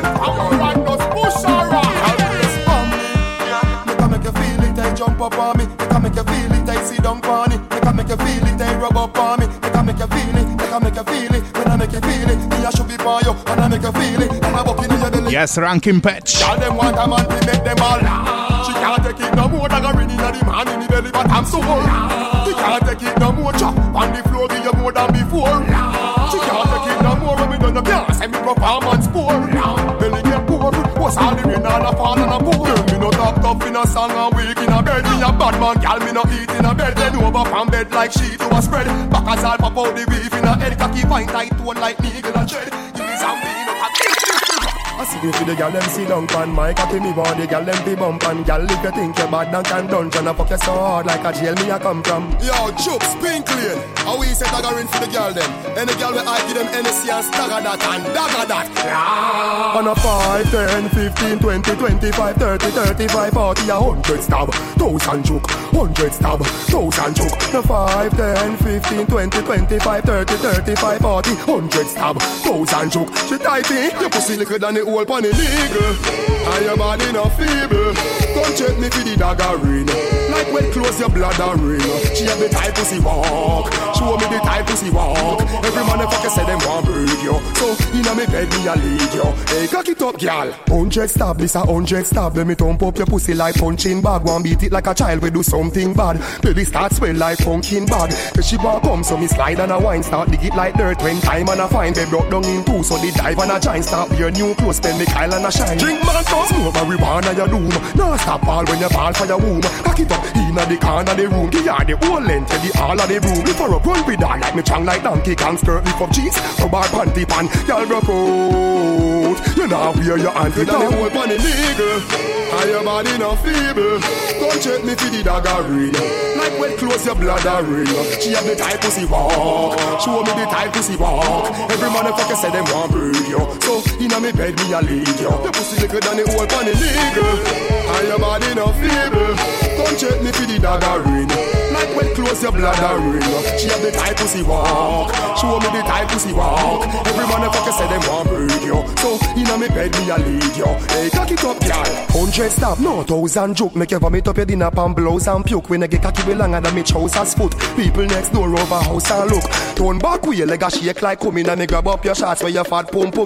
Jump up on me, they can make you feel it, they sit down on it, they can make you feel it, they rub up on me, they can make you feel it, they can make you feel it, when I make you feel it, me I should be by you, and I make you feel it, and I walk in your belly. Yes, ranking patch. All them want a man to make them all. She can't take it no more, than a ring in the man in the belly, but I'm so old. She can't take it no more, chop on the floor, give you more than before. She can't take it no more, when we done the gas, and me performance poor. Belly get poor, what's all the rain all a fall and a pour. Me no talk tough in a song and weak in a bed. Me a bad man, gal, me no eat in a bed. Then over from bed like sheet to a spread. Back as all pop out the beef in a head. Cocky fine tight tone like needle and thread. Give me some bean up and I see you for the gal, them sit down pan my cocky me body, gal, them be bump and gal, if you think you're bad, then can dungeon and fuck you so hard like a jail me a come from. Yo, Chooks, pink lane. How we say dagger in for the gal them? Any gal we I give them N S C and stagger that and dagger that. Yeah. On a five, ten, fifteen, twenty, twenty-five, thirty, thirty-five, forty, a hundred stab, thousand choke, hundred stab, thousand choke. No five, ten, fifteen, twenty, twenty-five, thirty, thirty-five, forty, hundred stab, thousand choke. She tight in, your pussy liquor than the whole pan illegal. And your body no feeble. Come check me for the dagger ring. Like when close your bladder ring. She have the tight pussy walk. Show me the tight pussy walk. Every motherfucker say them want breed you. So inna me bed me a lead you. Hey, cock it up, girl. Hundred stab, this a hundred stab. Let me thump up your pussy like punching bag. One beat it like a child we do something bad. Baby start swell like pumpkin bag. Cause she bar come so me slide and a wine. Start dig it like dirt when time and a fine. They broke down in two so the dive and a giant. Start your new clothes, spend the Kyle and a shine. Drink man come, smoke marijuana your doom. Now stop all when you fall for your womb. Cock it up inna the corner the room. Give her the whole length of the all of the room. If her up run with her like me chang like donkey Kong. Skirt lift up jeans, rub her panty pan. Y'all broke out. You know wear your auntie down. The whole pan illegal. And your body no feeble. Come check me for the dagger ring. Like when close your bladder ring. She have the tight pussy walk. Show me the tight pussy walk. Every motherfucker say them want breed you. So inna me bed me a lead you. Your pussy liquor than the whole pan illegal. And your body no feeble. Come check me for the dagger ring. Like when close your bladder ring. She have the tight pussy walk. Show me the tight pussy walk. Every motherfucker say them want breed you. So inna me bed me a lead you. Hey, cock it up, girl. Hundred stab, no thousand joke. Make you vomit up your dinner pan blouse and puke. When I get cocky way longer than me trousers foot. People next door over house and look. Turn back with your leg a shake like coming and me grab up your shots where your fat pump pump.